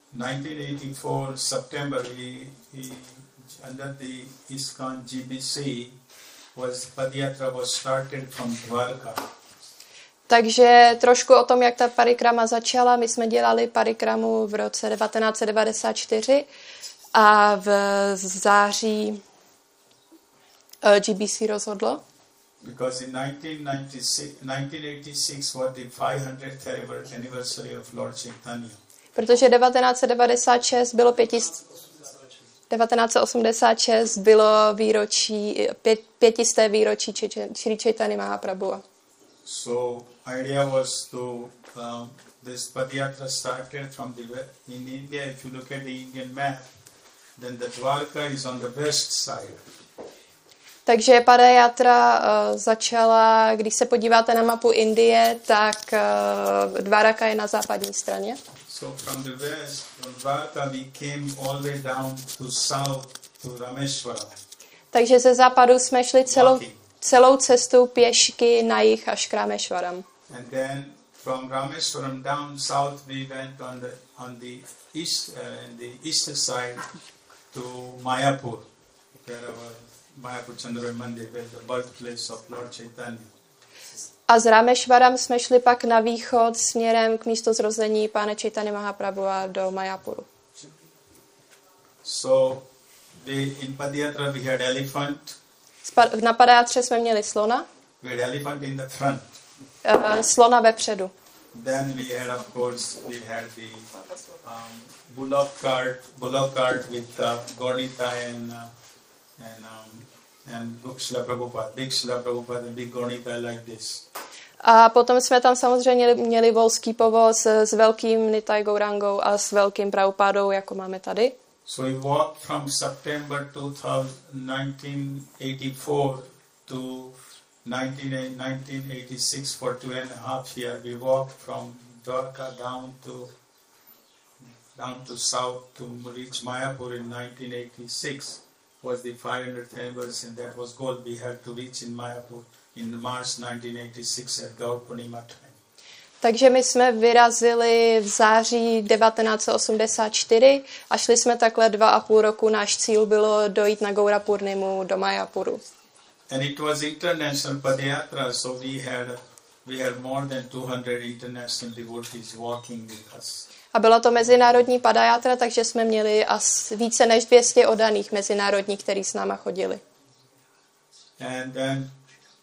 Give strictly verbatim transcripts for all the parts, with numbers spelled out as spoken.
nineteen eighty-four September, he, he under the ISKCON G B C was Padayatra was started from Dwarka. Takže trošku o tom, jak ta parikrama začala. My jsme dělali parikramu v roce devatenáct set devadesát čtyři a v září G B C rozhodlo. Because in nineteen eighty-six was the five hundredth anniversary of Lord Chaitanya. Protože devatenáct set devadesát šest bylo pětis, devatenáct set osmdesát šest bylo výročí, pět, pětisté výročí Šri Chaitanya Mahaprabhu. So idea was to um, this Padayatra started from the in India. If you look at the Indian map, then the Dwarka is on the west side. Takže Padayatra uh, začala, když se podíváte na mapu Indie, tak uh, Dwarka je na západní straně. So from the west, from Dwarka we came all the way down to south to Rameshwaram. Takže ze západu jsme šli celou, celou cestou pěšky na jih až k Rameshwaram. And then from Rameshwaram down south we went on the on the east uh, the eastern side to Mayapur, where our Mayapur Chandra Mandir, where the birthplace of Lord Chaitanya. A z Rameshwaram jsme šli pak na východ směrem k místu zrození Pána Chaitanya Mahaprabhua do Mayapuru. So the, in Padayatra we had elephant. Na Padayatře jsme měli slona. We had elephant in the front. Uh, slona vepředu. Then we had, of course, we had the um, bullock cart, bullock cart with uh, Gaurita and uh, and um, and Srila Prabhupada, big Srila Prabhupada and big Gaurita like this. A potom jsme tam samozřejmě měli volský povoz s velkým Nitai Gaurangou a s velkým Prabhupádou, jako máme tady. So we walked from September nineteen eighty-four to nineteen eighty-six for two and a half years. We walked from Dwarka down to down to south to reach Mayapur in nineteen eighty-six. Was the five hundredth anniversary, and that was goal we had to reach in Mayapur in March nineteen eighty-six at Gaur Purnima time. Takže my jsme vyrazili v září devatenáct set osmdesát čtyři a šli jsme takhle dva a půl roku. Náš cíl bylo dojít na Gaura Purnimu do Mayapuru. And it was international Padayatra, so we had we had more than two hundred international devotees walking with us. A byla to mezinárodní Padayatra, takže jsme měli asi více než dvě stě oddaných mezinárodních, kteří s náma chodili. And then,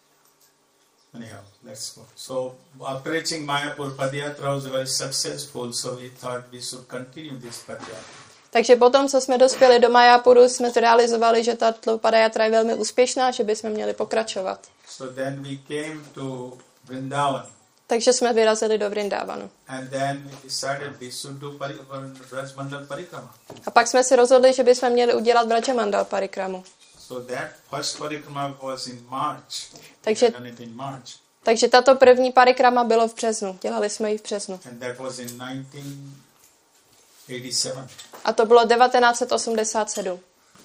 anyhow, let's go. So after reaching Mayapur, Padayatra was very successful, so we thought we should continue this Padayatra. Takže potom, co jsme dospěli do Mayapuru, jsme zrealizovali, že tato Padayatra je velmi úspěšná, že bychom měli pokračovat. So then we came to Vrindavan. Takže jsme vyrazili do Vrindavanu. And then we decided we should do Brajmandal Parikrama. A pak jsme si rozhodli, že bychom měli udělat Brajmandal Parikramu. So that first Parikrama was in March. Takže, done it in March. takže tato první Parikrama bylo v březnu. Dělali jsme ji v březnu. And that was in nineteen eighty-seven. A to bylo devatenáct set osmdesát sedm.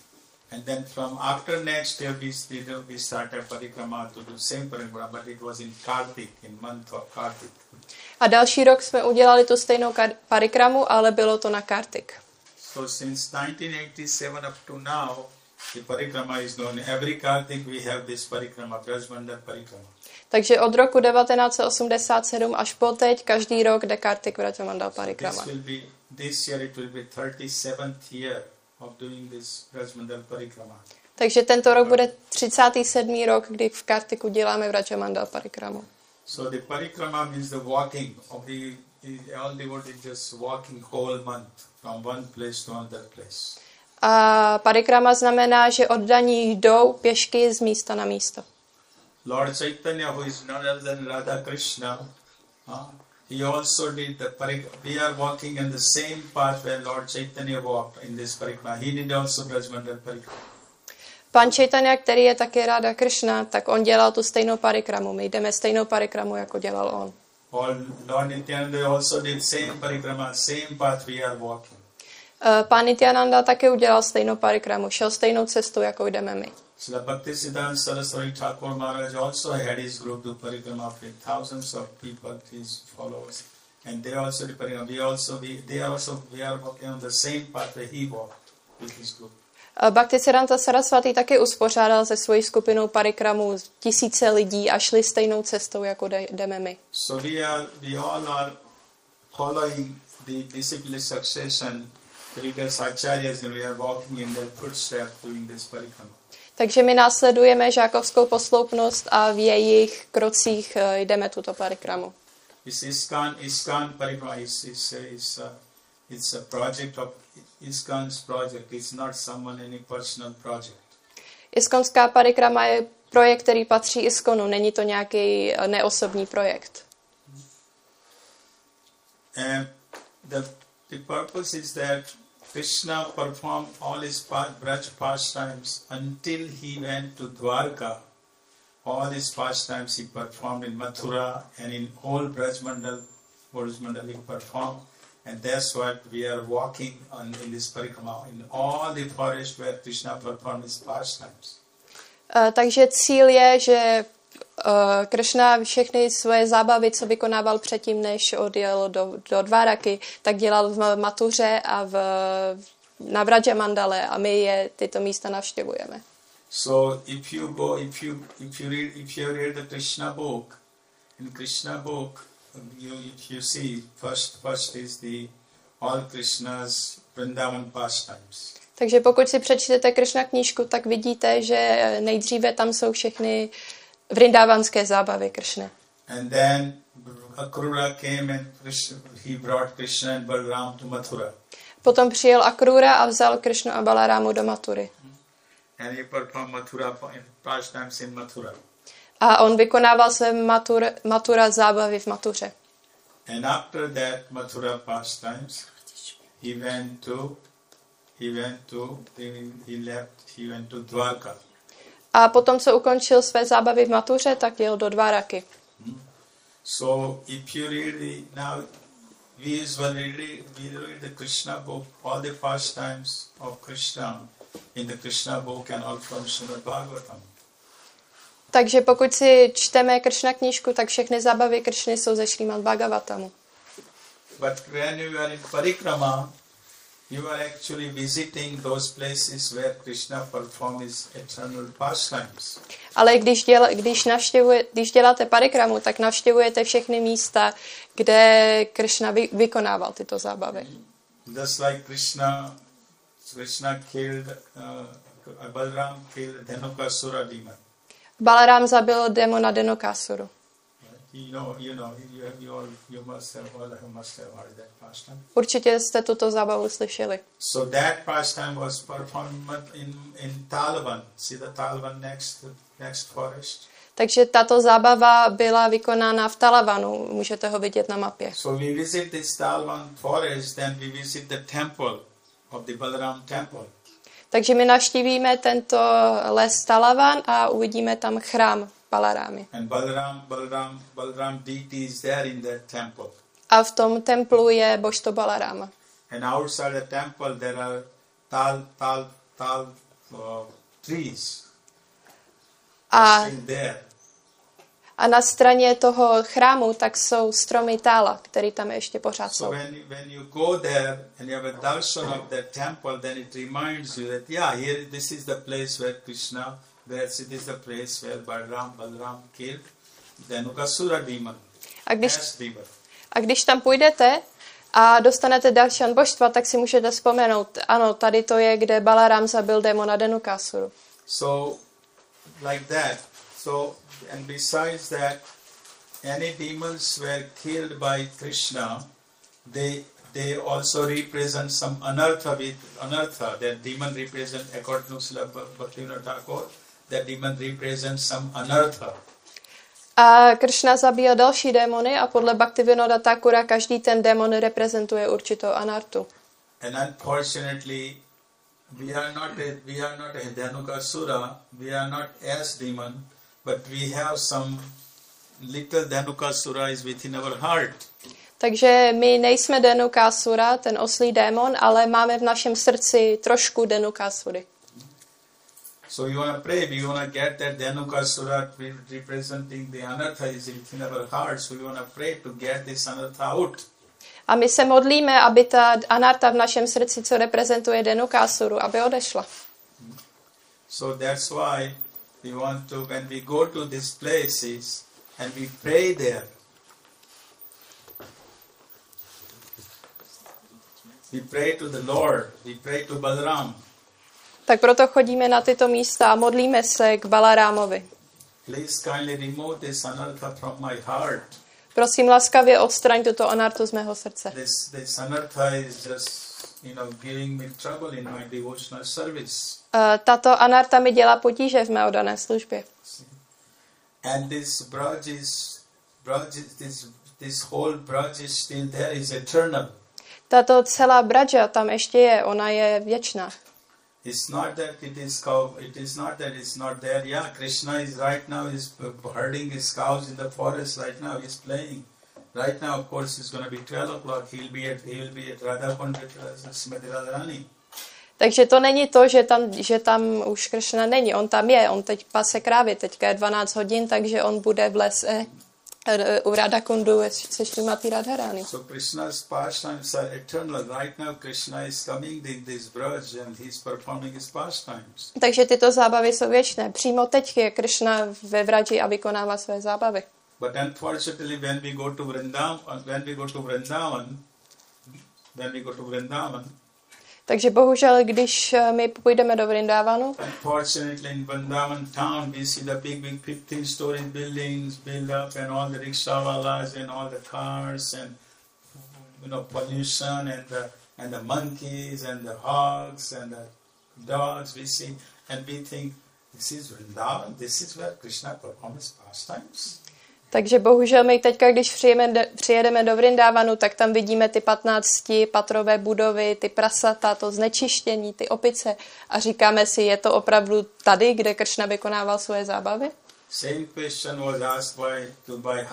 And then from after next year we started, we started Parikrama to do same Parikrama, but it was in Kartik, in month of Kartik. A další rok jsme udělali tu stejnou Parikramu, ale bylo to na Kartik. So since nineteen eighty-seven up to now, the Parikrama is known. Every Kartik we have this Parikrama, Brajmandal Parikrama. Takže od roku devatenáct set osmdesát sedm až po teď každý rok jde Kartik Brajmandal Parikrama. This will be this year it will be thirty-seventh year of doing this Brajmandal Parikrama. Takže tento rok bude třicátý sedmý rok, kdy v Kartiku děláme Brajmandal Parikramu. So the Parikrama means the walking of the, the all devotees just walking whole month from one place to another place. A Parikrama znamená, že oddaní jdou pěšky z místa na místo. Lord Chaitanya, who is none other than Radha Krishna, uh, he also did the Parikrama. We are walking in the same path where Lord Chaitanya walked in this Parikrama. He did also Brajmandal Parikrama. Pan Chaitanya, který je také Radha Krishna, tak on dělal tu stejnou Parikramu. My jdeme stejnou Parikramu, jako dělal on. All Lord Nityananda also did same Parikrama, same path we are walking. Uh, Pán Nityananda také udělal stejnou Parikramu, šel stejnou cestou, jako jdeme my. Srila Bhaktisiddhanta Saraswati Thakur Maharaj also had his group do Parikrama with thousands of people, his followers. And they also depending on we also we they also we are walking on the same path that he walked with his group. Bhaktisiddhanta Saraswati taky uspořádal se svojí skupinou parikramů tisíce lidí a šli stejnou cestou, jako jdeme my. So we are we all are following the disciplinary succession, previous acharyas, and we are walking in their footsteps doing this parikrama. Takže my následujeme žákovskou posloupnost a v jejich krocích jdeme tuto parikramu. This ISKCON, ISKCON parikrama is, is, is uh, it's a project of ISKCON's project. It's not someone any personal project. ISKCONská parikrama je projekt, který patří ISKCONu. Není to nějaký neosobní projekt. And the, the purpose is that Krishna performed all his Braj pastimes until he went to Dwarka. All his pastimes he performed in Mathura and in all Braj Mandal, Braj Mandal he performed. And that's what we are walking on in this parikrama, in all the forest where Krishna performed his pastimes. Uh, takže cíl je, že uh, Krishna všechny svoje zábavy, co vykonával předtím, než odjel do, do Dváraky, tak dělal v Matuře a v, na Vraja Mandale a my je tyto místa navštěvujeme. So if you go, if you if you read if you read the Krishna book, in Krishna book, you if you see first first is the all Krishna's Vrindavan pastimes. Takže pokud si přečtete Krishna knížku, tak vidíte, že nejdříve tam jsou všechny vrindávanské zábavy Krishna. And then Akrura came and Krishna, he brought Krishna and Balaram to Mathura. Potom přijel Akrura a vzal Krishnu a Balarámu do Mathury. And he performed Mathura pastimes in Mathura. A on vykonával své matur, Mathura zábavy v Mathuře. And after that Mathura pastimes, he went to he went to he left he went to Dwarka. A potom, co ukončil své zábavy v Mathuře, tak jel do Dváraky. Hmm. So if you read the, now we usually read, we read the Krishna book, all the pastimes of Krishna in the Krishna book and all from Srimad Bhagavatam. Takže pokud si čteme Krishna knížku, tak všechny zábavy Krishny jsou ze Srimad Bhagavatamu. But when you are in parikrama, you are actually visiting those places where Krishna performed his eternal pastimes. Ale když, děl, když, navštěvuje, když děláte parikramu, tak navštěvujete všechny místa, kde Krishna vy, vykonával tyto zábavy. Just like Krishna, Krishna killed, uh, Balaram killed Dhenukasura demon. Balaram zabil démona Dhenukasuru. You know, you know, you, you, all, you must have, all you must have heard that pastime. Určitě jste tuto zábavu slyšeli. So that pastime was performed in, in Talvan. See the Talvan next, next forest? Takže tato zábava byla vykonána v Talavanu. Můžete ho vidět na mapě. So we visit this Talvan forest, then we visit the temple of the Balaram temple. Takže my navštívíme tento les Talavan a uvidíme tam chrám Balarámy. And Balaram, Balaram, Balaram deity is there in that temple. A v tom templu je božstvo Balaráma. And outside the temple there are tal, tal, tal uh, trees. A, There. a na straně toho chrámu tak jsou stromy tála, které tam ještě pořád So jsou. when you, when you go there and you have a darshan of that temple, then it reminds you that yeah, here this is the place where Krishna, where it is the place where Balaram, Balaram killed Dhenukasura demon. A když, As demon. a když tam půjdete a dostanete darshan božstva, tak si můžete vzpomenout, ano, tady to je, kde Balaram zabil démona Dhenukasuru. So like that. So and besides that, any demons were killed by Krishna, they they also represent some anartha with anartha. That demon represent, according to Srila Bhaktivinoda Thakur, that demon represents some anartha. A Krishna zabíjel další démony a podle Bhaktivinoda Thakura každý ten démon reprezentuje určitou anartu. And unfortunately, we are not a, we are not a Dhenukasura, we are not as demon, but we have some little Dhenukasura is within our heart. Takže my nejsme Dhenukasura, ten oslý démon, ale máme v našem srdci trošku Dhenukasury. So you want to pray, we want to get that Dhenukasura representing the anartha is within our heart, so we want to pray to get this anartha out. A my se modlíme, aby ta anarta v našem srdci, co reprezentuje Dhenukasuru, aby odešla. So that's why we want to, when we go to these places and we pray there, we pray to the Lord, we pray to Balaram. Tak proto chodíme na tyto místa a modlíme se k Balarámovi. Please kindly remove this anartha from my heart. Prosím, laskavě odstraň tuto anartu z mého srdce. This this anartha is just, you know, giving me trouble in my devotional service. Uh, tato anarta mi dělá potíže v mé oddané službě. And this Braj is, Braj is, this this whole Braj is still there, is eternal. Tato celá Braja tam ještě je, ona je věčná. It's not that it is cow, it is not that it's not there. Yeah, Krishna is right now is herding his cows in the forest right now. He's playing. Right now, of course, it's going to be twelve o'clock. He'll be at he will be at Radhakund with Srimati Radharani. Takže to není to, že tam, že tam už Kršna není. On tam je, on teď pase krávy, teďka je dvanáct hodin, takže on bude v lese u Radhakundu se Srimati Radharani. So Krishna's pastimes are eternal. Right now, Krishna is coming in this Braj and he's performing his pastimes. Takže tyto zábavy jsou věčné. Přímo teď je Kršna ve Vraji a vykonává své zábavy. But unfortunately, when we go to Vrindavan, when we go to Vrindavan, when we go to Vrindavan, takže bohužel, když my půjdeme do Vrindavanu, unfortunately in Vrindavan town we see the big, big fifteen-story buildings built up and all the rickshawalas and all the cars and, you know, pollution and the and the monkeys and the hogs and the dogs we see and we think this is Vrindavan, this is where Krishna performs pastimes. Takže bohužel my teďka, když přijedeme, přijedeme do Vrindavanu, tak tam vidíme ty patnáctipatrové budovy, ty prasata, to znečištění, ty opice a říkáme si, je to opravdu tady, kde Kršna vykonával svoje zábavy? Same question was asked by to by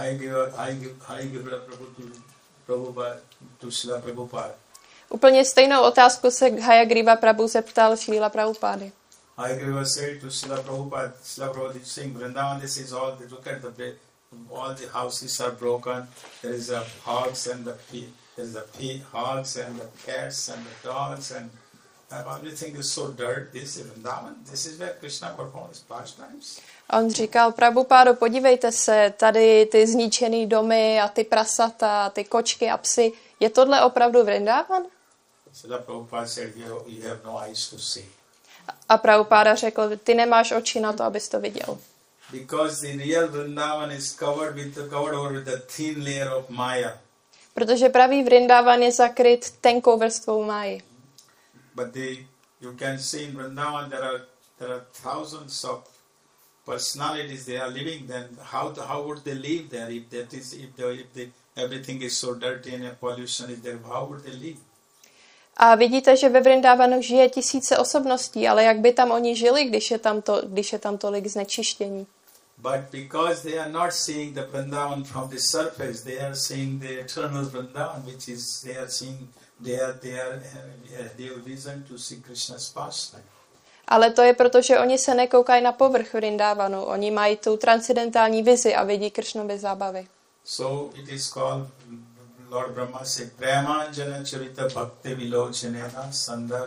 Hayagriva Prabhu to Prabhupada to Srila Prabhupada. Úplně stejnou otázku se Hayagriva Prabhu zeptal Šrila Prabhupády. Hayagriva said to Srila Prabhupada, Srila Prabhupada is saying, Vrindavan, this is all, look at the all the houses are broken. There is a hogs and the pig. There is a pig, hogs and the cats and the dogs and everything is so dirt. This is Vrindavan. This is where Krishna performs pastimes. On říkal, Prabhupádo, podívejte se, tady ty zničený domy a ty prasata, ty kočky a psy. Je tohle opravdu Vrindavan? Srila Prabhupada said, you, you have no eyes to see. A Prabhupáda řekl, ty nemáš oči na to, abys to viděl. Because the real Vrindavan is covered with the covered over with the thin layer of Maya. Protože pravý Vrindavan je zakryt tenkou vrstvou máji. But the you can see in Vrindavan there are there are thousands of personalities they are living. Then how the, how would they live there if that is if the, if the everything is so dirty and pollution is there? How would they live? A vidíte, že ve Vrindavanu žije tisíce osobností, ale jak by tam oni žili, když je tam, to, když je tam tolik znečištění? But because they are not seeing the Vrindavan from the surface, they are seeing the eternal Vrindavan, which is they are seeing they are they are they have reason to see Krishna's pastime. Ale to je proto, že oni se nekoukají na povrch Vrindavanu, oni mají tu transcendentální vizi a vidí Kršnovy zábavy. So it is called, Lord Brahma said, Premanjana Charita Bhakti Vilochanena Sandha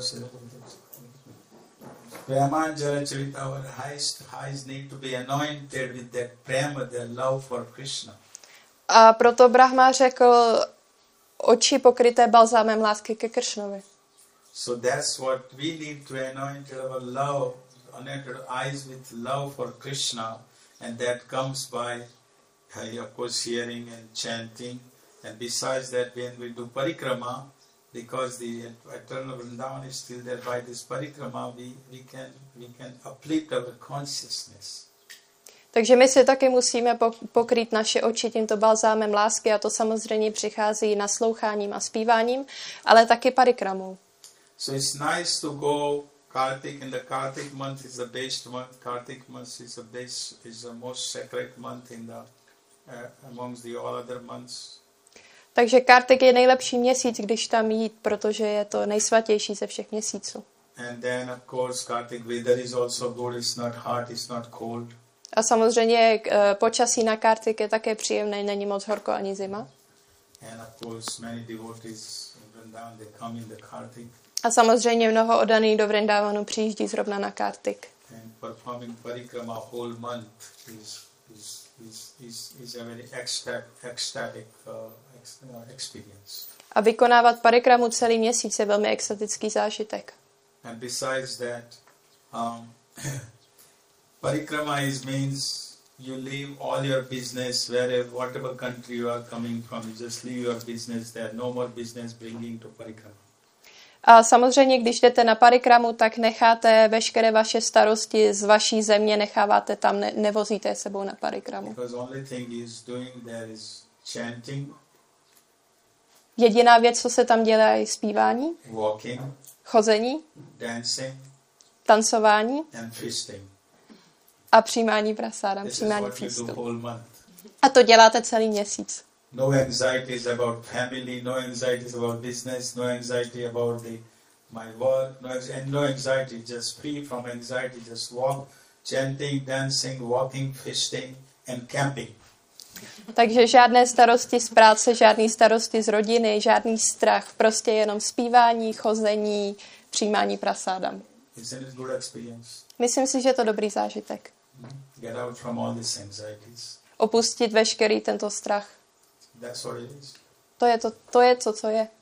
Premanjana Charita, our highest, highest need to be anointed with that prema, their love for Krishna. A proto Brahma řekl, oči pokryté balzámem lásky ke Kršnovi. So that's what we need to anoint our love, anoint our eyes with love for Krishna, and that comes by, of course, hearing and chanting. And besides that, when we do parikrama, because the eternal Vrindavan is still there, by this parikrama, we, we can we can uplift our consciousness. Takže my si taky musíme pokrýt naše oči tímto balzámem lásky a to samozřejmě přichází nasloucháním a zpíváním, ale taky parikramou. So it's nice to go Kartik, and the Kartik month is the best month. Kartik month is the best, is the most sacred month in the uh, amongst the all other months. Takže Kartik je nejlepší měsíc, když tam jít, protože je to nejsvatější ze všech měsíců. And then of course Kartik weather is also good. It's not hot, it's not cold. A samozřejmě počasí na Kartik je také příjemné, není moc horko ani zima. And of course, many devotees in Vrindavan, they come in the Kartik. A samozřejmě mnoho oddaných do Vrindavanu přijíždí zrovna na Kartik. And performing parikrama whole month is is is is, is a very ecstatic, ecstatic uh, ex, uh, experience. A vykonávat parikramu celý měsíc je velmi extatický zážitek. And besides that, um, parikrama is means you leave all your business wherever, whatever country you are coming from, you just leave your business there. No more business bringing to parikrama. A samozřejmě, když jdete na parikramu, tak necháte veškeré vaše starosti z vaší země, necháváte tam, ne, nevozíte je sebou na parikramu. Because only thing is doing there is chanting, Jediná věc, co se tam dělá, je zpívání, walking, chození, dancing, tancování and feasting. a přijímání prasádam, This is přijímání what you do feastu. whole month. A to děláte celý měsíc. No anxieties about family, no anxieties about business, no anxiety about the my work, no, anx- and no anxiety, just free from anxiety, just walk, chanting, dancing, walking, feasting, and camping. Takže žádné starosti z práce, žádné starosti z rodiny, žádný strach, prostě jenom zpívání, chození, přijímání prasádam. Isn't it good experience? Myslím si, že je to dobrý zážitek. Get out from all these anxieties. Opustit veškerý tento strach. That's what it is. To je to, to je to, co je.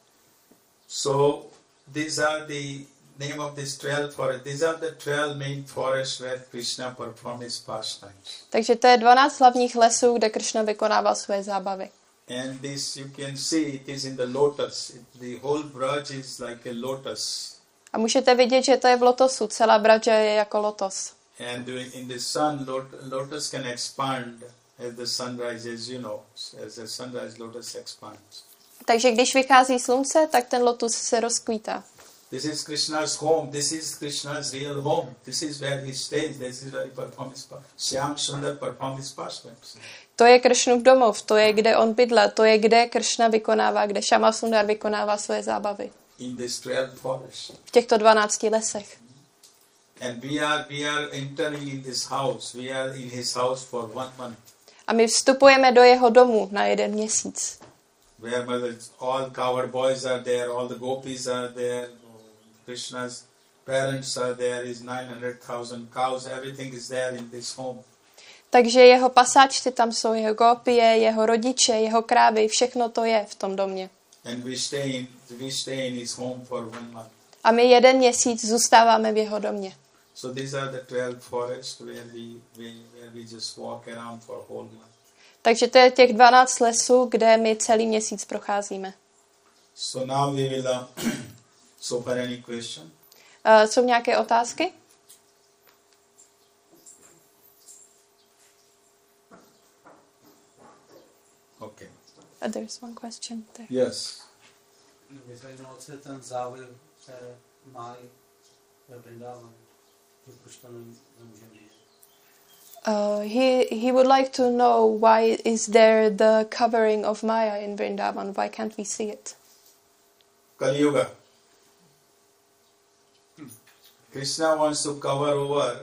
So these are the name of this twelve forest. These are the twelve main forests where Krishna performed his pastimes. Takže to je dvanáct hlavních lesů, kde Krishna vykonával své zábavy. And this you can see it is in the lotus. It, the whole Braj is like a lotus. A můžete vidět, že to je v lotosu. Celá Braja je jako lotos. And in the sun, lot- lotus can expand as the sun rises, you know, as the sunrise, lotus expands. Takže když vychází slunce, tak ten lotus se rozkvítá. This is Krishna's home. This is Krishna's real home. This is where he stays. This is where he performs his pastimes. Shyam Sundar performs his pastimes. To je Krishnův domov, to je, kde on bydlel, to je, kde Krishna vykonává, kde Shama Sundar vykonává své zábavy. In this twelve forest. V těchto dvanácti lesech. And we are we are entering in this house. We are in his house for one month. A my vstupujeme do jeho domu na jeden měsíc. Where mother, all cowherd boys are there, all the gopis are there, Krishna's parents are there, his nine hundred thousand cows, everything is there in this home. Takže jeho pasáčci tam jsou, jeho gopie, jeho rodiče, jeho krávy, všechno to je v tom domě. And we stay in we stay in his home for one month. A my jeden měsíc zůstáváme v jeho domě. So these are the twelve forests where we, we where we just walk around for a whole month. Takže to je těch dvanáct lesů, kde my celý měsíc procházíme. So now we will. Uh, so for any question? Uh, jsou nějaké otázky? Okay. Uh, there's one question there. Yes. Mě zajímalo, co je ten závěr, které mají ve Vrindavan, proč to nemůžeme vidět. Uh, he he would like to know why is there the covering of Maya in Vrindavan? Why can't we see it? Kali Yuga. Krishna wants to cover over,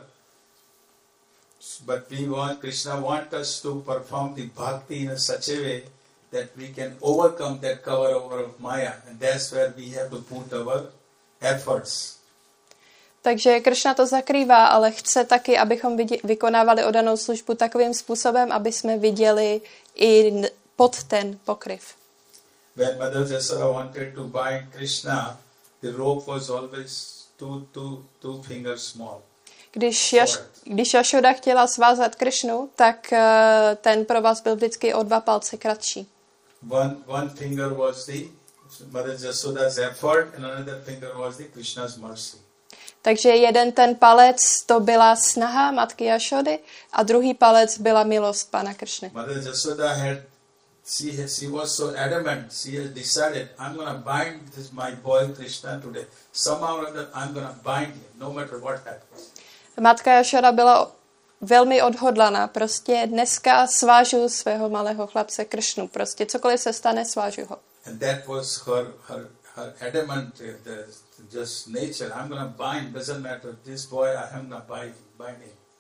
but we want Krishna wants us to perform the bhakti in a such a way that we can overcome that cover over of Maya, and that's where we have to put our efforts. Takže Krishna to zakrývá, ale chce taky, abychom vidě, vykonávali oddanou službu takovým způsobem, aby jsme viděli i n- pod ten pokryv. When Mother Jasoda wanted to bind Krishna, the rope was always two, two, two fingers small. Když, Jaš, když Jašoda chtěla svázat Krishnu, tak uh, ten provaz byl vždycky o dva palce kratší. One, one finger was the Mother Jasoda's effort, and another finger was the Krishna's mercy. Takže jeden ten palec to byla snaha matky Jašody a druhý palec byla milost Pána Kršny. Mother Jasoda had, she, she was so adamant, she had decided, I'm going to bind this my boy Krishna today. Somehow or other, I'm going to bind him, no matter what happens. Matka Jašoda byla velmi odhodlaná. Prostě dneska svážu svého malého chlapce Kršnu. Prostě cokoliv se stane, svážu ho. And that was her, her, her adamant, uh, the, just nature. I'm going to bind, doesn't matter. This boy, I'm going to bind, bind him.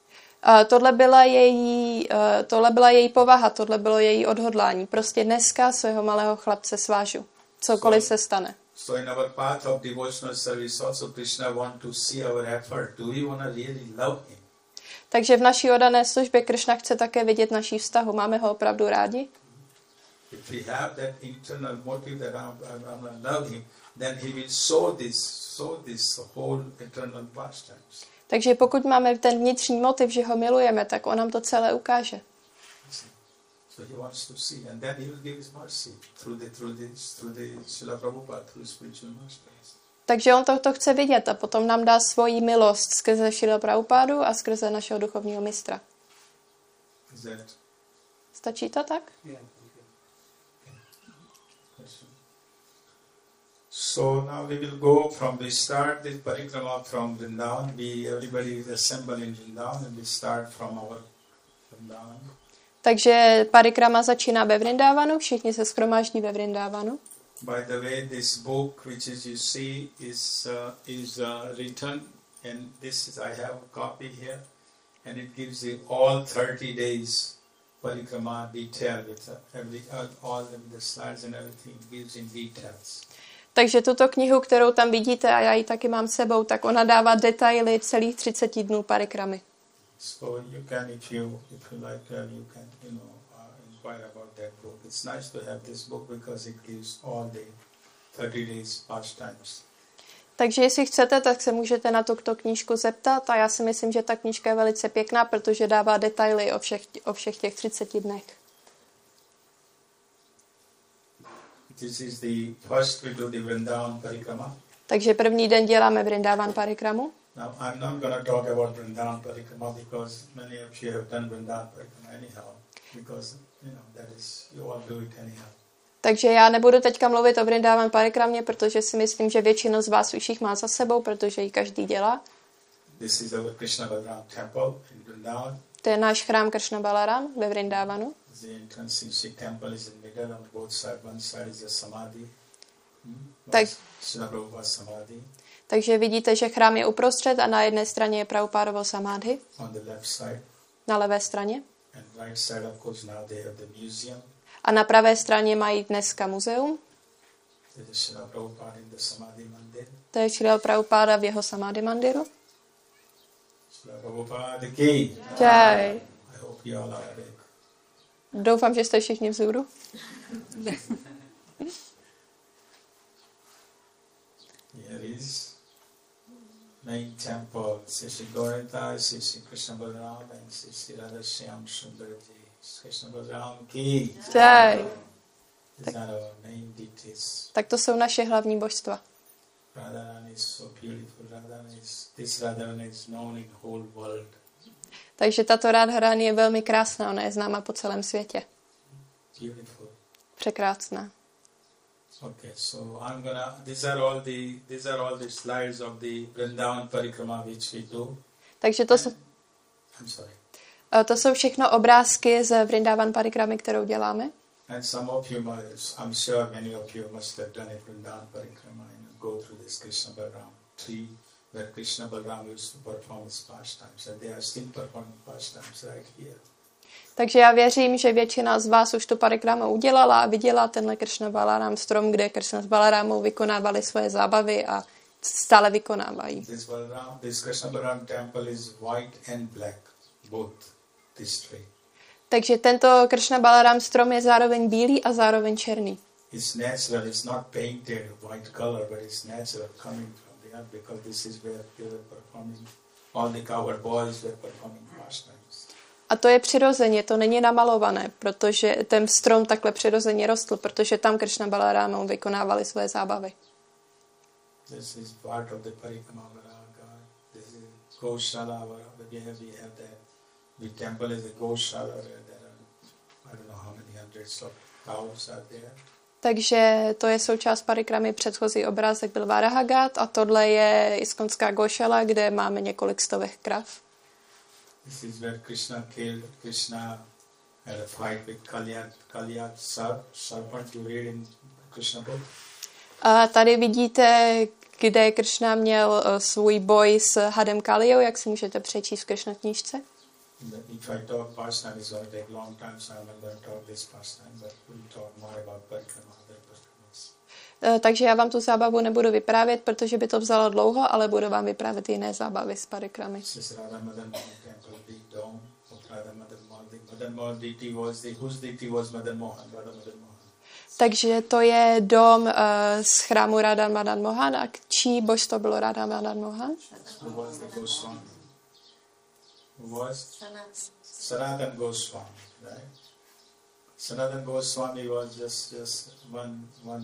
Uh, tohle, byla její, uh, tohle byla její povaha, tohle bylo její odhodlání. Prostě dneska svého malého chlapce svážu. Cokoliv se stane. So in our path of devotional service also Krishna want to see our effort. Do we want to really love him? Takže v naší oddané službě Krishna chce také vidět naší vztahu. Máme ho opravdu rádi? If we have that internal motive that I'm, I'm, I'm going to love him, then he will show this, show this whole internal pastimes. Takže pokud máme ten vnitřní motiv, že ho milujeme, tak on nám to celé ukáže. So he wants to see, and then he will give his mercy through the through the through the Srila Prabhupada, through spiritual masters. Takže on to, to chce vidět a potom nám dá svoji milost skrze Srila Prabhupádu a skrze našeho duchovního mistra. Is that Stačí to tak? Yeah. So now we will go from, we start the parikrama from Vrindavan. We, everybody is assembled in Vrindavan and we start from our Vrindavan. Takže parikrama začíná ve Vrindávanu, všichni se shromáždí ve Vrindávanu. By the way, this book which is you see is uh, is uh, written, and this is, I have a copy here, and it gives you all thirty days parikrama detail with uh, every uh, all the, the slides and everything gives in details. Takže tuto knihu, kterou tam vidíte, a já ji taky mám sebou, tak ona dává detaily celých třicet dnů parikramy. So you can, if you if you like, uh, you can you know uh, inquire about that book. It's nice to have this book because it gives all the thirty days pastimes. Takže jestli chcete, tak se můžete na tuto knížku zeptat a já si myslím, že ta knížka je velice pěkná, protože dává detaily o všech, o všech těch třiceti dnech. This is the first we do the Vrindavan parikrama. Takže první den děláme Vrindavan parikramu. Now I'm not going to talk about Vrindavan parikrama because many of you have done Vrindavan parikrama anyhow, because you know that is you all do it anyhow. Takže já nebudu teďka mluvit o Vrindavan parikramě, protože si myslím, že většina z vás už jich má za sebou, protože ji každý dělá. This is our Krishna Balaram temple in Vrindavan. To je náš chrám Krishna Balaram ve Vrindavanu. The entrance in the temple is in middle on both sides. One side is a samadhi. Hmm? Tak, Srila Prabhupada samadhi. takže vidíte, že chrám je uprostřed a na jedné straně je Prabhupádovo samádhy, On the left side. na levé straně. And right side, of course, now they have the museum. A na pravé straně mají dneska muzeum. There is Srila Prabhupada in the samadhi mandir. To je Srila Prabhupáda v jeho samadhi mandiru. Srila Prabhupada ki. Jai. I hope you all are awake. Doufám, že jste všichni vzhůru. Here is main temple. Sri Gauranta, Sri Krishna Balaram, and Sri Radha Shyam Sundarji. Krishna Balaram ki. Jai. These are our main deities. Tak to jsou naše hlavní božstva. Radharani is so beautiful. Radharani is, this Radharani is known in whole world. Takže tato Radharani je velmi krásná, ona je známa po celém světě. Beautiful. Překrásná. Okay, so I'm gonna. These are all the these are all the slides of the Vrindavan parikrama which we do. Takže to, jsou- I'm sorry. eh, to jsou všechno obrázky z Vrindavan parikramy, kterou děláme. And some of you must, I'm sure many of you must have done it Vrindavan parikrama and go through this Krishna Balaram tree where Krishna Balaram used to perform his pastimes, and they are still performing pastimes right here. Takže já věřím, že většina z vás už tu parikramu udělala a viděla tenhle Krishna Balaram strom, kde Krishna s Balaramou vykonávali svoje zábavy a stále vykonávají. This Balaram, this Krishna Balaram temple is white and black, both this tree. Takže tento Krishna Balaram strom je zároveň bílý a zároveň černý. It's natural, it's not painted white color, but it's natural coming from the earth because this is where they were performing, all the cowherd boys were performing pastimes. A to je přirozeně, to není namalované, protože ten strom takhle přirozeně rostl, protože tam Krishna Balaramou vykonávali svoje zábavy. This is part of the Parikrama Varaga. This is Goshala Varaga. We have, we have that. The temple is a Goshala where there are, I don't know how many hundreds of cows are there. Takže to je součást parikramy, předchozí obrázek byl Varahagat a tohle je iskonská Gošala, kde máme několik stovek krav. This is where Krishna killed, Krishna had a fight with Kalyat, Kalyat Sar, serpent you read in Krishna book. A tady vidíte, kde Krishna měl uh, svůj boj s hadem Kaliou, jak si můžete přečíst v Krishna knížce. If I talk pastime, it's going to take long time, so I'm not going to talk this pastime, but we'll talk more about parikrama, other parikramas. Uh, takže já vám tu zábavu nebudu vyprávět, protože by to vzalo dlouho, ale budu vám vyprávět jiné zábavy z parikramy. This is Radha Madan Mohan temple, big dome of Radha Madan Mohan. The Madan Mohan deity was the, whose deity was Madan Mohan, Radha Madan Mohan. Takže to je dom uh, z chrámu Radha Madan Mohan. A čí božstvo bylo Radha Madan Mohan? Who was the Goswami? Who was? Sanatan Goswami, right? Sanatan Goswami was just, just one, one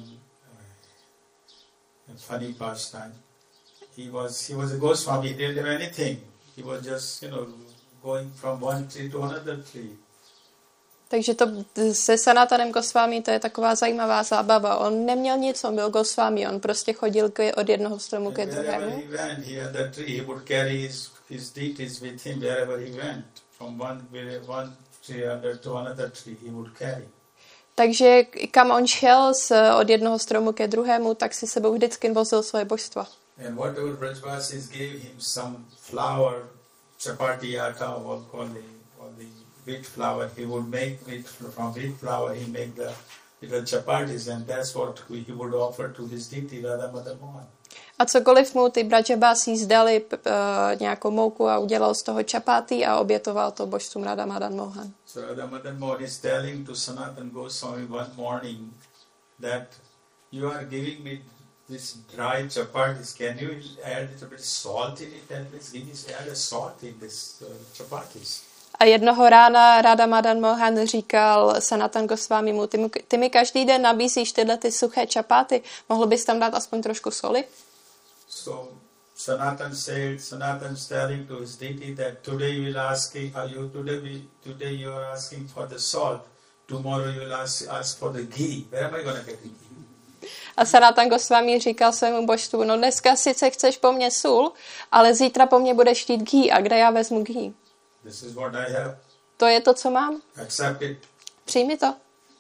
uh, funny pastime. He was, he was a Goswami, he didn't have anything. He was just, you know, going from one tree to another tree. Takže to se Sanatanem Goswami, to je taková zajímavá zábava. On neměl nic, on byl Goswami, on prostě chodil k, od jednoho stromu ke druhému. He went, he had that tree, he would carry his, his deities with him wherever he went. From one, one tree under to another tree, he would carry. Takže kam on šel z, od jednoho stromu ke druhému, tak si sebou vždycky vozil svoje božstva. And whatever Brajvasis gave him, some flour, chapati atta, what call the, what the wheat flour, he would make it from wheat flour, he make the little chapatis, and that's what he would offer to his deity, Radha Madan Mohan. A cokoliv mu ty Brajabási zdali uh, nějakou mouku a udělal z toho čapáty a obětoval to božstvům Radha Madan Mohan. So Radha Madan Mohan is telling to Sanatan Goswami one morning that you are giving me this dry chapatis, can you add a little bit salt in it, and please give me add a salt in this uh, chapatis. A jednoho rána Radha Madan Mohan říkal Sanatan Goswami mu, ty, mu, ty mi každý den nabízíš tyhle ty suché čapáty, mohl bys tam dát aspoň trošku soli? So Sanatan said, Sanatan is telling to his deity that today you will ask, are you today we, today you are asking for the salt, tomorrow you will ask, ask for the ghee. Where am I going to get the ghee? A Sanatan Goswami říkal svému božstvu, no dneska sice chceš po mně sůl, ale zítra po mně budeš chtít ghee. A kde já vezmu ghee? This is what I have. To je to, co mám. Accept it. Přijmi to.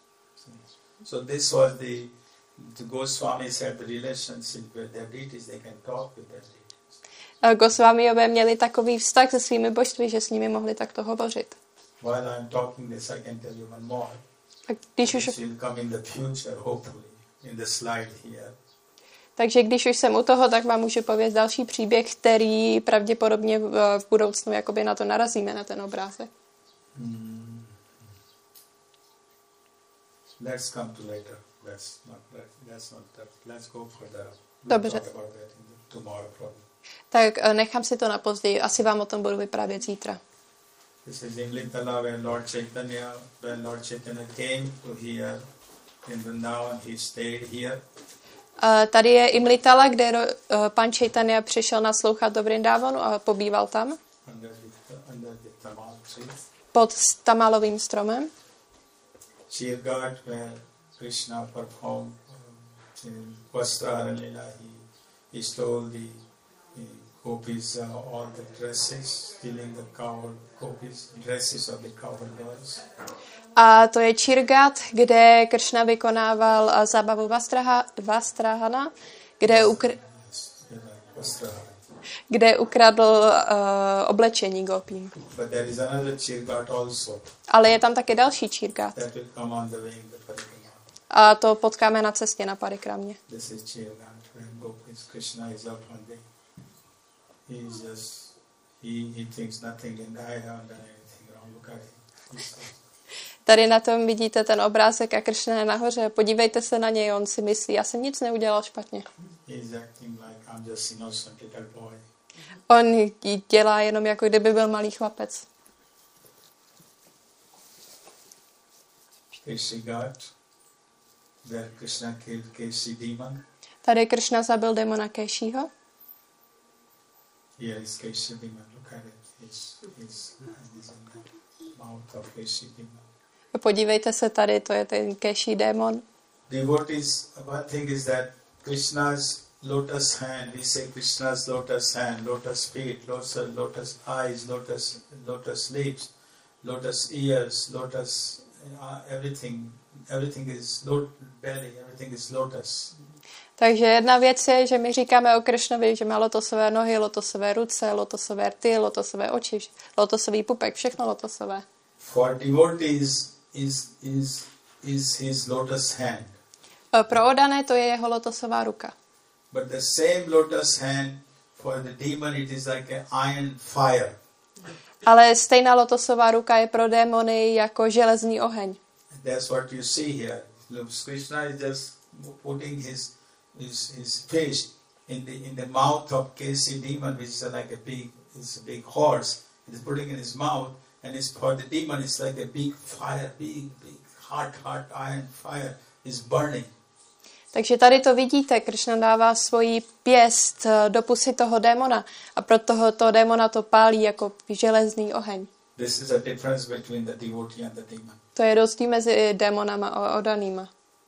So this was the, the Goswamis had the relationship with their deities. They can talk with their deities. Goswamiové měli takový vztah se svými božství, že s nimi mohli takto hovořit. While I'm talking this, I can tell you one more. A když už... This will come in the future, hopefully, in the slide here. Takže když už jsem u toho, tak vám můžu povědět další příběh, který pravděpodobně v, v budoucnu jakoby na to narazíme, na ten obrázek. Hmm. Let's come to later. Let's not, let's not, let's go further. We'll Dobře. talk about that in the tomorrow probably. Tak nechám si to na později. Asi vám o tom budu vyprávět zítra. This is in Lintala where Lord Chaitanya, when Lord Chaitanya came to here in Vrindavan, he stayed here. Uh, tady je Imlitala, kde uh, pan Chaitanya přišel naslouchat do Vrindavanu a pobýval tam. Under the, under the Tamal tree. Pod tamalovým stromem. Chirghat, where Krishna performed um, in Vastrahara Lila, he, he stole the, the gopis, uh, all the dresses, stealing the cowherd gopis, dresses of the cowherd girls. A to je Chirghat, kde Kršna vykonával uh, zábavu Vastraha, Vastrahana, kde, ukr- kde ukradl uh, oblečení gopím. But there is another Chirghat also. Ale je tam také další Chirghat. That will come on the way in the Parikrama. A to potkáme na cestě na Parikramě. This is Chirghat, when Gopis Krishna is up on the, he is just, he, he thinks nothing and I haven't done anything wrong. Look at him. Tady na tom vidíte ten obrázek a Kršna je nahoře. Podívejte se na něj, on si myslí, já jsem nic neudělal špatně. On dělá jenom jako kdyby byl malý chlapec. Tady Kršna zabil demona Kešího. Here is Keshi demon. Look at it. He's, he's, he's in the mouth of Keshi demon. Podívejte se tady, to je ten Keshi démon. Devotees, one thing is that Krishna's lotus hand, we say Krishna's lotus hand, lotus feet, lotus, lotus eyes, lotus, lotus lips, lotus ears, lotus, uh, everything, everything is lotus belly, everything is lotus. Takže jedna věc je, že my říkáme o Krišnovi, že má lotosové nohy, lotosové ruce, lotosové rty, lotosové oči, lotosový pupek, všechno lotosové. For devotees is is is his lotus hand. Pro oddané to je jeho lotosová ruka. But the same lotus hand for the demon it is like an iron fire. Ale stejná lotosová ruka je pro démony jako železný oheň. That's what you see here. Krishna is just putting his his, his fish in the in the mouth of Kesi demon, which is like a big is a big horse. He's putting in his mouth, and it's for the demon. It's like a big fire, big big hot hot iron fire is burning. Takže tady to vidíte, Krishna dává svoji pěst do pusy toho démona a pro tohoto démona to pálí jako železný oheň. This is a difference between the devotee and the demon. To je rozdíl mezi démonama a oddanýma.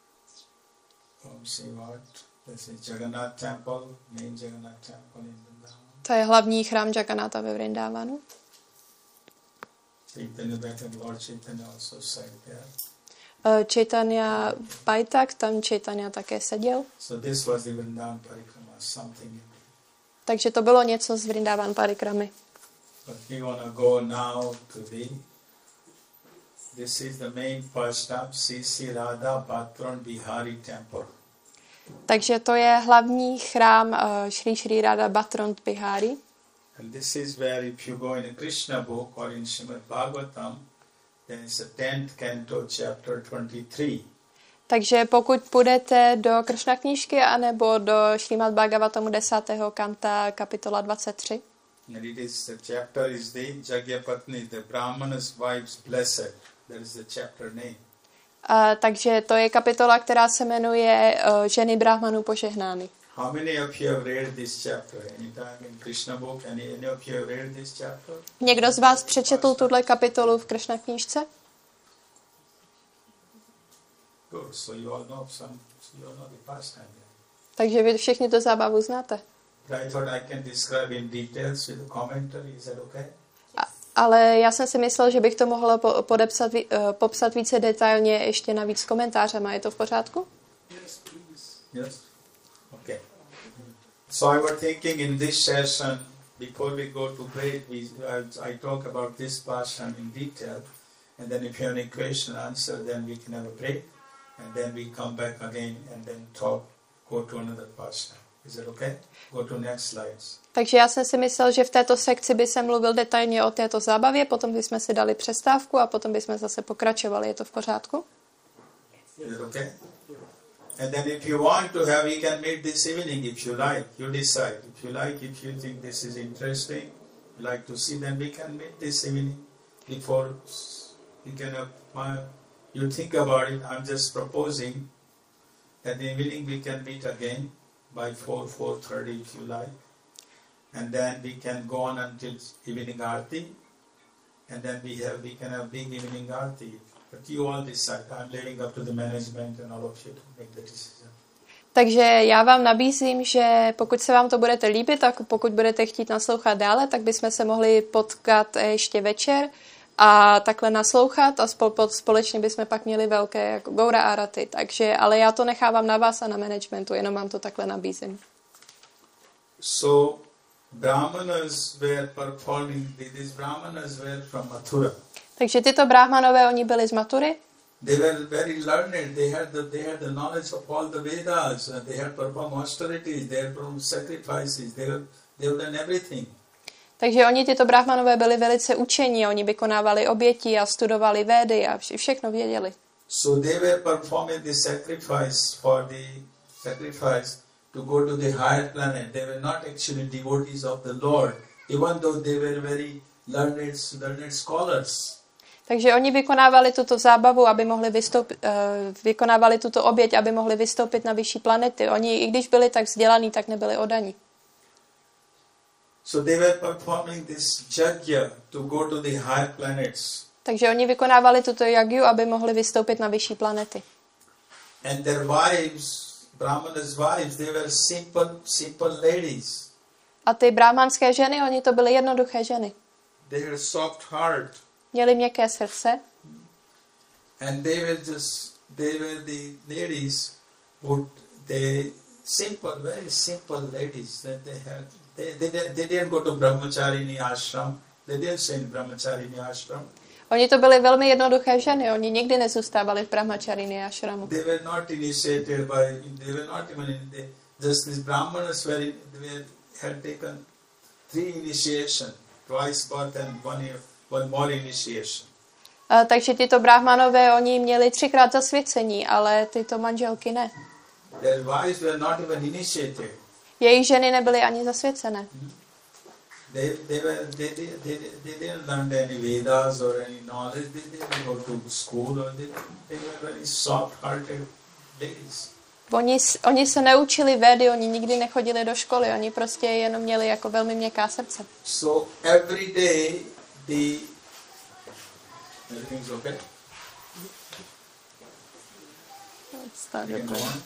Um, see what? This is Jagannath temple, main Jagannath temple in Vrindavan. To je hlavní chrám Jagannatha ve Vrindavanu. Chaitanya Bhatt and Lord Chaitanya also sat there. Chaitanya Bhaitak, tam Chaitanya také seděl. So this was the Vrindavan Parikrama, something. Takže to bylo něco z Vrindavan Parikramy. But we want to go now to the, this is the main Pashtam, Sri Sri Radha Patron Bihari Temple. Takže to je hlavní chrám uh, Sri Sri Radha Bhatron Bihari. And this is where if you go in a Krishna book or in Srimad Bhagavatam, then it's the tenth canto, chapter twenty-three. Takže pokud půjdete do Kršna knížky anebo do Šrímad Bhagavatamu desátého kanta, kapitola dvacet tři. And it is, the chapter is the Jagyapatni, the Brahmana's wife's blessed. That is the chapter name. Uh, takže to je kapitola, která se jmenuje uh, Ženy Brahmanů požehnány. How many of you have read this chapter? Anytime in Krishna book? Any, any of you have read this chapter? Někdo z vás přečetl tuhle kapitolu v Kršna knížce? Good. So you all know some. So you all know the pastime. Takže vy všichni tu zábavu znáte. I thought I can describe in details with a commentary. Is that okay? A, ale já jsem si myslel, že bych to mohla po, podepsat, uh, popsat více detailně ještě navíc s komentářem. Je to v pořádku? Yes, please. Yes. Okay. So I was thinking in this session, before we go to break, we, I, I talk about this passion in detail, and then if you have any question, answer, then we can have a break, and then we come back again and then talk, go to another passion. Is that okay? Go to next slides. Takže já jsem si myslel, že v této sekci by se mluvil detailně o této zábavě, potom bychom si dali přestávku a potom bychom zase pokračovali. Je to v pořádku? Is that okay? And then if you want to have, we can meet this evening if you like. You decide. If you like, if you think this is interesting, you like to see, then we can meet this evening before you can have my, you think about it. I'm just proposing that in the evening we can meet again by four, four thirty if you like. And then we can go on until evening aarti. And then we have, we can have big evening aarti. But you all decide. I'm leaving up to the management and all of you to make the decision. Takže já vám nabízím, že pokud se vám to budete líbit, tak pokud budete chtít naslouchat dále, tak bychom se mohli potkat ještě večer a takhle naslouchat a společně bychom pak měli velké jako Gaura Araty. Takže, ale já to nechávám na vás a na managementu, jenom vám to takhle nabízím. So, Brahmanas were performing, these Brahmanas were from Mathura. Takže tyto brahmanové, oni byli z Matury. They were very learned. They had the they had the knowledge of all the Vedas. And they had performed austerities. They had performed sacrifices. They were they had done everything. Takže oni tyto brahmanové byli velice učení. Oni vykonávali oběti a studovali Védy a vše, všechno věděli. So they were performing the sacrifice for the sacrifice to go to the higher planet. They were not actually devotees of the Lord, even though they were very learned learned scholars. Takže oni vykonávali tuto zábavu, aby mohli vystoupit, uh, vykonávali tuto oběť, aby mohli vystoupit na vyšší planety. Oni, i když byli tak vzdělaní, tak nebyli oddaní. So they were performing this yajna to go to the higher planets. Takže oni vykonávali tuto jagyu, aby mohli vystoupit na vyšší planety. And their wives, Brahmanas' wives, they were simple, simple ladies. A ty brahmanské ženy, oni to byly jednoduché ženy. They had a soft heart. Měli měkké srdce. And they were just, they were the ladies who, they, simple, very simple ladies. They, they, had, they, they, they didn't go to Brahmacharini ashram. They didn't stay in Brahmacharini ashram. Oni to byly velmi jednoduché ženy, oni nikdy nezůstávali v Brahmacharini ashramu. They were not initiated by, they were not even in, they, just these Brahmanas were, in, they were, had taken three initiation, twice birth and one, year, one more initiation. Uh, takže tyto brahmanové, oni měli třikrát zasvěcení, ale tyto manželky ne. Their wives were not even initiated. Jejich ženy nebyly ani zasvěcené. They, they, were, they, they, they, they didn't learn any Vedas or any knowledge. They didn't go to school. Or they, they were very soft-hearted ladies. Oni, oni se neučili Védy, oni nikdy nechodili do školy, oni prostě jenom měli jako velmi měkká srdce. So every day the everything's okay. You can go on.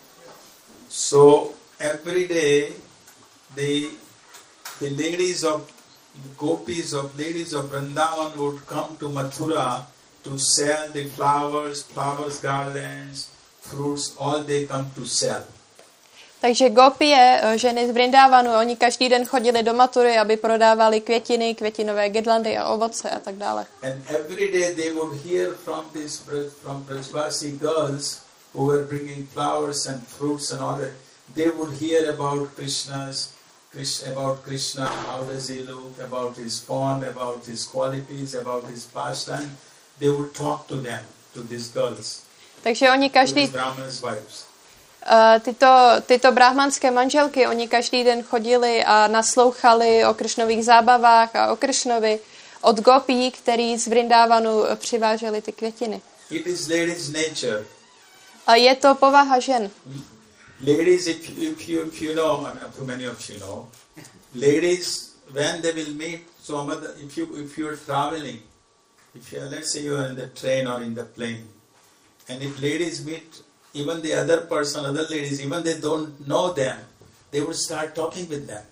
So every day the the ladies of the gopis of ladies of Vrindavan would come to Mathura to sell the flowers, flowers, garlands, fruits, all they come to sell. Takže gopie, ženy z Vrindávanu, oni každý den chodili do Matury, aby prodávali květiny, květinové girlandy a ovoce a tak dále. And every day they would hear from these from Brajvasi girls who were bringing flowers and fruits and all that. They would hear about Krishna's about Krishna, how does he look, about his form, about his qualities, about his pastime. They would talk to them, to these girls. Takže oni každý, to Brahman's wives. Uh, tyto, tyto brahmanské manželky, oni každý den chodili a naslouchali o Kršnových zábavách a o Kršnovi od gopí, který z Vrindávanu přiváželi ty květiny. It is ladies' nature. A je to povaha žen. Ladies, if, if, you, if you know, I mean, too many of you know, ladies, when they will meet some other, if, you, if you're traveling, if you, let's say you're in the train or in the plane, and if ladies meet even the other person, other ladies, even they don't know them, they will start talking with them.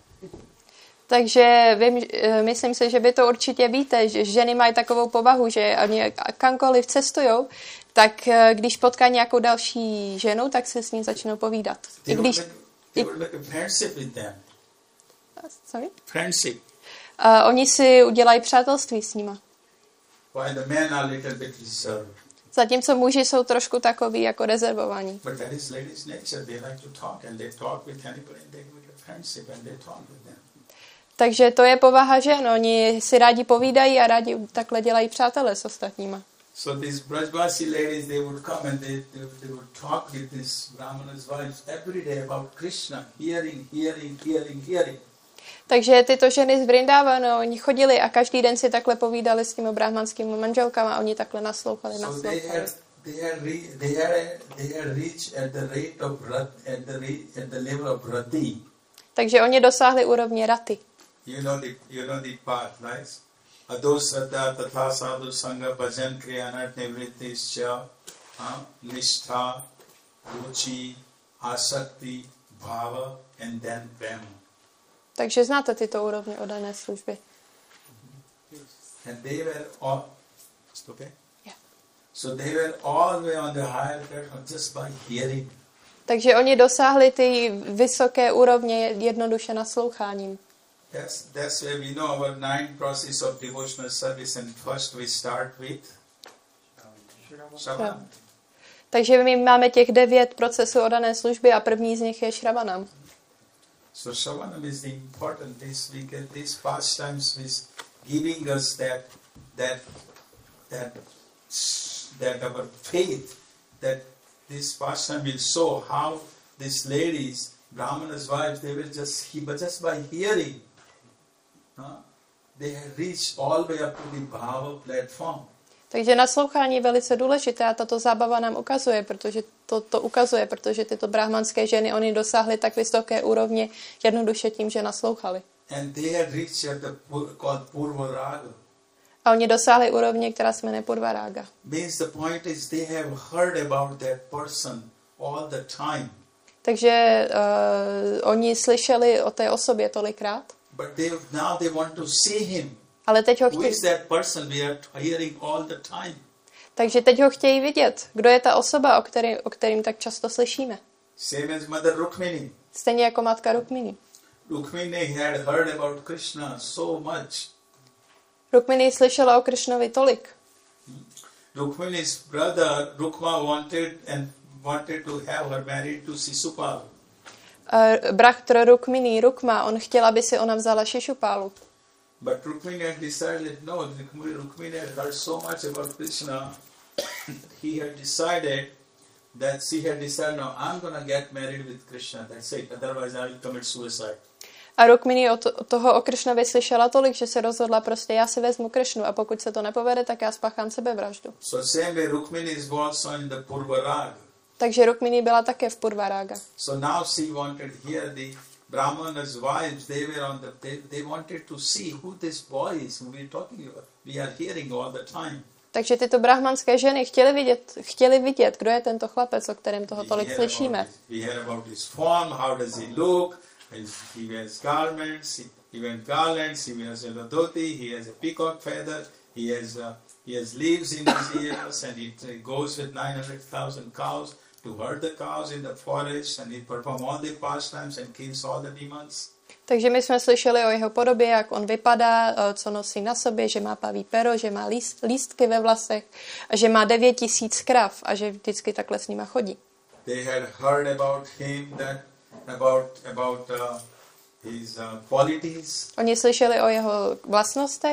Takže vím, myslím si, že by to určitě víte, že ženy mají takovou povahu, že oni kamkoliv cestujou, tak když potká nějakou další ženu, tak se s ní začnou povídat. They I když, will make, they will make a friendship with them. Sorry? Friendship. Uh, oni si udělají přátelství s nima. While the men are little bit reserved. Zatímco muži jsou trošku takový jako rezervovaní. But that is ladies' nature. They like to talk and they talk with anybody and they make a friendship and they talk with them. Takže to je povaha žen. Oni si rádi povídají a rádi takhle dělají přátelé s ostatníma. So these Brajvasi ladies, they would come and they, they, they would talk with these Brahmanas' wives every day about Krishna, hearing, hearing, hearing, hearing. Takže tyto ženy z Vrindávanu, oni chodili a každý den si takhle povídali s těmi brahmanskými manželkama a oni takhle naslouchali, naslouchali. So they had, they had, re, they had, they had reached at the rate of rat, at the rate, at the level of rati. Takže oni dosáhli úrovně raty. You know the, you know the path, right? Ado Sraddha Tatha Sadhu Sangha Bhajan Kriyanat Nivrittischa Nishtha Ruchi Asakti Bhava and then Prema. Takže znáte tyto úrovně oddané služby. And they were all, okay? Yeah. So they were all the way on the higher platform just by hearing. Takže oni dosáhli ty vysoké úrovně jednoduše nasloucháním. That's, that's where we know our nine process of devotional service, and first we start with Shravanam. Takže my máme těch devět procesů oddané služby a první z nich je Shravanam. So Shravanam is the important. This we get these pastimes is giving us that that that that our faith that this pastime will show how these ladies, Brahmanas' wives, they were just but just by hearing, huh, they had reached all the way up to the Bhava platform. Takže naslouchání je velice důležité a tato zábava nám ukazuje, protože to, to ukazuje, protože tyto brahmanské ženy, oni dosáhly tak vysoké úrovně jednoduše tím, že naslouchali. And they had reached at the called Purva Raga. A oni dosáhli úrovně, která se jmenuje Purva Raga. Means the point is they have heard about that person all the time. Takže uh, oni slyšeli o té osobě tolikrát. But they now they want to see him. Ale teď ho Who chtějí. is that person we are hearing all the time? Takže teď ho chtějí vidět. Kdo je ta osoba, o, který, o kterým tak často slyšíme? Same as Mother Rukmini. Stejně jako matka Rukmini. Rukmini had heard about Krishna so much. Rukmini slyšela o Kršnovi tolik. Rukmini's brother Rukma wanted and wanted to have her married to Sisupal. Uh, bratr Rukmini, Rukma, on chtěl, aby si ona vzala Šišupálu. But Rukmini had decided, no, Rukmini had heard so much about Krishna, he had decided that she had decided, no, I'm going to get married with Krishna, that's it, otherwise I will commit suicide. A Rukmini od toho o Kršnovi slyšela tolik, že se rozhodla prostě, já si vezmu Kršnu a pokud se to nepovede, tak já spáchám sebevraždu. So same way Rukmini is also in the Purvarag. Takže Rukmini byla také v Purvarága. So now she wanted here the Brahmana's wives, they were on the, they, they wanted to see who this boy is, who we are talking about, we are hearing all the time. Takže tyto brahmanské ženy chtěly vidět, chtěli vidět, kdo je tento chlapec, o kterém toho tolik slyšíme. We hear about his form, how does he look, he wears garments, he, he wears garlands, he wears a dhoti, he has a peacock feather, he has, uh, he has leaves in his ears, and he, he goes with nine hundred thousand cows to herd the cows in the forest, and he performs all the pastimes and kills all the demons. Takže my jsme slyšeli o jeho podobě, jak on vypadá, co nosí na sobě, že má paví pero, že má líst, lístky ve vlasech a že má devět tisíc krav a že vždycky takhle s nima chodí. They had heard about him, that about about uh, his uh, qualities. Oni slyšeli o jeho vlastnostech.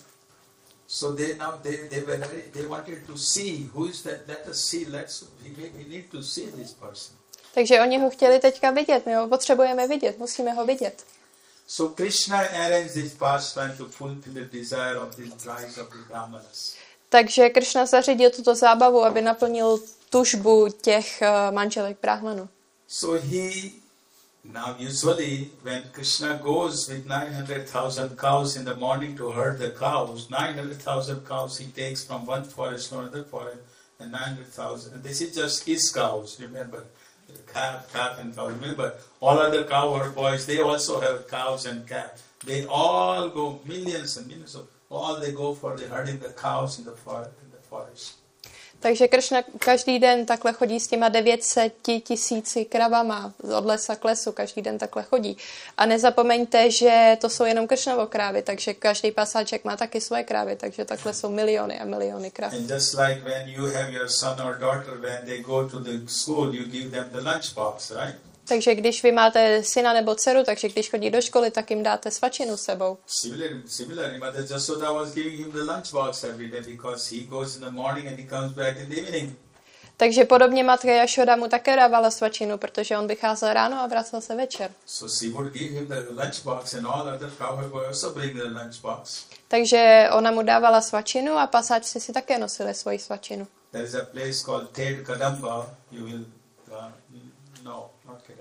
So they now they they were ready, they wanted to see who is that. Let us see. Let's we, we need to see this person. Takže oni ho chtěli teďka vidět, my ho potřebujeme vidět, musíme ho vidět. So Krishna arranged this pastime to fulfill the desire of the brides of the Brahmanas. Takže Kršna zařídil tuto zábavu, aby naplnil tužbu těch uh, manželek Brahmanů. So he now usually when Krishna goes with nine hundred thousand cows in the morning to herd the cows, nine hundred thousand cows he takes from one forest to another forest, and nine hundred thousand. And this is just his cows, remember. Calf, calf and cow. Remember, all other cowherd boys, they also have cows and calf. They all go, millions and millions of, all they go for the herding the cows in the forest. In the forest. Takže Kršna každý den takhle chodí s těma devět set tisíci kravama od lesa k lesu, každý den takhle chodí. A nezapomeňte, že to jsou jenom Kršnovo krávy, takže každý pasáček má taky svoje krávy, takže takhle jsou miliony a miliony krav. And just like when you have your son or daughter, when they go to the school, you give them the lunchbox, right? Takže když vy máte syna nebo dceru, takže když chodí do školy, tak jim dáte svačinu s sebou. Similarly, similarly, Mother Jasoda was giving him the lunchbox every day because he goes in the morning and he comes back in the evening. Takže podobně matka Jašoda mu také dávala svačinu, protože on vycházel ráno a vracel se večer. So she would give him the lunchbox and all other cowherd boys also bring the lunchbox. Takže ona mu dávala svačinu a pasáčci si také nosili svoji svačinu. There is a place called Ted Kadamba. You will, uh, no, not Kadamba.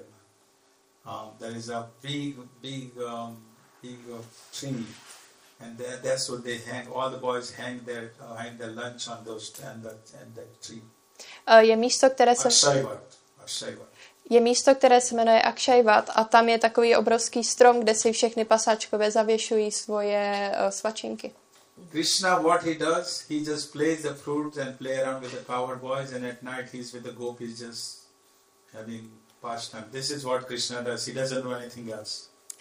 Um, there is a big, big, um, big uh, tree, and that, that's what they hang. All the boys hang their uh, hang their lunch on those and that and that tree. Je místo, které se Akshayvat. Akshayvat. Je místo, které se jmenuje Akshayvat a tam je takový obrovský strom, kde si všechny pasáčkové zavěšují svoje uh, svačinky. Krishna, what he does, he just plays the fruits and play around with the cowherd boys, and at night he's with the gopis just having pastime. This is what Krishna does. He doesn't do anything else.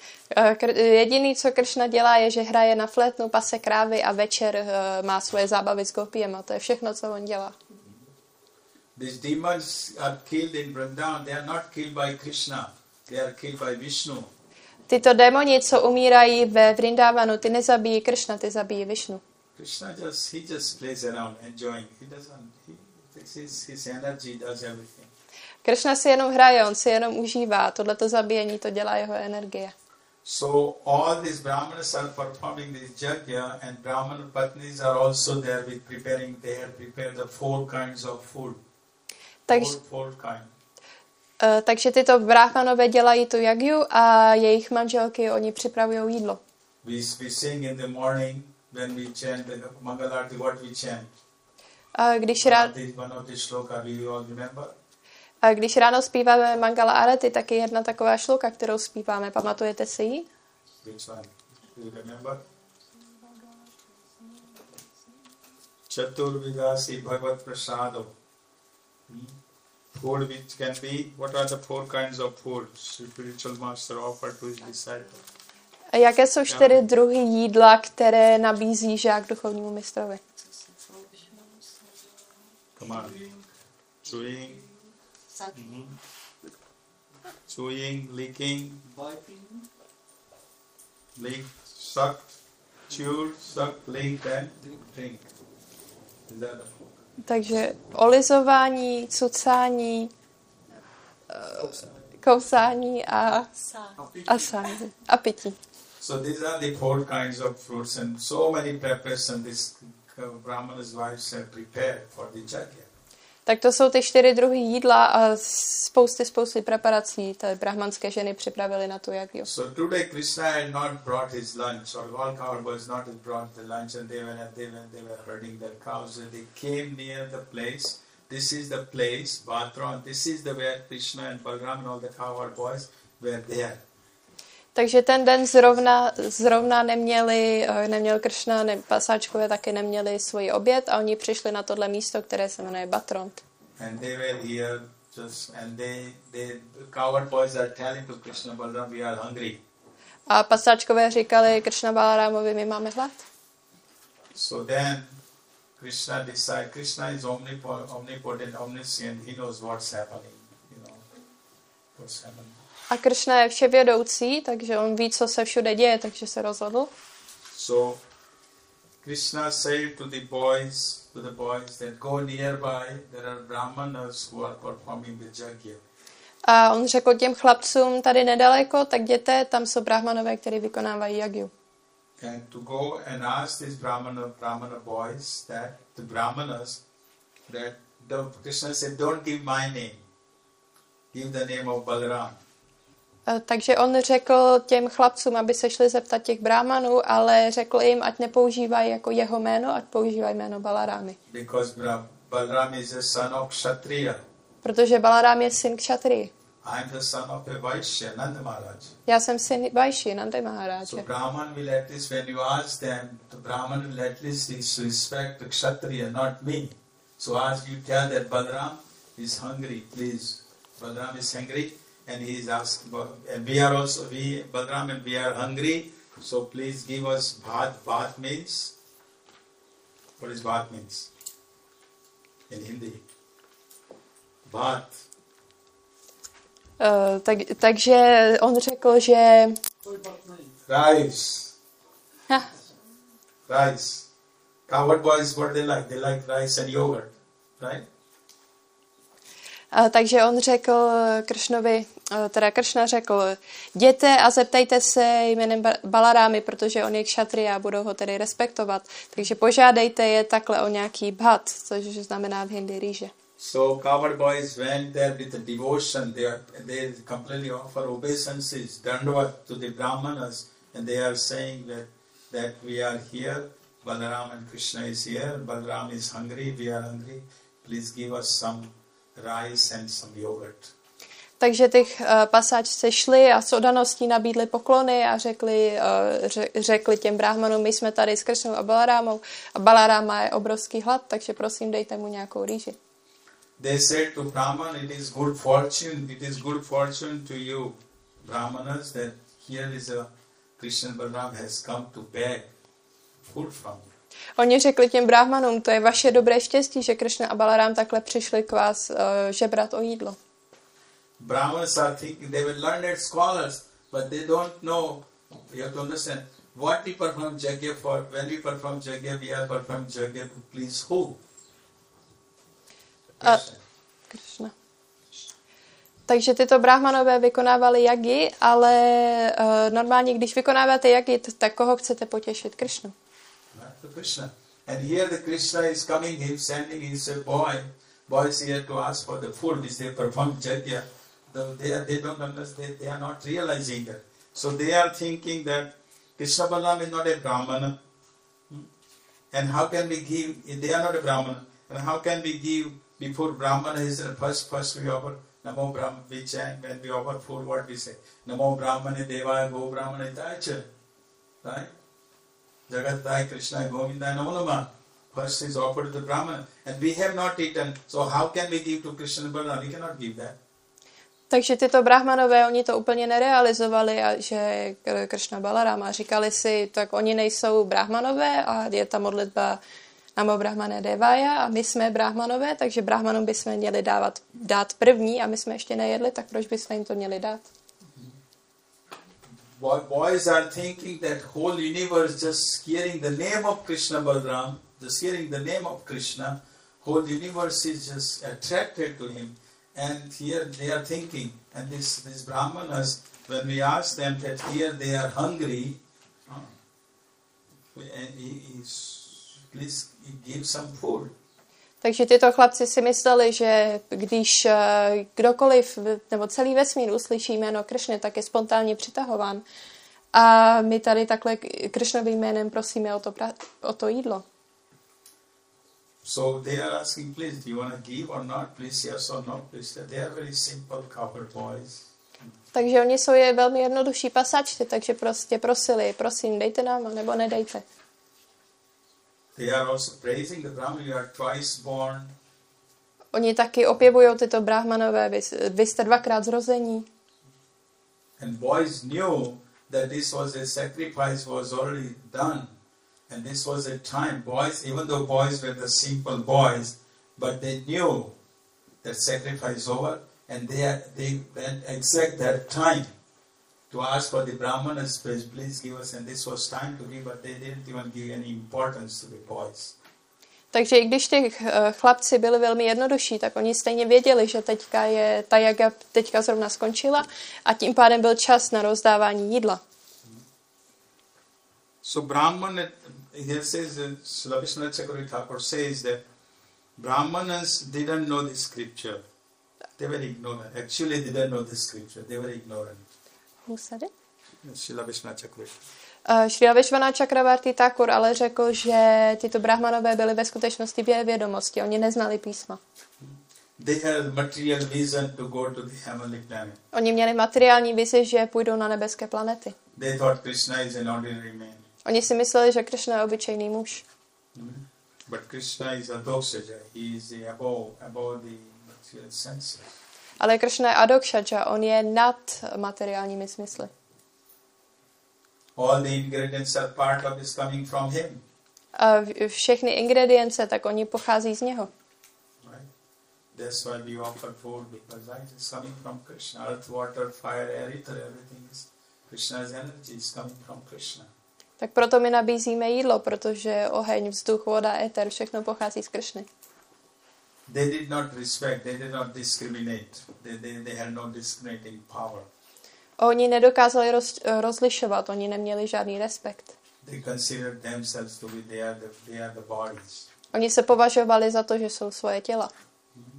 Jediný, co Kršna dělá, je, že hraje na flétnu, pase krávy a večer uh, má svoje zábavy s gopiem a to je všechno, co on dělá. These demons are killed in Vrindavan. They are not killed by Krishna. They are killed by Vishnu. Tyto démoni, co umírají ve Vrindavanu, ty nezabíjí Kršna, ty zabíjí Višnu. Krishna just he just plays around, enjoying. He doesn't. He takes his, his energy, does everything. Kršna si jenom hraje, on si jenom užívá. Tohleto zabíjení, to dělá jeho energie. So all these brahmanas are performing this yajna, and brahman patnis are also there with preparing. They have prepared the four kinds of food. Takže, Four, four kind. uh, takže tyto brahmanové dělají tu jagju a jejich manželky, oni připravují jídlo. We, we sing in the morning when we chant the Mangalarti, what we chant. A když, rá, One of the shloka, do you all remember? a když ráno zpíváme Mangala Arati, tak je jedna taková šloka, kterou zpíváme. Pamatujete si ji? Which one? Do you remember? Chaturvidasi Bhagavad Prasado. Hmm? food which can be, what are the four kinds of food spiritual master offered to his disciples? A jaké jsou čtyři druhy jídla, které nabízí žák duchovnímu mistrovi? Come on. Chewing. Mm-hmm. Chewing, licking, lick, suck, chew, suck, lick and drink. Is that a food? Takže olizování, cucání, kousání a, a sání a pití. So these are the four kinds of fruits and so many preparations this Brahmana's wives have prepared for the yajna. Tak to jsou ty čtyři druhy jídla a spousty, spousty preparací ty brahmanské ženy připravily na tu jagyu. So today Krishna had not brought his lunch, or all cowboys not brought the lunch, and they were they were they were herding their cows, and they came near the place. This is the place, Batra, this is the where Krishna and Balaram and all the cowherd boys were there. Takže ten den zrovna, zrovna neměli, neměl Kršna, ne, pasáčkové taky neměli svůj oběd a oni přišli na tohle místo, které se jmenuje Batront. And they were here just, and they, they, the cowherd boys are telling to Krishna, Balaram, we are hungry. A pasáčkové říkali Kršna Balarámovi, my máme hlad. So then Krishna decided, Krishna is omnipotent, omnipotent, omniscient, he knows what's happening, you know, what's happening. A Kršna je vševědoucí, takže on ví, co se všude děje, takže se rozhodl. So Krishna said to the boys, to the boys that go nearby, there are brahmanas who are performing the yajna. A on řekl těm chlapcům tady nedaleko, tak jděte, tam jsou brahmanové, kteří vykonávají jagyu. And to go and ask these brahmana, brahmana boys, that the brahmanas, that the, Krishna said, don't give my name, give the name of Balaram. Takže on řekl těm chlapcům, aby se šli zeptat těch brámanů, ale řekl jim, ať nepoužívají jako jeho jméno, ať používají jméno Balarámy. Because Balaram is a son of Kshatriya. Protože Balarám je syn Kshatrii. I am the son of a Vaishya, Nanda Maharaj. Já jsem syn Vajši, Nanda Maharáže. So Brahman will at least, when you ask them, the Brahman will at least respect the Kshatriya, not me. So as you tell that Balaram is hungry, please. Balaram is hungry. And he is asked, and we are also, we, Balaram, and we are hungry, so please give us bhat. Bhat means, what is bhat means? In Hindi. Bhat. Uh, tak, takže on řekl, že... Rice. Rice. Cowherd boys, what they like? They like rice and yogurt, right? Uh, takže on řekl Kršnovi, uh, teda Kršna řekl, jděte a zeptejte se jménem Balarámy, protože on je kšatriya a budou ho tedy respektovat. Takže požádejte je takhle o nějaký bhat, což znamená v hindi rýže. So cowherd boys went there with the devotion. They are, they completely offer obeisances, dandavat to the brahmanas, and they are saying that that we are here. Balaram and Krishna is here. Balaram is hungry. We are hungry. Please give us some rice and some yogurt. Takže těch uh, pasáčci šli a s odaností nabídli poklony a řekli, uh, ře, řekli těm bráhmanům, my jsme tady s Kršnou a Balarámou a Balaram má obrovský hlad, takže prosím dejte mu nějakou rýži. They said to Brahman, it is good fortune, it is good fortune to you, Brahmanas, that here is a Krishna Balaram has come to beg food from you. Oni řekli těm bráhmanům, to je vaše dobré štěstí, že Kršna a Balarám takhle přišli k vás uh, žebrat o jídlo. Brahmanas are thinking, they were learned scholars, but they don't know, you have to understand, what we perform yajna for, when we perform yajna, we are performing yajna to please who? A, Kršna. Takže tyto brahmanové vykonávali jagi, ale uh, normálně, když vykonáváte jagi, tak koho chcete potěšit? Kršnu. Krishna. And here the Krishna is coming, he is sending his boy, boys here to ask for the food which they perform yajna. They, are, they don't understand, they are not realizing that. So they are thinking that Krishna Balaram is not a Brahmana. And how can we give, they are not a Brahmana, and how can we give before Brahmana is the first, first we offer Namo Brahmana, we chant, when we offer food, what we say? Namo Brahmane Devaya Go Brahmane Tacha. Right? Jagatai Krishna Govinda Namo Nama. first is offered to the Brahmana. And we have not eaten, so how can we give to Krishna Balram? We cannot give that. Takže tyto brahmanové, oni to úplně nerealizovali, a že Kršna Balarama říkali si, tak oni nejsou brahmanové a je ta modlitba Namo Brahmane Devaya a my jsme brahmanové, takže brahmanům bychom měli dávat, dát první a my jsme ještě nejedli, tak proč bychom jim to měli dát? Boys are thinking that whole universe just hearing the name of Krishna Balram, just hearing the name of Krishna, whole universe is just attracted to him. And here they are thinking, and this, these Brahmanas, when we ask them that here they are hungry, and he is, please give some food. Takže tyto chlapci si mysleli, že když kdokoliv, nebo celý vesmír uslyší jméno Kršny, tak je spontánně přitahován. A my tady takhle Kršnovým jménem prosíme o to, o to jídlo. So they are asking, please, do you want to give or not? Please, yes or no, please. They are very simple cowherd boys. Takže oni jsou je velmi jednodušší pasačty, takže prostě prosili, prosím, dejte nám, nebo nedejte. They are also praising the Brahman, you are twice born. Oni taky opěvují tyto brahmanové, vy, vy jste dvakrát zrození. And boys knew that this was a sacrifice was already done. And this was a time, boys, even though boys were the simple boys, but they knew that sacrifice is over, and they, are, they went exact that time to ask for the Brahmanas, please, please give us, and this was time to give, but they didn't even give any importance to the boys. Takže i když ty chlapci byli velmi jednodušší, tak oni stejně věděli, že teďka je ta jaga teďka zrovna skončila a tím pádem byl čas na rozdávání jídla. So Brahman, here says, Srila Vishwanath Chakravarti Thakur says that Brahmanas didn't know the scripture. They were ignorant. Actually, they didn't know the scripture. They were ignorant. Who said it? Srila Vishwanath Chakravarti. Uh, Srila Vishwanath Chakravarti Thakur ale řekl, že tyto brahmanové byli ve skutečnosti vědomosti. Oni neznali písma. They had material vision to go to the heavenly planet. Oni měli materiální vizi, že půjdou na nebeské planety. They thought Krishna is an ordinary man. Oni si mysleli, že Krishna je obyčejný muž. Mm-hmm. But Krishna is a dokshaja. He is the above, above the material senses. Ale Krishna je adokshaja, on je nad materiálními smysly. All the ingredients are part of this coming from him. A všechny ingredience, tak oni pochází z něho. Right? That's why we offer food, because right, it's coming from Krishna. Earth, water, fire, air, ether, everything is Krishna's energy is coming from Krishna. Tak proto my nabízíme jídlo, protože oheň, vzduch, voda, éter, všechno pochází z Kršny. They did not respect, they did not discriminate. They, they, they had no discriminating power. Oni nedokázali roz, rozlišovat, oni neměli žádný respekt. They considered themselves to be they are the, they are the bodies. Oni se považovali za to, že jsou svoje těla. Mm-hmm.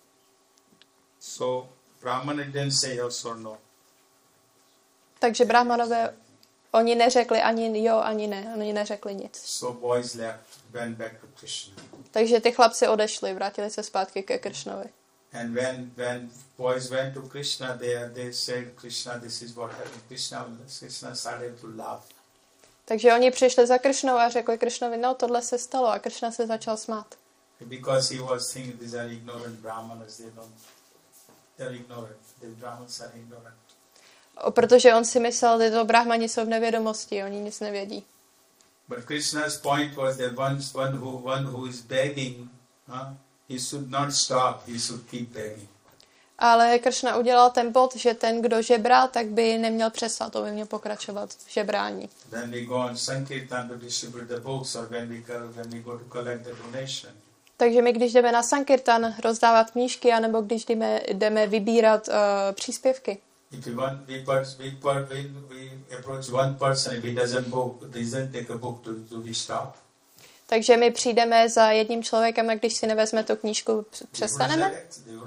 So Brahmana didn't say yes or no. Takže brahmanové, oni neřekli ani jo, ani ne, oni neřekli nic. So boys left, went back to Krishna. Takže ty chlapci odešli, vrátili se zpátky ke Kršnovi. And when when boys went to Krishna, they they said, Krishna, this is what happened. Krishna, Krishna started to laugh. Takže oni přišli za Kršnou a řekli Kršnovi, no tohle se stalo, a Kršna se začal smát. Because he was thinking these are ignorant brahmanas, they don't, they're ignorant. The brahmanas are ignorant. O, protože on si myslel, že to brahmani jsou v nevědomosti, oni nic nevědí. But Krishna's point was that once one who one who is begging, huh, he should not stop, he should keep begging. Ale Kršna udělal ten bod, že ten, kdo žebrá, tak by neměl přestat, to by měl pokračovat v žebrání. When we go on Sankirtan to distribute the books, or when we go, when we go to collect the donation. Takže my, když jdeme na Sankirtan rozdávat knížky, anebo když jdeme, jdeme vybírat uh, příspěvky. If we want, we, we, we, we approach one person, if he doesn't book, doesn't take a book, to, to we stop. Takže my přijdeme za jedním člověkem a když si nevezme tu knížku, přestaneme.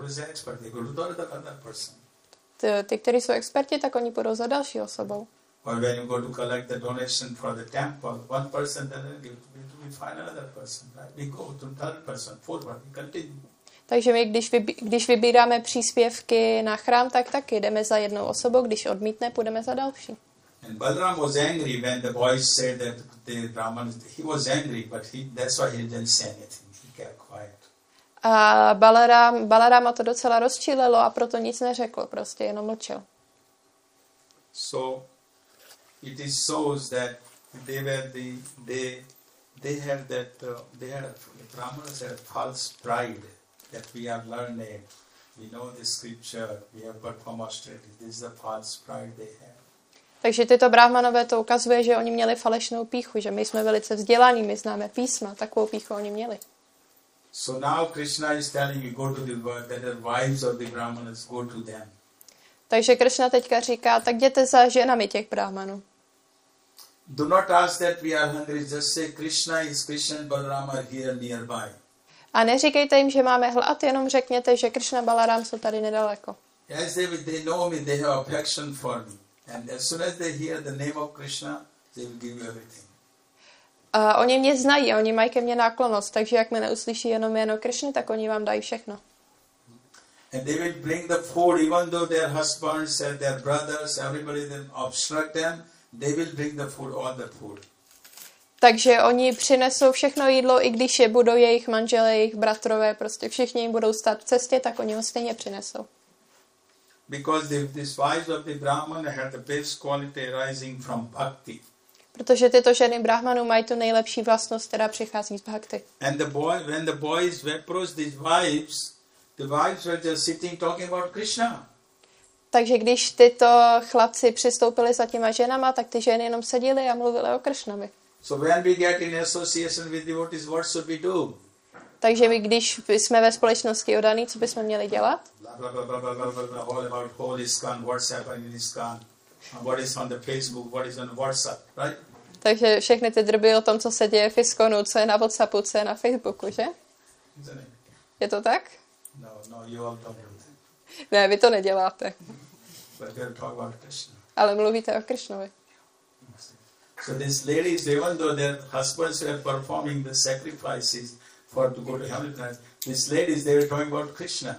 Ty, ty, kteří jsou experti, tak oni půjdou za další osobou. Or when you go to collect the donation for the temple, one person doesn't give, we find another person, right? We go to third person, fourth one, we continue. Takže my, když, vybí, když vybíráme příspěvky na chrám, tak taky jdeme za jednou osobou, když odmítne, půjdeme za další. And Balram was angry when the boys said that the Brahmanas, he was angry, but he, that's why he didn't say anything. He kept quiet. A Balarám, Balaráma to docela rozčílilo a proto nic neřekl, prostě jenom mlčel. So it is shows that they were the they they had that uh, they had a, the Brahmanas had a false pride that we are learned, we know the scripture, we have performed austerity. This is the false pride they had. Takže tyto brahmanové to ukazuje, že oni měli falešnou pýchu, že my jsme velice vzdělaní, my známe písma, takovou pýchu oni měli. So now Krishna is telling you go to the that the wives of the Brahmanas, go to them. Takže Krishna teďka říká, tak jděte za ženami těch brahmanů. Do not ask that we are hungry, just say Krishna is Krishna and Balaram are here nearby. A neříkejte jim, že máme hlad, jenom řekněte, že Krishna a Balarám jsou tady nedaleko. As they, they know me, they have affection for me. And as soon as they hear the name of Krishna, they will give you everything. A oni mě znají, oni mají ke mně náklonnost, takže jak mi neuslyší jenom jméno Krishny, tak oni vám dají všechno. And they will bring the food, even though their husbands and their brothers, everybody then obstruct them, they will bring the food, all the food. Takže oni přinesou všechno jídlo, i když je budou jejich manželé, jejich bratrové, prostě všichni jim budou stát v cestě, tak oni ho stejně přinesou. Because the, these wives of the Brahman had the best quality arising from bhakti. Protože tyto ženy brahmanů mají tu nejlepší vlastnost, která přichází z bhakti. And the boy, when the boys approached these wives, the wives were just sitting talking about Krishna. Takže když tyto chlapci přistoupili za těma ženama, tak ty ženy jenom seděly a mluvily o Krishnovi. So when we get in association with devotees, what should we do? Takže my, když jsme ve společnosti odaný, co bychom měli dělat? Blah, blah, blah, blah, blah, blah, blah, blah, all about whole ISKCON, what's happening in ISKCON, what is on the Facebook, what is on WhatsApp, right? Takže všechny ty drby o tom, co se děje v ISKCONu, co je na WhatsAppu, co je na Facebooku, že? Isn't it? Je to tak? No, no, you all don't do that. Ne, vy to neděláte. But we're talking about Krishna. Ale mluvíte o Krishnovi. So these ladies, even though their husbands were performing the sacrifices for to go to heaven, these ladies, they were talking about Krishna.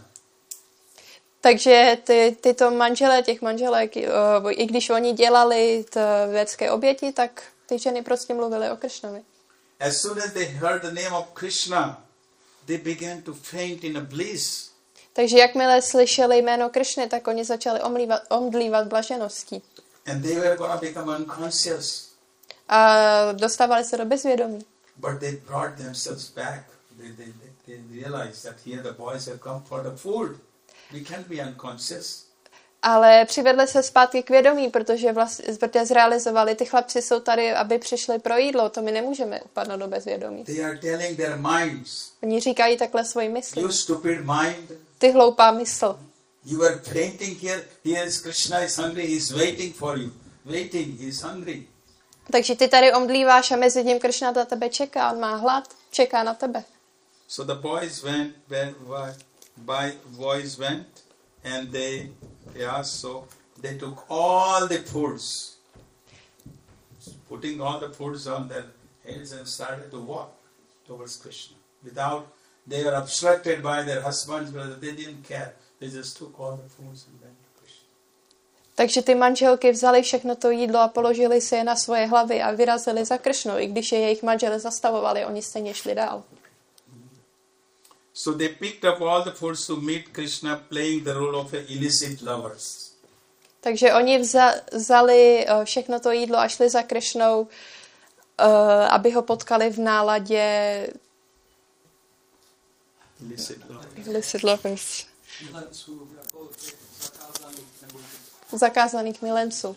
Takže ty, tyto manželé, těch manželek, o, i když oni dělali vědecké oběti, tak ty ženy prostě mluvily o Krishnovi. As soon as they heard the name of Krishna, they began to faint in a bliss. Takže jakmile slyšeli jméno Krishny, tak oni začali omlívat, omdlívat blažeností. And they were going to become unconscious. A dostávali se do bezvědomí. But they brought themselves back. They, they, they, they realized that here the boys have come for the food. We can't be unconscious. Ale přivedli se zpátky k vědomí, protože, vlastně, protože zrealizovali, ty chlapci jsou tady, aby přišli pro jídlo, to my nemůžeme upadnout do bezvědomí. They are telling their minds, Oni říkají takhle svoji mysli. you stupid mind, Ty hloupá mysl. you are fainting here. Here is Krishna is hungry. He is waiting for you. Waiting. He is hungry. Takže ty tady omdlíváš a mezi tím Krishna na tebe čeká, on má hlad, čeká na tebe. So the boys went, went by boys went, and they, yeah, so they took all the foods, putting all the foods on their heads and started to walk towards Krishna. Without, they were obstructed by their husbands, but they didn't care. They just took all the foods and went to Krishna. Takže ty manželky vzali všechno to jídlo a položili si je na svoje hlavy a vyrazili za Kršnou. I když je jejich manžele zastavovali, oni stejně šli dál. So they picked up all the foods to meet Krishna, playing the role of a illicit lovers. Takže oni vza, vzali uh, všechno to jídlo a šli za Kršnou, uh, aby ho potkali v náladě Illicit lovers. illicit lovers. Milenců jako zakázaných nebo Zakázaných milenců.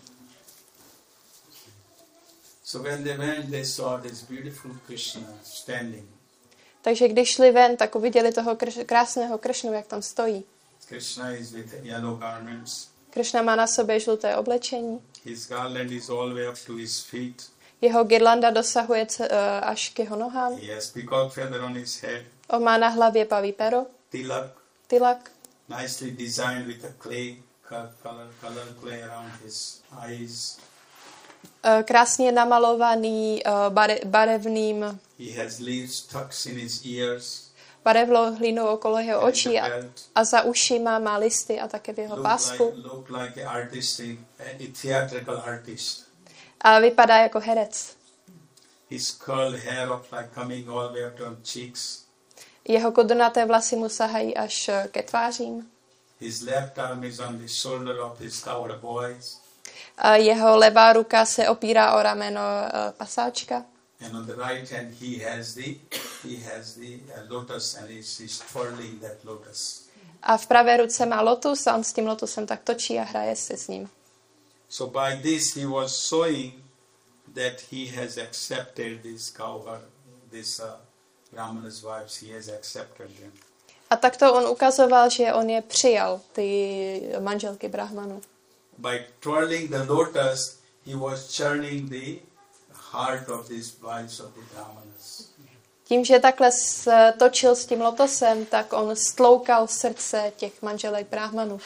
So when they went, they saw this beautiful Krishna standing. Takže když šli ven, tak uviděli toho krš, krásného Kršnu, jak tam stojí. Krishna is with yellow garments. Kršna má na sobě žluté oblečení. His garland is all the way up to his feet. Jeho girlanda dosahuje uh, až k jeho nohám. He has peacock feather on his head. On má na hlavě paví pero, Tilak, tilak, nicely designed with a clay color, color clay around his eyes. uh, krásně namalovaný uh, bare, barevným He has leaves tucks in his ears. barevnou hlínou okolo jeho and očí the a, belt. a za ušima má listy a také v jeho Look pásku. like, look like an artist, a, a theatrical artist. A vypadá jako herec. His curled hair up like coming all the way up to his cheeks. Jeho kodrnaté vlasy mu sahají až ke tvářím. His left arm is on the shoulder of his coward boys. A jeho levá ruka se opírá o rameno uh, pasáčka. And on the right hand he has the he has the uh, lotus and he's, he's twirling that lotus. A v pravé ruce má lotus a on s tím lotusem tak točí a hraje se s ním. So by this he was showing that he has accepted this cowherd, this uh, Brahmana's wives, he has accepted them. A takto on ukazoval, že on je přijal, ty manželky Brahmanů. By twirling the lotus, he was churning the heart of these wives of the Brahmanas. Tím, že takhle točil s tím lotosem, tak on stloukal srdce těch manželek Brahmanů.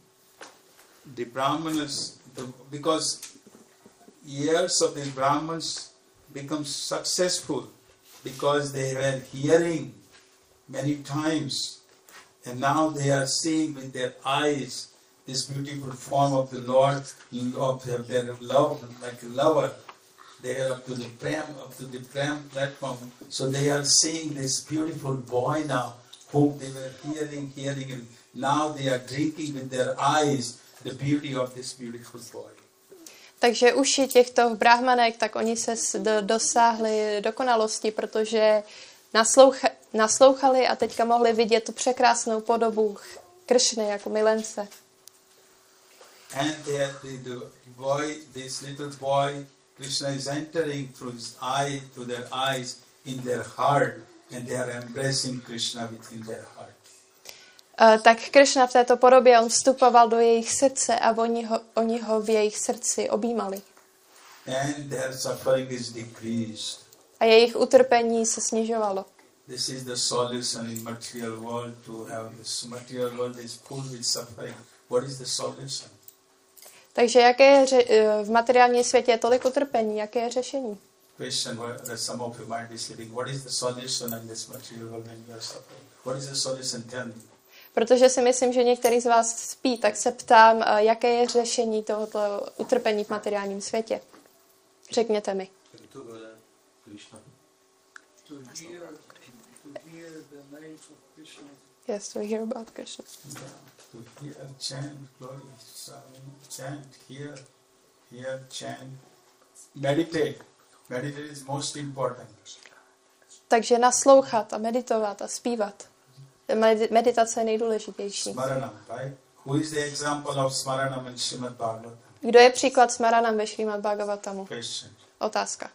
The Brahmanas, the, because years of the Brahmans become successful because they were hearing many times and now they are seeing with their eyes this beautiful form of the Lord, of their love, like a lover. They are up to the pram, up to the pram platform. So they are seeing this beautiful boy now, whom they were hearing, hearing, and now they are drinking with their eyes the beauty of this beautiful boy. Takže uši těchto brahmanek, tak oni se do, dosáhli dokonalosti, protože nasloucha, naslouchali a teďka mohli vidět tu překrásnou podobu Kršny jako milence. And they, the, the boy, this little boy, Krishna is entering through his eye, to their eyes, in their heart, and they are embracing Krishna within their heart. Uh, tak Kršna v této podobě, on vstupoval do jejich srdce a oni ho, oni ho v jejich srdci objímali. And their suffering is decreased. A jejich utrpení se snižovalo. This is the solution in material world to have this material world is full with suffering. What is the solution? Takže jaké je ře- v materiálním světě je tolik utrpení, jaké je řešení? Question that some of you might be sitting. What is the solution in this material world when you are suffering? What is the solution? Tell me. Protože si myslím, že některý z vás spí, tak se ptám, jaké je řešení tohoto utrpení v materiálním světě. Řekněte mi. Yes, to hear about Krishna. To hear, chant, glory, chant, hear, hear, chant. Meditate. Meditate is most important. Takže naslouchat a meditovat a zpívat. Meditace je nejdůležitější. Smaranam, right? Who is the example of Smaranam in Srimad Bhagavatam? Kdo je příklad Smaranam ve Srimad Bhagavatamu? Question. Otázka.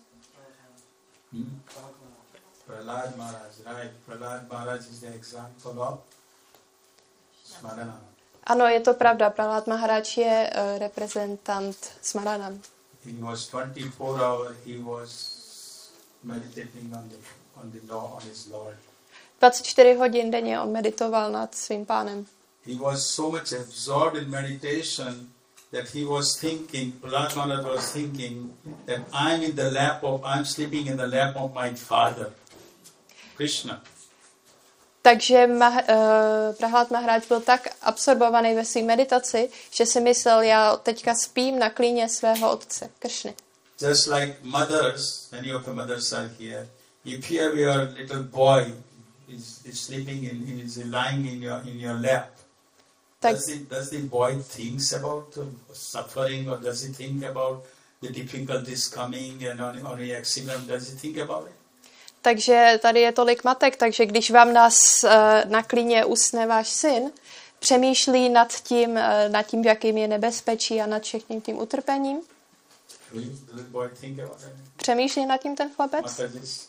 Hmm? Prahlad Maharaj, right? Prahlad Maharaj is the example of Smaranam. Ano, je to pravda. Prahlad Maharaj je uh, reprezentant Smaranam. He was twenty-four hours, he was meditating on the, on the law, on his Lord. dvacet čtyři hodin denně on meditoval nad svým pánem. He was so much absorbed in meditation that he was thinking, Prahlad Maharaj was thinking that I'm in the lap of, I'm sleeping in the lap of my father, Krishna. Takže Mah- uh, Prahlad Maharaj byl tak absorbovaný ve své meditaci, že si myslel, já teďka spím na klíně svého otce, Kršny. Just like mothers, many of the mothers are here. If here your little boy is, is sleeping in, is lying in your in your lap, Tak, does, it, does the boy thinks about uh, suffering, or does he think about the difficulties coming and on, on the accident? Does he think about it? takže tady je tolik matek, takže když vám nás uh, na klíně usne váš syn, přemýšlí nad tím, uh, nad tím, jakým je nebezpečí a nad všechním tím utrpením. Does the boy think about it? Přemýšlí nad tím ten chlapec? Mataji's.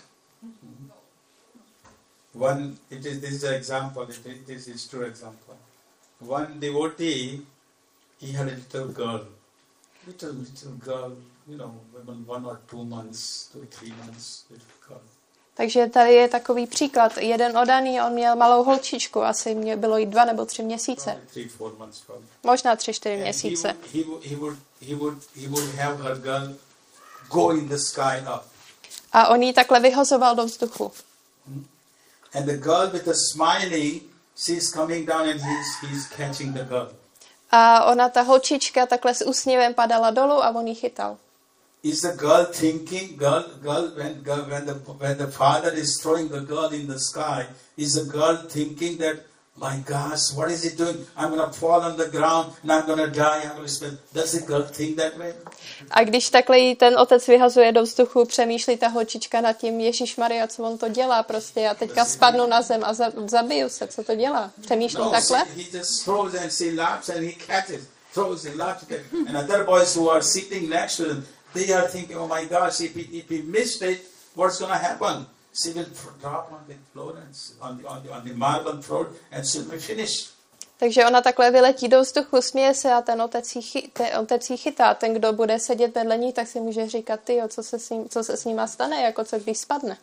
One, it is this is an example. It is this is true example. One devotee, he had a little girl, little little girl, you know, one or two months, two three months, little girl. Takže tady je takový příklad. Jeden odaný, on měl malou holčičku, asi mě bylo jí dva nebo tři měsíce. Probably three, four months, probably. Možná tři, čtyři And měsíce. He would, he would, he would, he would, he would have her girl go in the sky up. A on ji takhle vyhozoval do vzduchu. And the girl with the smiling, she's coming down and he's, he's catching the girl. A ona, ta holčička, takhle s úsměvem padala dolů a on ji chytal. Is the girl thinking, girl, girl, when, girl, when the when the father is throwing the girl in the sky, is the girl thinking that, my gosh, what is he doing? I'm going to fall on the ground and I'm going to die. I'm going to spend. Does the girl think that way? A když takhle jí ten otec vyhazuje do vzduchu, přemýšlí ta holčička nad tím, Ježišmarja, co on to dělá prostě, já teďka spadnu na zem a za, zabiju se, co to dělá? Přemýšlí No, takhle? see, he just throws and she laughs and he catches, throws and laughs. And other boys who are sitting next to him, they are thinking, oh my gosh, if he, if he missed it, what's going to happen? She will drop on the floor and on the, on the, on the marble floor and she'll be finished. Takže ona takhle vyletí do vzduchu, směje se a ten otec jí, chy, ten otec jí chytá. Ten, kdo bude sedět vedle ní, tak si může říkat, tyjo, co se s ním, co se s ním stane, jako co když spadne.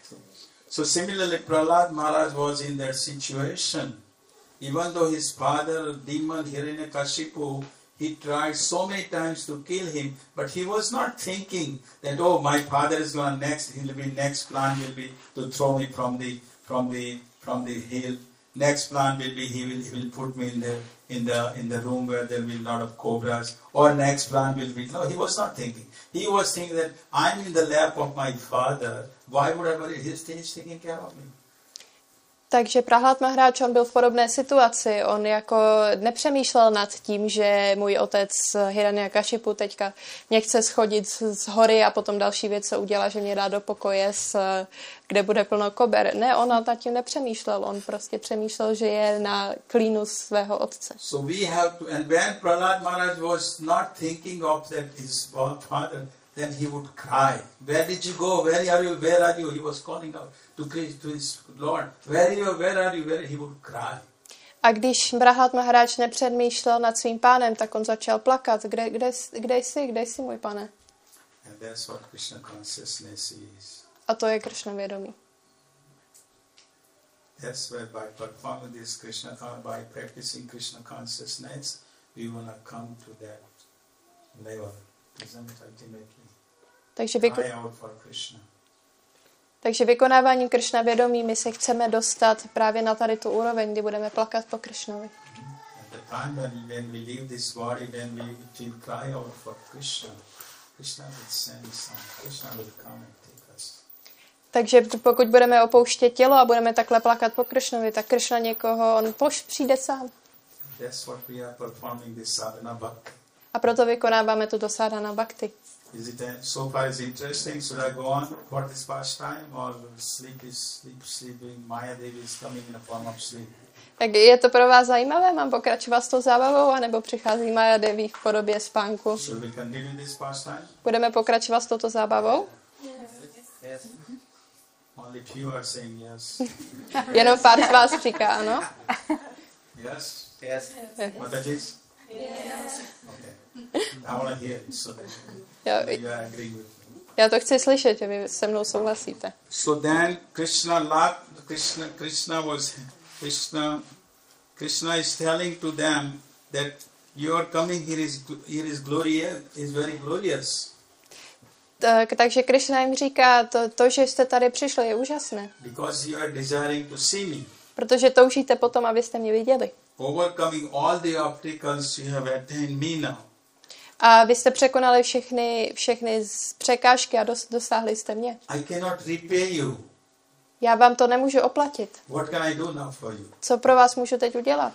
So similarly, Prahlad Maharaj was in that situation. Even though his father, demon Hiranyakashipu, he tried so many times to kill him, but he was not thinking that, oh, my father is going to next, he'll be next plan will be to throw me from the from the from the hill. Next plan will be he will he will put me in the in the in the room where there will be a lot of cobras. Or next plan will be no, he was not thinking. He was thinking that I'm in the lap of my father. Why would I worry? He's, he's taking care of me. Takže Prahlad Maharaj, on byl v podobné situaci. On jako nepřemýšlel nad tím, že můj otec Hiranyakashipu teďka mě chce schodit z hory a potom další věc, co udělá, že mě dá do pokoje, s, kde bude plno kober. Ne, on nad tím nepřemýšlel. On prostě přemýšlel, že je na klínu svého otce. So we have to, and when Prahlad Maharaj was not thinking of that his father, then he would cry. Where did you go? Where are you? Where are you? He was calling out to, to his Lord. Where are you? Where are you? Where he would cry. A když Prahlad Maharaj nepřemýšlel nad svým pánem, tak on začal plakat. Kde, kde, kde jsi? Kde jsi, můj pane? And that's what Krishna consciousness is. A to je Krishna vědomí. That's why by performing this Krishna, by practicing Krishna consciousness, we want to come to that level, isn't it, ultimately? Takže, vyko- Cry out for Krishna. takže vykonáváním Krishna vědomí my se chceme dostat právě na tady tu úroveň, kdy budeme plakat po Krishnovi. At the time when, when we leave this body, then we will cry out for Krishna. Krishna will send some. Krishna will come and take us. Takže pokud budeme opouštět tělo a budeme takhle plakat po Krishnovi, tak Krishna někoho, on poš přijde sám. That's what we are performing this sadhana bhakti. A proto vykonáváme tuto sadhana bhakti. Is it uh, so far is interesting? Should I go on for this pastime or sleep is sleep sleeping? Maya Devi is coming in the form of sleep. Tak je to pro vás zajímavé? Mám pokračovat s tou zábavou, anebo přichází Maya Devi v podobě spánku? Should we continue this pastime? Budeme pokračovat s touto zábavou? Yes. Only few are saying yes. Jenom pár z vás říká ano. Yes? Yes. Mataji? Yes. Okay. I want to hear it so that Jo, you agree with me. já to chci slyšet, že vy se mnou souhlasíte. So then Krishna loved, Krishna, Krishna was, Krishna, Krishna is telling to them that your coming here is, here is glorious, is very glorious. Tak, takže Krishna jim říká, to, to, že jste tady přišli, je úžasné. Because you are desiring to see me. Protože toužíte potom, abyste mě viděli. Overcoming all the obstacles, you have attained me now. A vy jste překonali všechny, všechny z překážky a dos, dosáhli jste mě. I cannot repay you. Já vám to nemůžu oplatit. What can I do now for you? Co pro vás můžu teď udělat?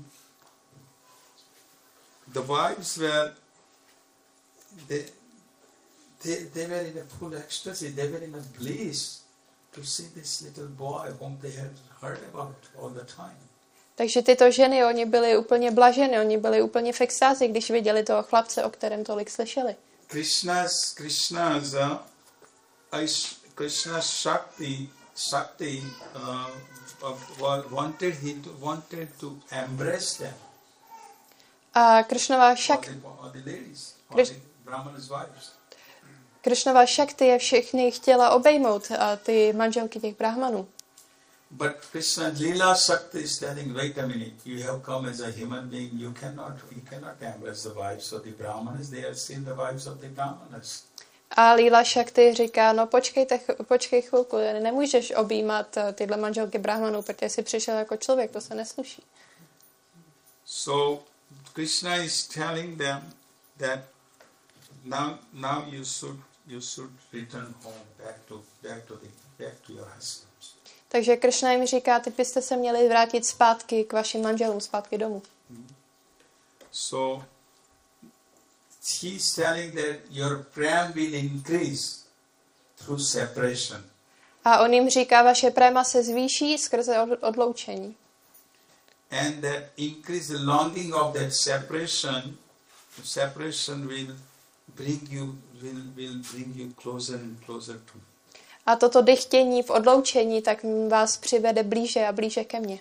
The wives were, they, they, they were in a full ecstasy, they were in a bliss to see this little boy whom they had heard about all the time. Takže tyto ženy, oni byly úplně blaženy, oni byli úplně v extázi, když viděli toho chlapce, o kterém tolik slyšeli. Krishna's, Krishna's, uh, Aish, Krishna's Shakti, Shakti uh, uh, wanted, him to, wanted to embrace them. A Krishnova All šak, the, all the ladies, all Krish- the Brahmanas' wives. Krishnova šakti je všechny chtěla obejmout, a ty manželky těch brahmanů. But Krishna's Leela Shakti is telling, wait a minute, you have come as a human being, you cannot, you cannot embrace the wives of the Brahmanas, they are still the wives of the Brahmanas. A Leela Shakti říká, no počkejte, počkej chvilku, nemůžeš objímat tyhle manželky brahmanů, protože jsi přišel jako člověk, to se nesluší. So Krishna is telling them that now, now you should you should return home back to back to the back to your husband. Takže Krishna jim říká, teď byste se měli vrátit zpátky k vašim manželům, zpátky domů. So he's telling that your prem will increase through separation. A on jim říká, vaše préma se zvýší skrze od- odloučení. And that increase the longing of that separation, separation will bring you will, will bring you closer and closer to me. A toto dychtění v odloučení tak vás přivede blíže a blíže ke mně.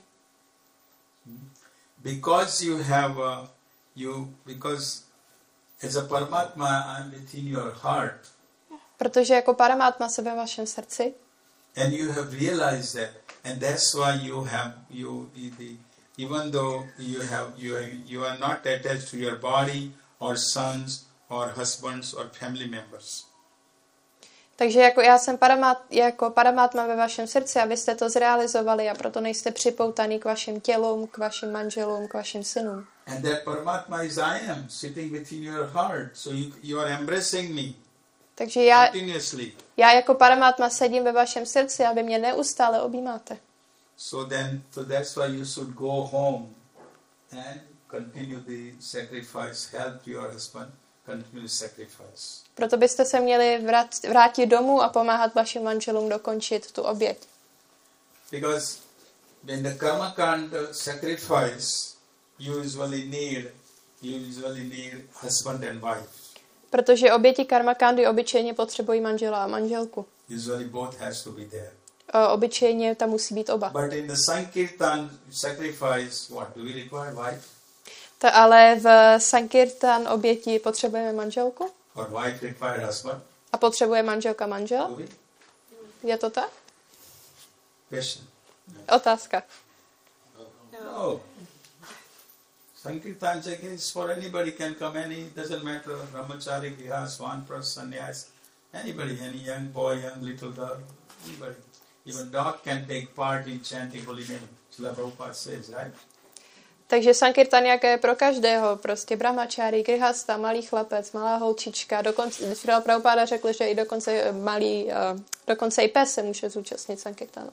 Because you have uh, you because as a Paramatma I'm within your heart, Protože jako Paramátma se ve vašem srdci and you have realized that, and that's why you have you the even though you have you are, you are not attached to your body or sons or husbands or family members. Takže jako já jsem paramát, jako Paramátma ve vašem srdci a vy jste to zrealizovali a proto nejste připoutaný k vašim tělům, k vašim manželům, k vašim synům. And that Paramatma is I am sitting within your heart, so you you are embracing me Takže já, continuously. já jako Paramátma sedím ve vašem srdci a vy mě neustále objímáte. So then, so that's why you should go home and continue the sacrifice, help your husband continue the sacrifice. Proto byste se měli vrát, vrátit domů a pomáhat vašim manželům dokončit tu oběť. Because when the karma kanda sacrifice, you usually need, you usually need husband and wife. Protože oběti karmakandy obyčejně potřebují manžela a manželku. Usually both has to be there. O, obyčejně tam musí být oba. But in the Sankirtan sacrifice, what do we require? Wife Ta, ale v Sankirtan oběti potřebujeme manželku or wife require husband? a potřebuje manželka manžel. Do we? Je to tak? Question. Otázka. No. Sankirtan is for anybody can come, any doesn't matter. Brahmachari, Grihas, Vanprastha, Sannyas, anybody, any young boy, young little girl, anybody. Even dog can take part in chanting holy name. Srila Prabhupada says, right? Takže Sankirtan jaké je pro každého, prostě brahmačári, grihasta, malý chlapec, malá holčička, dokonce, Srila Prabhupada řekl, že i dokonce malý, uh, dokonce i pes se může zúčastnit Sankirtanu.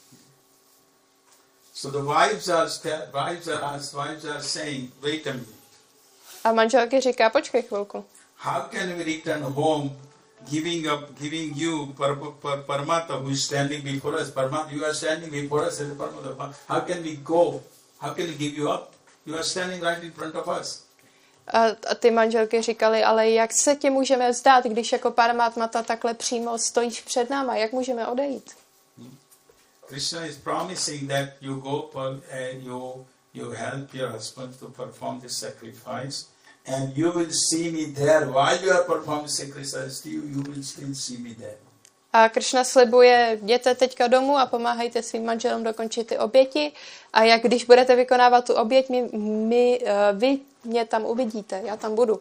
So the wives are, wives are, wives are saying, wait a minute. A manželky říká, počkej chvilku. How can we return home, giving up, giving you, par, par, Paramatma, who is standing before us, Paramatma, you are standing before us as a Paramatma. How can we go? How can we give you up? You are standing right in front of us. A, a ty manželky říkali, ale jak se tě můžeme vzdát, když jako Paramatma takhle přímo stojíš před náma, jak můžeme odejít? Hmm. Krishna is promising that you go and you you help your husband to perform this sacrifice, and you will see me there while you are performing sacrifice. Still, you will still see me there. A Krishna slibuje, jděte teďka domů a pomáhejte svým manželům dokončit ty oběti. A jak když budete vykonávat tu oběť, my, my, uh, vy mě tam uvidíte, já tam budu.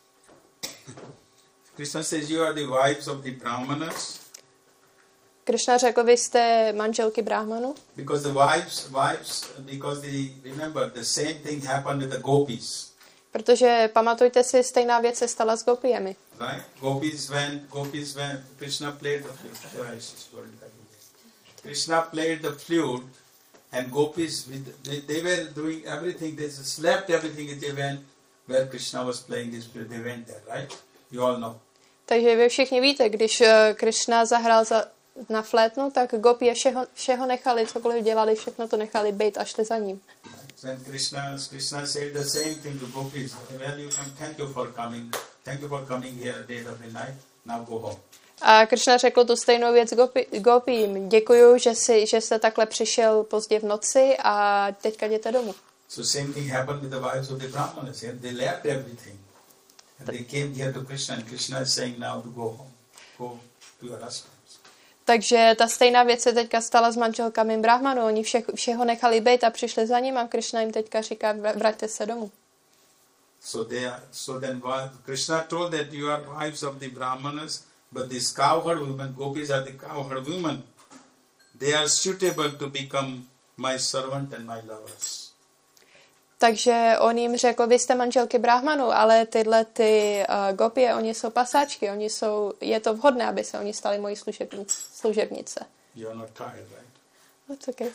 Krishna says you are the wives of the Brahmanas. Krishna řekl, vy jste manželky Brahmanu. Because the wives, wives, because they remember the same thing happened with the gopis. Protože pamatujte si, stejná věc se stala s gopiemi. Right? Gopis when gopis when Krishna played the flute. Krishna played the flute, and gopis they, they were doing everything. They just left everything. They went where Krishna was playing this flute. They went there, right? You all know. Takže vy všichni víte, když Krishna zahrál za, na flétnu, tak gopie všeho, všeho nechali, cokoliv dělali, všechno to nechali bejt a šli za ním. Then Krishna, Krishna said the same thing to gopis. Well, you come. Thank you for coming. Thank you for coming here at the end of the night. Now go home. A Krishna řekl tu stejnou věc gopi, gopím. Děkuju, že, si, že jste takhle přišel pozdě v noci a teďka jděte domů. So same thing happened with the wives of the Brahmanas. They left everything. And they came here to Krishna, and Krishna is saying now to go home. Go to your husbands. Takže ta stejná věc se teďka stala s manželkami Brahmanu. Oni vše, všeho nechali bejt a přišli za ním a Krishna jim teďka říká, vraťte se domů. So they are, so then Krishna told that you are wives of the Brahmanas, but these cowherd women, gopis are the cowherd women. They are suitable to become my servant and my lovers. Takže on jim řekl, vy jste manželky Brahmanu, ale tyhle ty uh, gopie, oni jsou pasáčky, oni jsou, je to vhodné, aby se oni stali mojí služebnic, služebnice. You're not tired, right? That's okay.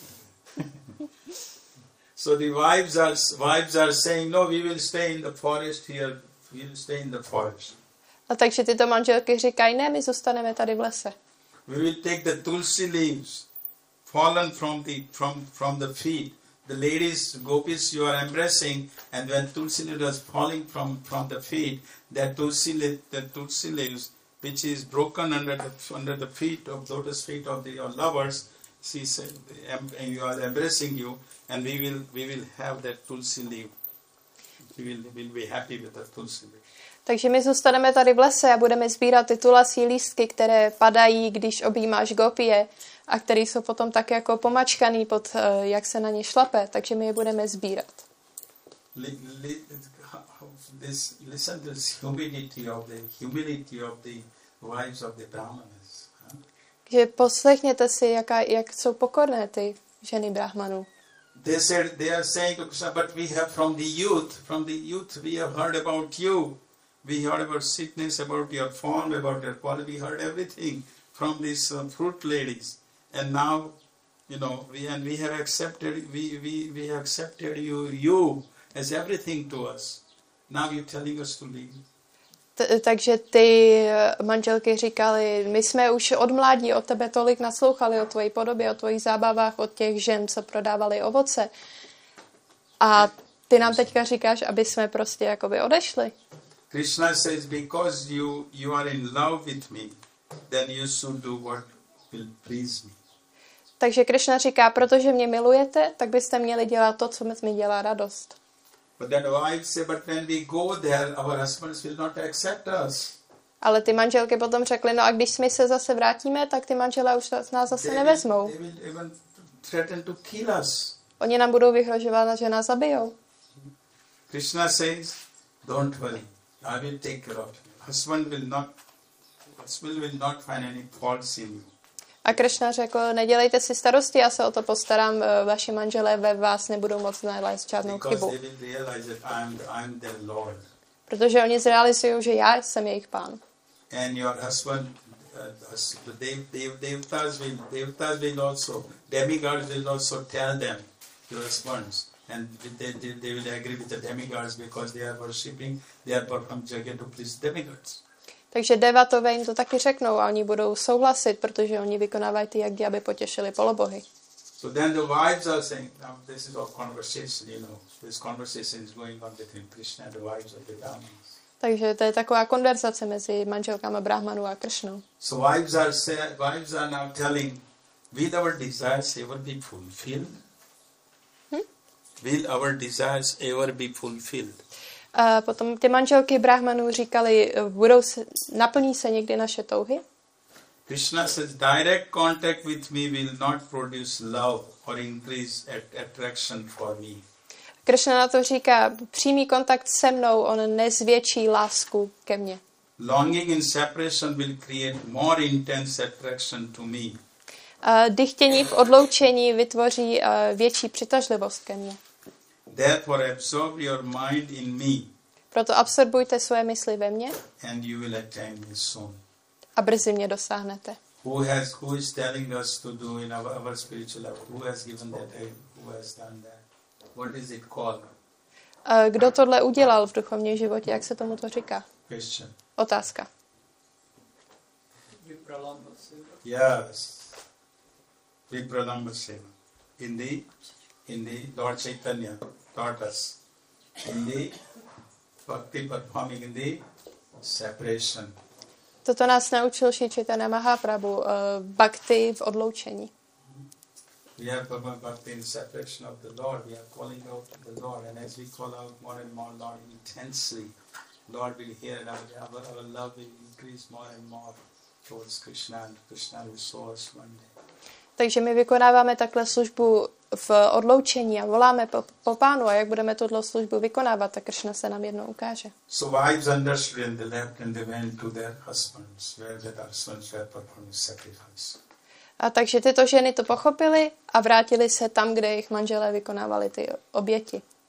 So the wives are wives are saying, no, we will stay in the forest here. We will stay in the forest. A takže tyto manželky říkají, ne, my zůstaneme tady v lese. We will take the tulsi leaves fallen from the from from the feet. The ladies, gopis, you are embracing, and when tulsi leaves was falling from from the feet, that tulsi leaf, the tulsi leaves, which is broken under the under the feet of lotus feet of the your lovers, she said, and you are embracing you, and we will we will have that tulsi leaf. We will will be happy with the tulsi leaf. Takže my zůstaneme tady v lese a budeme sbírat ty tulasí lístky, které padají, když objímáš gopie a které jsou potom tak jako pomačkaný, pod, jak se na ně šlape, takže my je budeme sbírat. Li, li, this, listen to this humility of the humility of the wives of the Brahmanas. Huh? Takže poslechněte si, jaká, jak jsou pokorné ty ženy Brahmanů. They said they are saying to Krishna, but we have from the youth, from the youth we have heard about you. We heard about sickness, about your form, about your quality. We heard everything from these uh, fruit ladies, and now, you know, we and we have accepted. We we we have accepted you you as everything to us. Now you're telling us to leave. T- takže ty manželky říkali, my jsme už od mládí od tebe tolik naslouchali o tvojí podobě, o tvojich zábavách, od těch žen, co prodávali ovoce. A ty nám teďka říkáš, aby jsme prostě jakoby odešli. Krishna says, because you you are in love with me, then you should do what will please me. Takže Krishna říká, protože mě milujete, tak byste měli dělat to, co mi dělá radost. But then the wife say, but when we go there, our husbands will not accept us. Ale ty manželky potom řekly, no a když my se zase vrátíme, tak ty manželé už nás zase They nevezmou. will, they will even threaten to kill us. Oni nám budou vyhrožovat, že nás zabijou. Krishna says, don't worry, I will take care of you. Husband will not, husband will not find any faults in you. A Krishna řekl, nedělejte si starosti, já se o to postarám, vaši manželé ve vás nebudou moc nalézt žádnou Because chybu. they will realize that I am, I am their Lord. Protože oni zrealizují, že já jsem jejich pán. And your husband, uh, the dev, dev, devtas will, devtas will also, demigods will also tell them, your husbands, and they, they, they will agree with the demigods because they are worshipping, they are performing yajna to please demigods. Takže devatové jim to taky řeknou a oni budou souhlasit, protože oni vykonávají ty jagny, aby potěšili polobohy. So then the wives are saying, now this is all conversation, you know, this conversation is going on between Krishna and the wives of the Brahmanas. Takže to je taková konverzace mezi manželkama Brahmanu a Kršnou. So wives are say, wives are now telling, will our desires ever be fulfilled? Hmm? Will our desires ever be fulfilled? A potom ty manželky Brahmanů říkali, budou se, naplní se někdy naše touhy? Krishna says, direct contact with me will not produce love or increase attraction for me. Krishna na to říká, přímý kontakt se mnou, on nezvětší lásku ke mně. Longing in separation will create more intense attraction to me. A dychtění v odloučení vytvoří uh, větší přitažlivost ke mně. Therefore absorb your mind in me. Proto absorbujte své mysli ve mně And you will attain me soon. a brzy mě dosáhnete. Who has who is telling us to do in our, our spiritual life? Who has given that aid? Who has done that? What is it called? A kdo tohle udělal v duchovním životě? Jak se tomu to říká? Question. Otázka. Yes. Vipranamba Seva. In the in the Lord Chaitanya taught us. In the bhakti performing in the separation. Toto nás naučil Šri Chaitanya Mahaprabhu, uh, bhakti v odloučení. We are performing bhakti in separation of the Lord. We are calling out to the Lord, and as we call out more and more Lord intensely, Lord will hear, and our, our, our love will increase more and more towards Krishna, and Krishna will show us one day. Takže my vykonáváme takhle službu v odloučení a voláme po, po pánu, a jak budeme tuto službu vykonávat, tak Krishna se nám jednou ukáže. So wives understood and they left and they went to their husbands, where their husbands were performing sacrifice. A takže tyto ženy to pochopily a vrátily se tam, kde jejich manželé vykonávali ty oběti.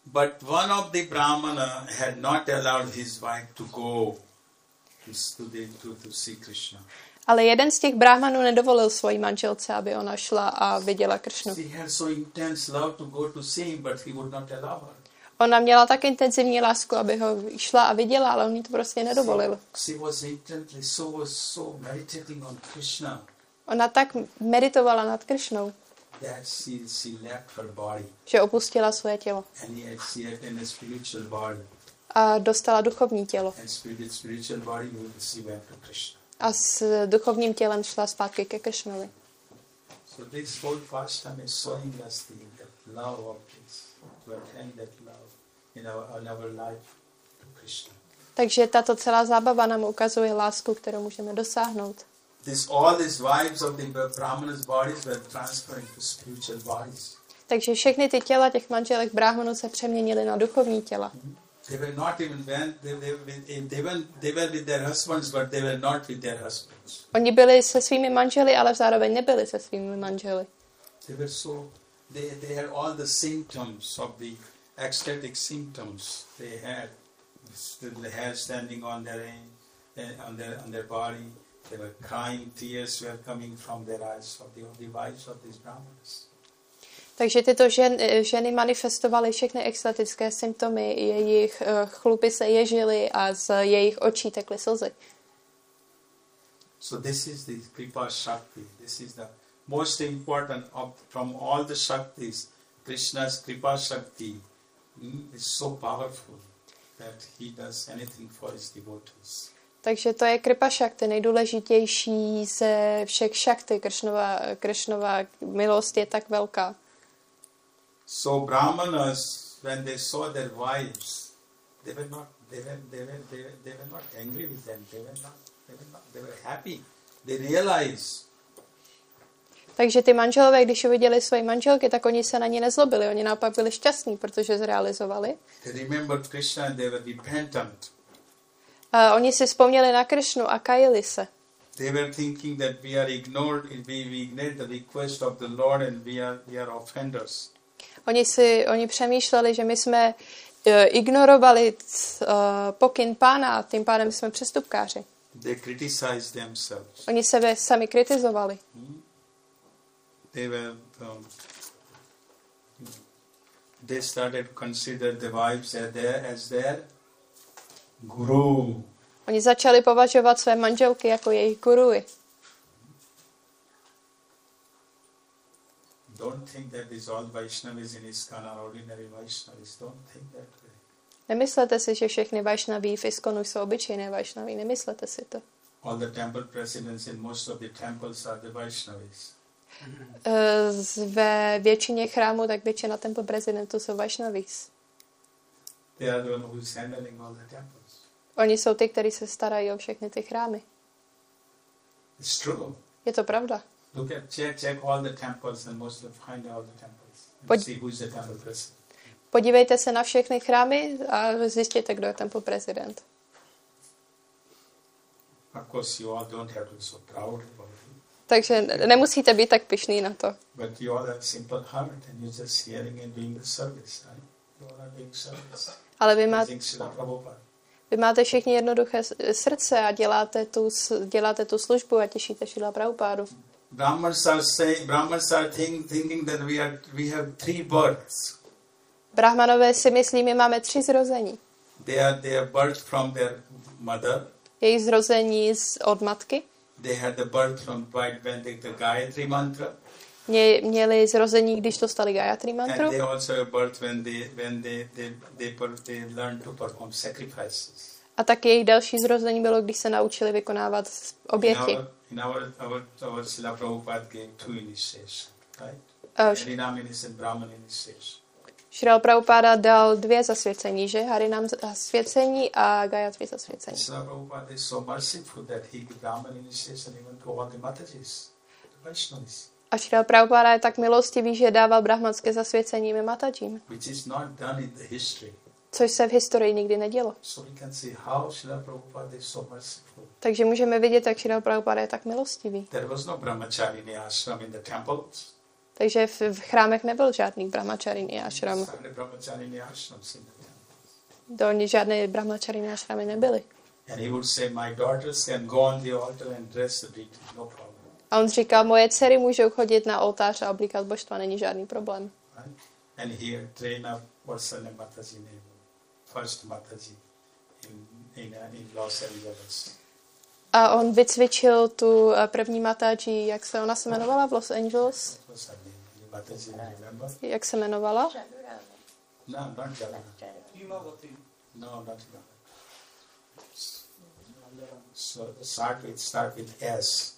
But one of the Brahmana had not allowed his wife to go to, the, to, to see Krishna. Ale jeden z těch bráhmanů nedovolil svojí manželce, aby ona šla a viděla Kršnu. She had so intense love to go to see him, but he would not allow her. Ona měla tak intenzivní lásku, aby ho šla a viděla, ale on jí to prostě nedovolil. She was intently so was so meditating on Krishna. Ona tak meditovala nad Kršnou, That she, she left her body že opustila svoje tělo and yet she had in a spiritual body. a dostala duchovní tělo. And spirit, spiritual body, she went to Krishna. A s duchovním tělem šla zpátky ke Kršnovi. So this whole pastime is showing us the, the love of this, to attend that love in our, in our life to Krishna. Takže tato celá zábava nám ukazuje lásku, kterou můžeme dosáhnout. This, all these wives of the Brahmanas' bodies were transferred into spiritual bodies. Takže všechny ty těla těch manželek bráhmanů se přeměnily na duchovní těla. They were not even when they, they, they, they, were, they were with their husbands, but they were not with their husbands. Oni byli se svými manželi, ale zároveň nebyli se svými manželi. They were so they, they had all the symptoms of the ecstatic symptoms they had. The hair standing on their on their on their body. They were crying. Tears were coming from their eyes of the, of the wives of these brahmanas. Takže tyto žen, ženy manifestovaly všechny extatické symptomy, jejich uh, chlupy se ježily a z jejich očí tekly slzy. So this is the Kripa Shakti. This is the most important of from all the Shaktis. Krishna's Kripa Shakti mm, is so powerful that he does anything for his devotees. Takže to je Kripa Shakti, nejdůležitější ze všech šakty. Kršnova, Kršnova milost je tak velká. So Brahmanas, when they saw their wives, they were not, they were, they were, they were, they were not angry with them. They were not, they were not, they were happy. They realized. Takže ty manželové, když uviděli svoji manželky, tak oni se na ně nezlobili. Oni naopak byli šťastní, protože zrealizovali. They remembered Krishna and they were repentant. A oni si vzpomněli na Kršnu a kajili se. They were thinking that we are ignored, we, we ignore the request of the Lord and we are, we are offenders. Oni si, oni přemýšleli, že my jsme uh, ignorovali uh, pokyn Pána a tím pádem jsme přestupkáři. They criticized themselves. Oni sebe sami kritizovali. Hmm? They were, um, they started to consider the wives as their, as their guru. Oni začali považovat své manželky jako jejich guruji. Don't think that these all Vaishnavis in ISKCON are ordinary Vaishnavis. Don't think that way. Nemyslete si, že všechny Vaishnaví v ISKCONu jsou obyčejné Vaishnaví. Nemyslete si to. All the temple presidents in most of the temples are the Vaishnavis. Uh, ve většině chrámů, tak většina temple prezidentů jsou Vaishnavis. They are the one who is handling all the temples. Oni jsou ty, kteří se starají o všechny ty chrámy. It's true. Je to pravda. Look at, check, check all the temples and most of find all the temples. And Pod- see who is the temple president. Podívejte se na všechny chrámy a zjistěte, kdo je temple prezident. Of course, you all don't have to be so proud about it. Takže nemusíte být tak pyšný na to. But you all have simple heart and you're just hearing and doing the service, right? You all are doing service. Ale vy, má, Using Srila Prabhupada. vy máte všichni jednoduché s- srdce a děláte tu, s- děláte tu službu a těšíte Šrila Prabhupádu. Brahmins are saying, Brahmins are think, thinking that we are we have three births. Brahmanové si myslí, my máme tři zrození. They are they are birth from their mother. Jejich zrození z, od matky, They had the birth from right when they the Gayatri mantra, Mě, měli zrození, když dostali Gayatri and mantru. they also have birth when they when they they they, per, they learn to perform sacrifices. A tak jejich další zrození bylo, když se naučili vykonávat In oběti. our in our our, our Srila Prabhupada gave two initiations, right? Uh, Harinam initiation, Brahman initiation. Šrila Prabhupada dal dvě zasvěcení, že? Harinam zasvěcení a Gayatri zasvěcení. Srila Prabhupada is so merciful that he gave Brahman initiation even to all the Matajis, the Vaishnavis, A Šrila Prabhupada je tak milostivý, že dával brahmanské zasvěcení mimo Matajím, which is not done in the history. což se v historii nikdy nedělo. So we can see how Srila Prabhupada is so merciful. Takže můžeme vidět, jak Šrila Prabhupada je tak milostivý. There was no brahmacharini ashram in the temples. Takže v, v chrámech nebyl žádný brahmacharini ashram. Started brahmacharya ashrams in the Do ní žádné brahmacharini ashramy nebyly. And he would say, my daughters can go on the altar and dress the deity, no problem. A on říkal, moje dcery můžou chodit na oltář a oblíkat božstva, není žádný problém. Right? And here train up Varsana Mataji name, first Mataji in, in, uh, in Los Angeles. A on vycvičil tu eh, první Mataji, jak se ona se jmenovala v Los Angeles? What was her name? Any Mataji, you remember? Jak se jmenovala? No, not Jalana. Himavati. No, not Jalana. So start with start with S.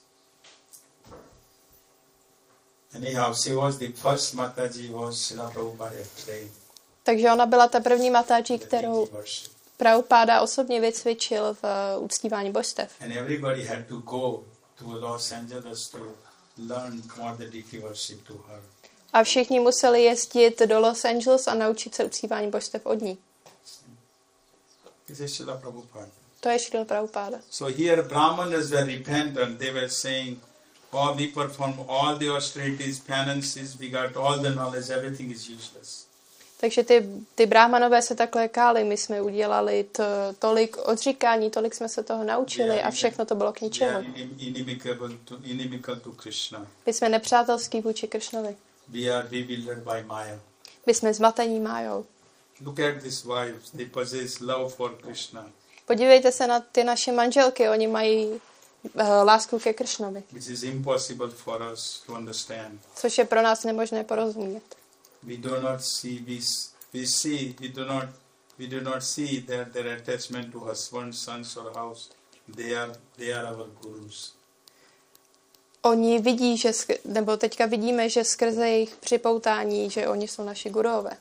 Anyhow, she was the first Mataji was Srila Prabhupada trained. Takže ona byla ta první Mataji, kterou deity worship. Prabhupada osobně vycvičil v uh, uctívání božstev. And everybody had to go to Los Angeles to learn more the deity worship to her. A všichni museli jezdit do Los Angeles a naučit se uctívání božstev od ní. This is Srila Prabhupada. To je Šrila Prabhupada. So here Brahmanas were repentant. They were saying, oh, we perform all the austerities, penances, we got all the knowledge, everything is useless. Takže ty, ty bráhmanové se takhle káli, my jsme udělali to, tolik odříkání, tolik jsme se toho naučili a všechno to bylo k We ničemu. are inimical to, inimical to Krishna. My jsme nepřátelský vůči Kršnovi. We are bewildered by Maya. My jsme zmatení májou. Look at these wives. They possess love for Krishna, Podívejte se na ty naše manželky, oni mají uh, lásku ke Kršnovi, which is impossible for us to understand. což je pro nás nemožné porozumět. We do not see, we, s- we see, we do not, we do not see that their attachment to husband, sons or house, they are, they are our gurus. Oni vidí, že skr- nebo teďka vidíme, že skrze jejich připoutání, že oni jsou naši gurové.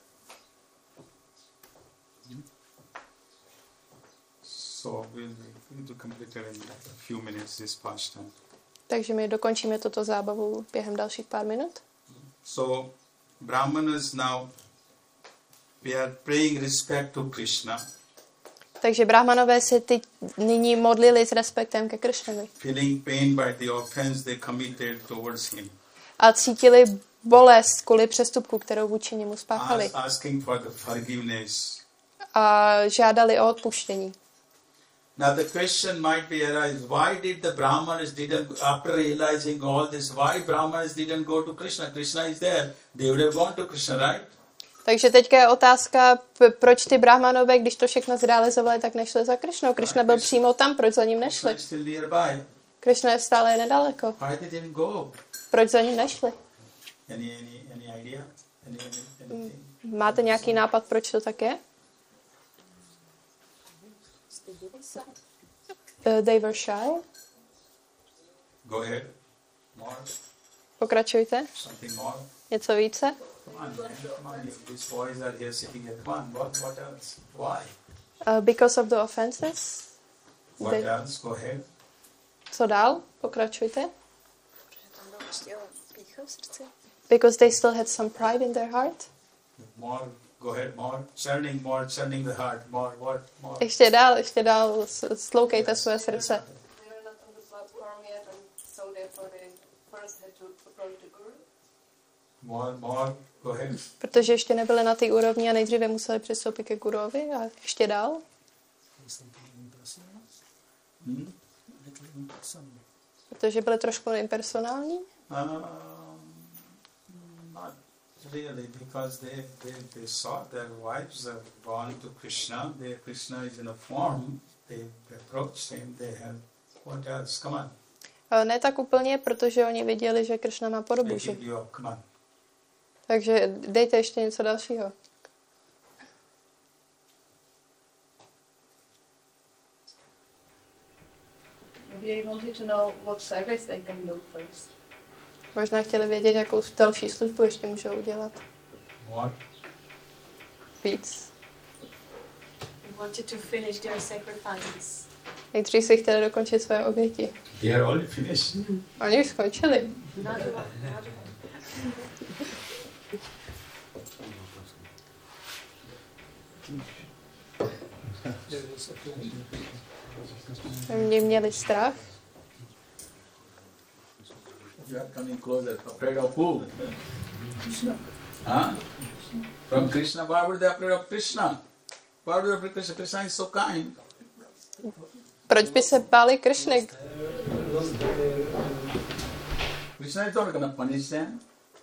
So we'll, we'll complete it in a few minutes this pastime. Takže my dokončíme toto zábavu během dalších pár minut. So Brahmanas now, we are praying respect to Krishna, Takže brahmanové se teď nyní modlili s respektem ke Kršnovi feeling pain by the offense they committed towards him, a cítili bolest kvůli přestupku, kterou vůči němu spáchali As- asking for the forgiveness. a žádali o odpuštění. Now the question might be arise, why did the Brahmanas didn't, after realizing all this, why Brahmanas didn't go to Krishna? Krishna is there. They would have gone to Krishna, right? Takže teďka je otázka, p- proč ty brahmanové, když to všechno zrealizovali, tak nešli za Kršnou. Kršna byl přímo tam, proč za ním Krishna nešli? is still nearby. Kršna je stále nedaleko. Why they didn't go? Proč za ním nešli? Any any any idea? Any, any anything? Máte nějaký nápad, proč to tak je? Uh, they were shy. Go ahead. More. Pokračujte. Something more. Něco více? Come on, man. Come on. These boys are here sitting here. Come on. What what else? Why? Uh, because of the offenses. What They- else? Go ahead. Co dál? Pokračujte. Protože tam byl ještě pícha v srdci. Because they still had some pride in their heart. More. Go ahead. More. Churning more. Churning the heart. More. What? More. Ještě dál, ještě dál s- sloukejte své srdce. They were not on the platform yet, and so therefore they first had to approach the guru. More. More. Go ahead. Protože ještě nebyli na té úrovni a nejdříve museli přistoupit ke guruovi a ještě dál. Hmm? Protože byli trošku impersonální. Um, not really, because they, they, they saw their wives have gone to Krishna. They, Krishna is in a form. They approached him. They have what else? Come on, Ale ne tak úplně, protože oni viděli, že Kršna má podobu. I Že? give you up. Come on. Takže dejte ještě něco dalšího. Maybe they wanted to know what service they can do first. Možná chtěli vědět, jakou další službu ještě můžou udělat. What? Víc. They wanted to finish their sacrifices. Nejdřív si chtěli dokončit své oběti. They are already finished. Oni už skončili. Not a lot, not a lot. Mě měli strach. You are coming closer. Afraid of who? Huh? From Krishna, why would they afraid of Krishna? Why would they afraid of Krishna? Krishna is so kind. Proč by se báli Krišny? Krishna is not going to punish them.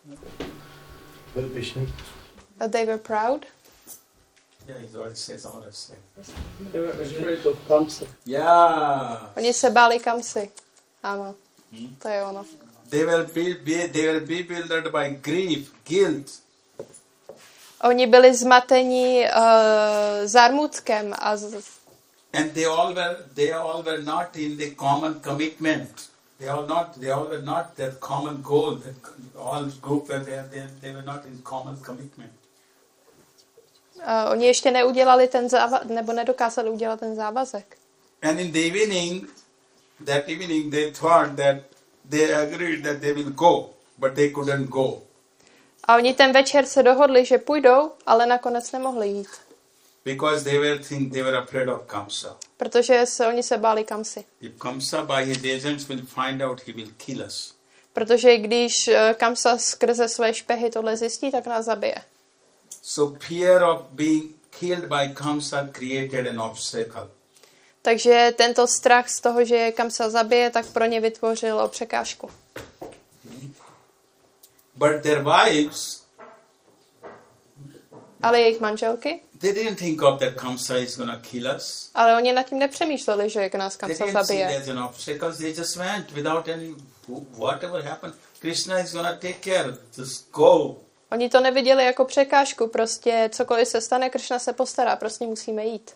They were proud. Yeah, he's already said some other stuff. They were afraid of Kamsa. Yeah. Oni se báli Kamsy. Ano, Hmm? to je ono. They will be, be they will be bewildered by grief, guilt. Oni byli zmateni uh, zármutkem a z, And they all were they all were not in the common commitment. They all not they all were not that common goal. That all group were there, they, they were not in common commitment. uh, oni ještě neudělali ten závazek, nebo nedokázali udělat ten závazek. And in the evening, that evening they thought that they agreed that they will go, but they couldn't go. A oni ten večer se dohodli, že půjdou, ale nakonec nemohli jít. Because they were think they were afraid of Kamsa. Protože se oni se báli Kamsy. If Kamsa by his agents will find out, he will kill us. Protože když uh, Kamsa skrze své špehy tohle zjistí, tak nás zabije. So fear of being killed by Kamsa created an obstacle. Takže tento strach z toho, že je Kamsa zabije, tak pro ně vytvořil překážku. But their wives, Ale jejich manželky? they didn't think of that Kamsa is going to kill us. Ale oni nad tím nepřemýšleli, že jak nás They Kamsa didn't see it zabije. as an obstacle. They just went without any, whatever happened, Krishna is going to take care. Just go. Oni to neviděli jako překážku, prostě cokoliv se stane, Krishna se postará, prostě musíme jít.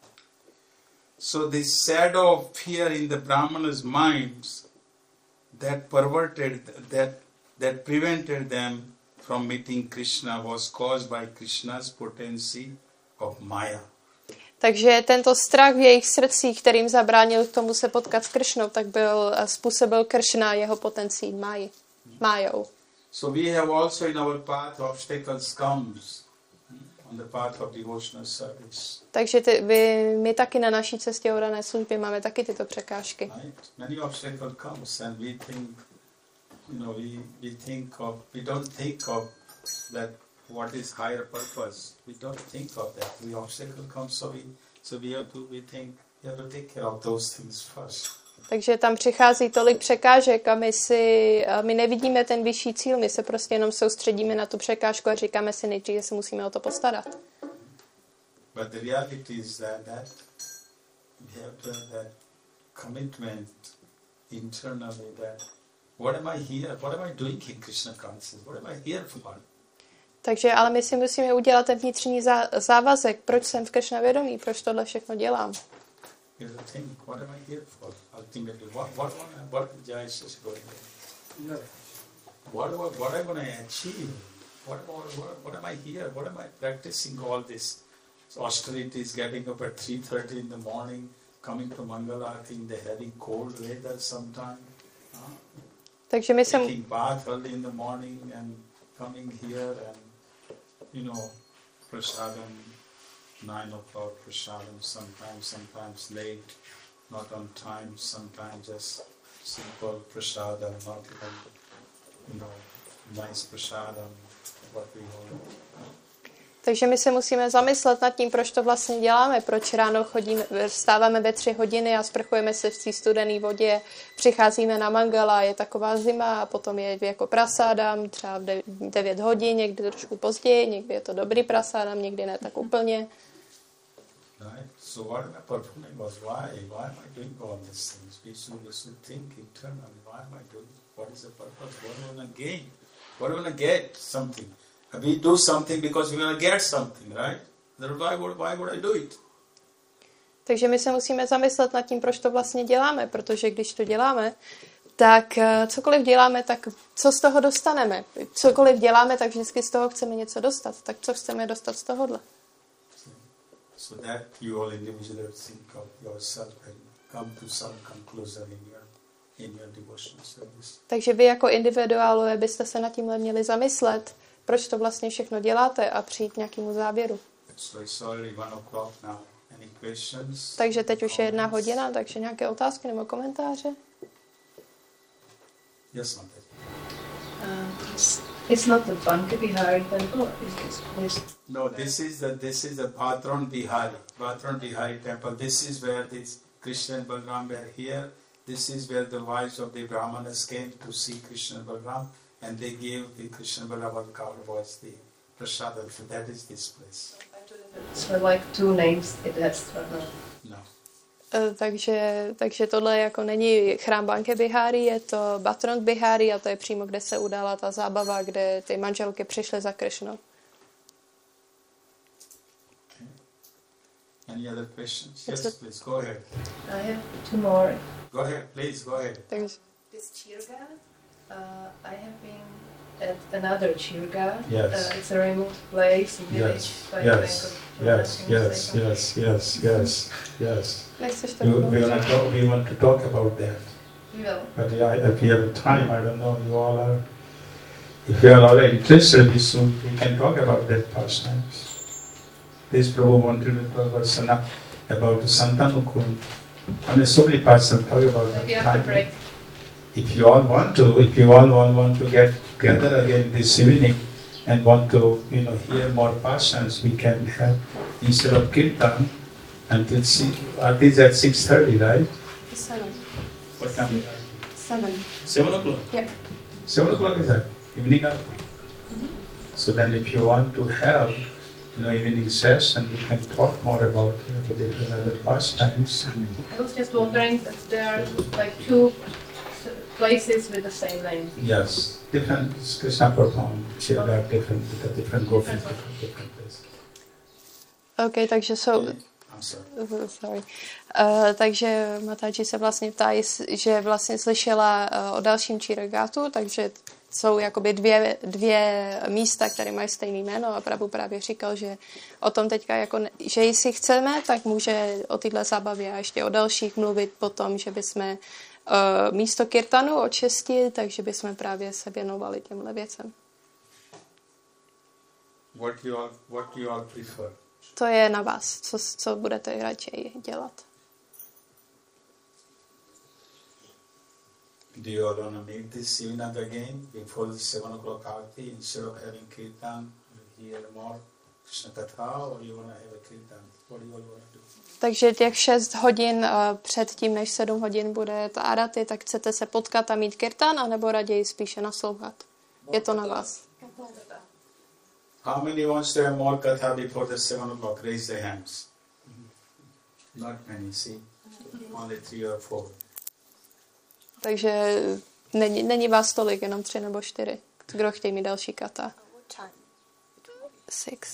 So the shadow of fear in the Brahmanas' minds that perverted, that, that prevented them from meeting Krishna was caused by Krishna's potency of Maya. Takže tento strach v jejich srdcích, kterým zabránil k tomu se potkat s Kršnou, tak byl způsobil Kršna jeho potencí Máji, Májou. So we have also in our path obstacles comes on the path of devotional service. Takže ty, vy, my taky na naší cestě orané služby máme taky tyto překážky. Right? Many obstacles comes and we think, you know, we, we think of, we don't think of that what is higher purpose. We don't think of that. The obstacle comes, so we, so we have to, we think, we have to take care of those things first. Takže tam přichází tolik překážek a my, si, a my nevidíme ten vyšší cíl, my se prostě jenom soustředíme na tu překážku a říkáme si nejdříve, že se musíme o to postarat. But the reality is that, that we have to have that commitment internally that what am I here, what am I doing in Krishna consciousness, what am I here for? Takže ale my si musíme udělat ten vnitřní zá, závazek, proč jsem v Kršna vědomí, proč tohle všechno dělám. You have to think, what am I here for? Ultimately, what what what, what Jai is going to What do I, what am I going to achieve? What, what what what am I here? What am I practicing all this? So austerities, getting up at three thirty in the morning, coming to Mangala Aarti in the heavy cold weather sometime. Huh? Takže my se, Taking bath early in the morning and coming here and, you know, prasadam, nine o'clock prasadam, sometimes, sometimes late, not on time, sometimes just simple prasadam, not even, you know, nice prasadam, what we hold. takže my se musíme zamyslet nad tím, proč to vlastně děláme, proč ráno chodíme, vstáváme ve tři hodiny a sprchujeme se v té studené vodě, přicházíme na Mangala, je taková zima a potom je jako prasádam, třeba v devět hodin, někdy trošku později, někdy je to dobrý prasádam, někdy ne tak úplně. Right? So what am I performing was why? Why am I doing all these things? We should, we should think internally, why am I doing it? What is the purpose? What do I want to gain? What do I want to get? Something. We do something because we want to get something, right? Then why would, why would I do it? Takže my se musíme zamyslet nad tím, proč to vlastně děláme, protože když to děláme, tak cokoliv děláme, tak co z toho dostaneme? Cokoliv děláme, tak vždycky z toho chceme něco dostat. Tak co chceme dostat z tohohle? So that you all individually think of yourself and come to some conclusion in your, in your devotional service. Takže vy jako individuálové byste se nad tímhle měli zamyslet, proč to vlastně všechno děláte a přijít k nějakému závěru. So it's already one o'clock now. Any questions? Takže teď už je jedna hodina, takže nějaké otázky nebo komentáře? Yes, Mataji. Uh, It's not the Banka Bihari temple, it's this. No, this is the this is the Bhatron Bihari, Bhatron Bihari temple. This is where this Krishna and Balram were here. This is where the wives of the Brahmanas came to see Krishna and Balram, and they gave the Krishna and Balram Kauravas the prasadam. So that is this place. So like two names it has. Uh, No. Uh, takže, takže tohle jako není chrám Banky Bihari, je to Bhatron Bihari a to je přímo, kde se udala ta zábava, kde ty manželky přišly za Krishnou. Any other questions? That's Yes, it. please go ahead. I have two more. Go ahead, please go ahead. Takže, This Chirga, uh, I have been at another Chirga. Yes. Uh, it's a remote place in village Yes, by yes, the bank of yes, Jordan, yes, Second. yes, yes, yes, yes. nechceš to You, mluvit? we, want to talk, we want to talk about that. We will. But yeah, if you have time, I don't know, you all are, if you are all interested, we soon we can talk about that pastimes. This Prabhu wanted to talk about, Sana, about Santanukund. I mean, so many pastimes talk about Maybe that after time. break. If you all want to, if you all want, want to get together again this evening and want to, you know, hear more pastimes, we can have, instead of kirtan, until six, at least at six thirty, right? Seven. What time is that? Seven. Seven o'clock? Yep. Seven o'clock is that? Evening hour? So then if you want to have, you know, evening session, we can talk more about uh, the different other pastimes. I was just wondering that there are like two s- places with the same name. Yes, different Krishna perform, Shirga, different, with a different gopis, different, different places. OK, takže jsou... I'm sorry. Sorry. Uh, takže Mataji se vlastně ptá, jest- že vlastně slyšela uh, o dalším Chiragátu, takže jsou jakoby dvě, dvě místa, které mají stejné jméno a Prabhu právě říkal, že o tom teďka jako, ne, že jestli chceme, tak může o téhle zábavě a ještě o dalších mluvit potom, že bychom uh, místo kirtanu od šesti, takže bychom právě se věnovali těmhle věcem. What you all, what you all prefer? To je na vás, co, co budete radši dělat. Do you all want to make this evening again before the seven o'clock aarti instead of having kirtan, you hear more Krishna Katha, or you want to have a kirtan? What do you all want to do? Takže těch šest hodin uh, před tím, než sedm hodin bude ta araty, tak chcete se potkat a mít kirtan, anebo raději spíše naslouchat? Je to na vás. How many wants to have more katha before the seven o'clock? Raise their hands. Not many, see? Only three or four. Takže není, není vás tolik, jenom tři nebo čtyři. Kdo chtějí mít další kata? Six.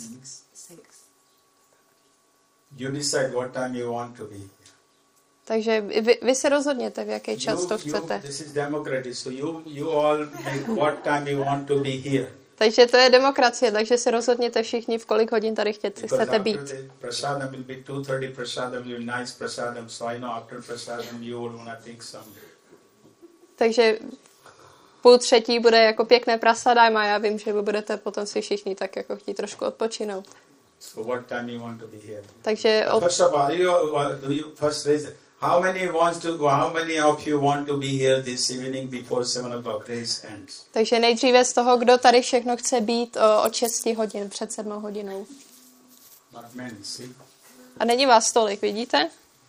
You decide what time you want to be. Takže vy, vy se rozhodněte, v jaký čas You, to you, chcete. this is democracy, so you, you all make what time you want to be here. Takže to je demokracie, takže se rozhodněte všichni, v kolik hodin tady chtěte, Because chcete after být. the prasadam will be two thirty prasadam, will be nice prasadam, so I know after prasadam you would want to take some. Takže půl třetí bude jako pěkné prasadám a já vím, že vy budete potom si všichni tak jako chtít trošku odpočinout. So what time you want to be here? Takže od, First of all, you, do you first raise, how many wants to go, how many of you want to be here this evening before seven o'clock? Raise hands. takže nejdříve z toho, kdo tady všechno chce být o, od šesti hodin, před sedmou hodinou. Not many, see? A není vás tolik, vidíte?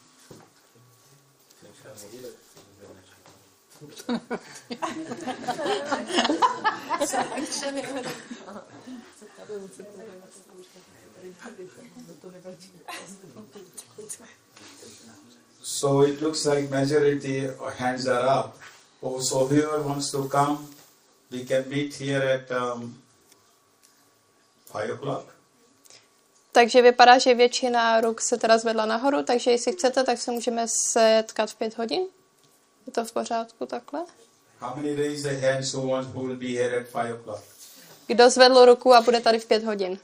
So it looks like majority hands are up. Oh, so whoever wants to come, we can meet here at um, five o'clock. Takže vypadá, že většina ruk se teda zvedla nahoru, takže jestli chcete, tak se můžeme setkat v pět hodin. Je to v pořádku takhle? How many raise their hands who want who will be here at five o'clock? Kdo zvedl ruku a bude tady v pět hodin?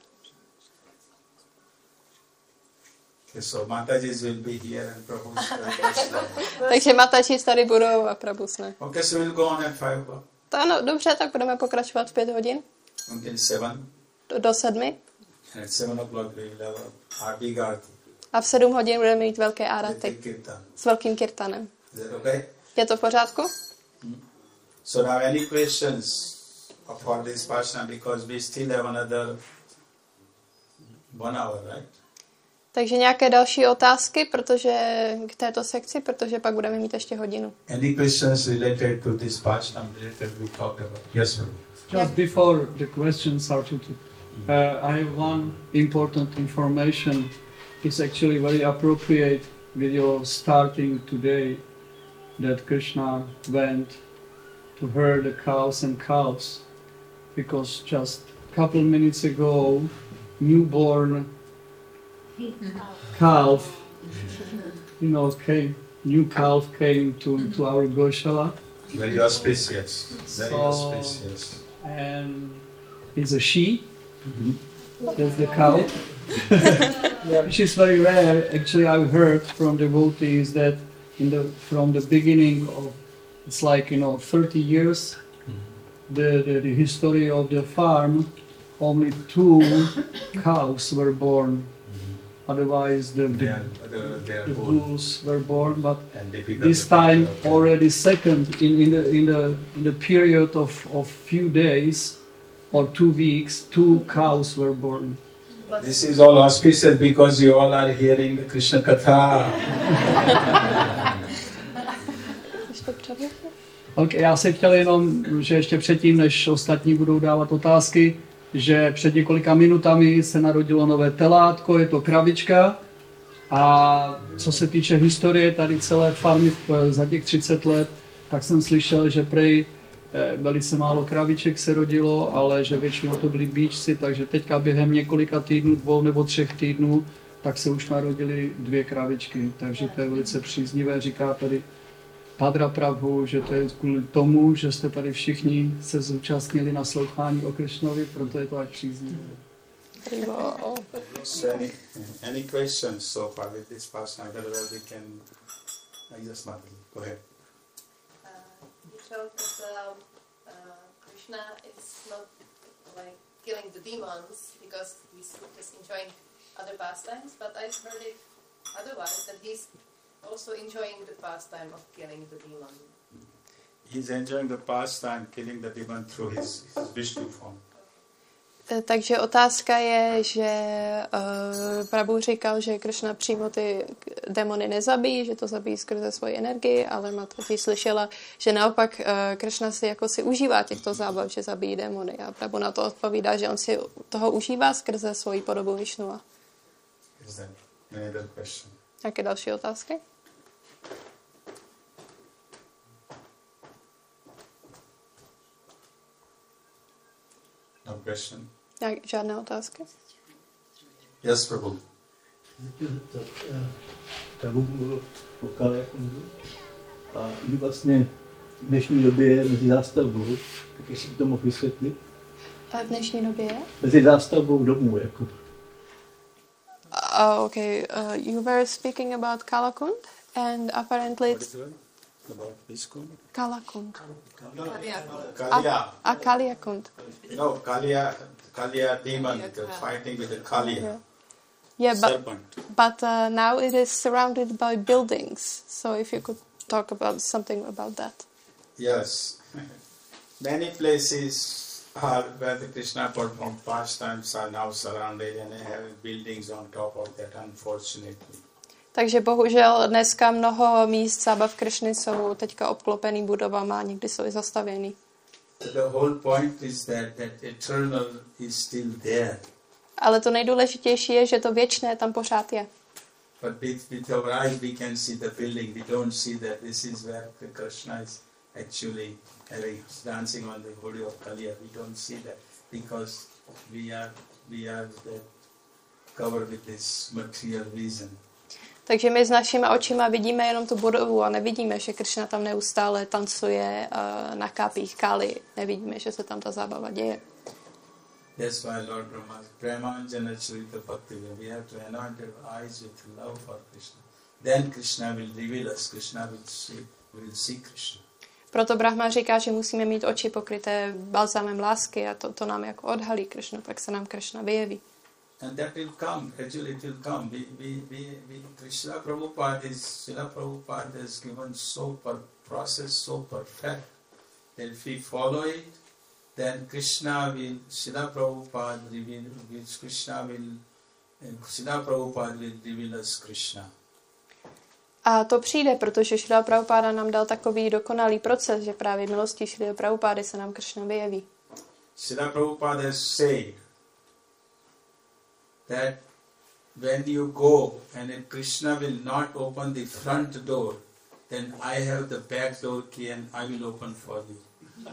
Okay, so Matajis will be here and Prabhu's Takže Mataji tady budou a Prabhus ne. Okay, so we'll go on at five o'clock To ano, dobře, tak budeme pokračovat v pět hodin until seven. do, do sedmi. And at seven o'clock we will have our big arti. A v sedm hodin budeme mít velké With áraty the kirtan. s velkým kirtanem. Is that okay? Je to v pořádku? So now any questions for this person because we still have another one hour, right? Takže nějaké další otázky, protože k této sekci, protože pak budeme mít ještě hodinu. Any questions related to this passion related we talked about? Yes, sir. Just before the questions are put, uh, I have one important information. It's actually very appropriate with your starting today that Krishna went to herd the cows and calves, because just a couple minutes ago, newborn calf, you know, came, new calf came to, to our Goshala. Very auspicious. Very So- auspicious. And it's a she. That's the cow. Which is very rare. Actually, I've heard from devotees that in the from the beginning of, it's like, you know, thirty years, the, the, the history of the farm, only two cows were born. Otherwise, the, They the, are, they, they are the bold bulls were born. But and they pick this up the time picture. already second in, in the in the in the period of, of few days or two weeks, two cows were born. This is all auspicious because you all are hearing the Krishna Katha. Ok, já jsem chtěl jenom, že ještě předtím, než ostatní budou dávat otázky, že před několika minutami se narodilo nové telátko, je to kravička. A co se týče historie tady celé farmy v- za těch třicet let, tak jsem slyšel, že prej eh, velice málo kraviček se rodilo, ale že většinou to byli bíčci, takže teďka během několika týdnů, dvou nebo třech týdnů, tak se už narodily dvě kravičky, takže to je velice příznivé, říká tady Padra Prabhu, že to je kvůli tomu, že jste tady všichni se zúčastnili na slouchání o Kršnovi, proto je to tak příznivé. So any, any questions so far with this person? Otherwise we can. I just want to go ahead. Uh, you showed that um, uh, Krishna is not like killing the demons because he's just enjoying other pastimes, but I've heard it otherwise, that he's also enjoying the pastime of killing the demon. He's enjoying the pastime, killing the demon through his, his Vishnu form. Takže otázka je, že uh, Prabhu říkal, že Krishna přímo ty demony nezabíjí, že to zabíjí skrze svoji energii, ale Mataji slyšela, že naopak uh, Krishna si jako si užívá těchto zábav, že zabíjí demony. A Prabhu na to odpovídá, že on si toho užívá skrze svoji podobu Višnua. Is there any other question? Jaké další otázky? No question? Jak, žádné otázky? Yes, Prabhu. Prabhu mluvil o Kaliakundu a kdy vlastně v dnešní době mezi zástavbou, tak jestli to mohl vysvětlit, A v dnešní době je? mezi zástavbou domů, jako. Uh, okay, uh, you were speaking about Kalakund, and apparently What is it's it? About Vishnu? Kalakund. Kalia. A Kaliakund. No, Kalia, Kalia demon, the fighting with the Kalia. Yeah. Yeah, but Serpent. but uh, now it is surrounded by buildings. So if you could talk about something about that. Yes. Many places are where the Krishna performed pastimes are now surrounded and have buildings on top of that, unfortunately. Takže bohužel dneska mnoho míst zábav Kršny jsou teďka obklopený budovama a někdy jsou i zastavěný. The whole point is that that eternal is still there. Ale to nejdůležitější je, že to věčné tam pořád je. But with, with our eyes we can see the building. We don't see that this is where the Krishna is actually having, dancing on the body of Kaliya. We don't see that because we are we are that covered with this material vision. Takže my s našimi očima vidíme jenom tu budovu a nevidíme, že Kršna tam neustále tancuje uh, na kápích Kali. Nevidíme, že se tam ta zábava děje. That's why Lord Brahma, Premanjana Charita Bhakti, we have to anoint our eyes with love for Krishna. Then Krishna will reveal us, Krishna will see, will see Krishna. Proto Brahma říká, že musíme mít oči pokryté balzámem lásky a to, to nám jako odhalí Kršnu, pak se nám Kršna vyjeví. And that will come, gradually it will come. We, we, we, we, Krishna Prabhupada is, Srila Prabhupada has given so per process so perfect that if we follow it, then Krishna will, Srila Prabhupada reveal, will Krishna will, Srila Prabhupada will reveal us Krishna. A to přijde, protože Šrila Prabhupáda nám dal takový dokonalý proces, že právě milostí Šrila Prabhupády se nám Krishna vyjeví. Srila Prabhupada has said that when you go and if Krishna will not open the front door, then I have the back door key and I will open for you.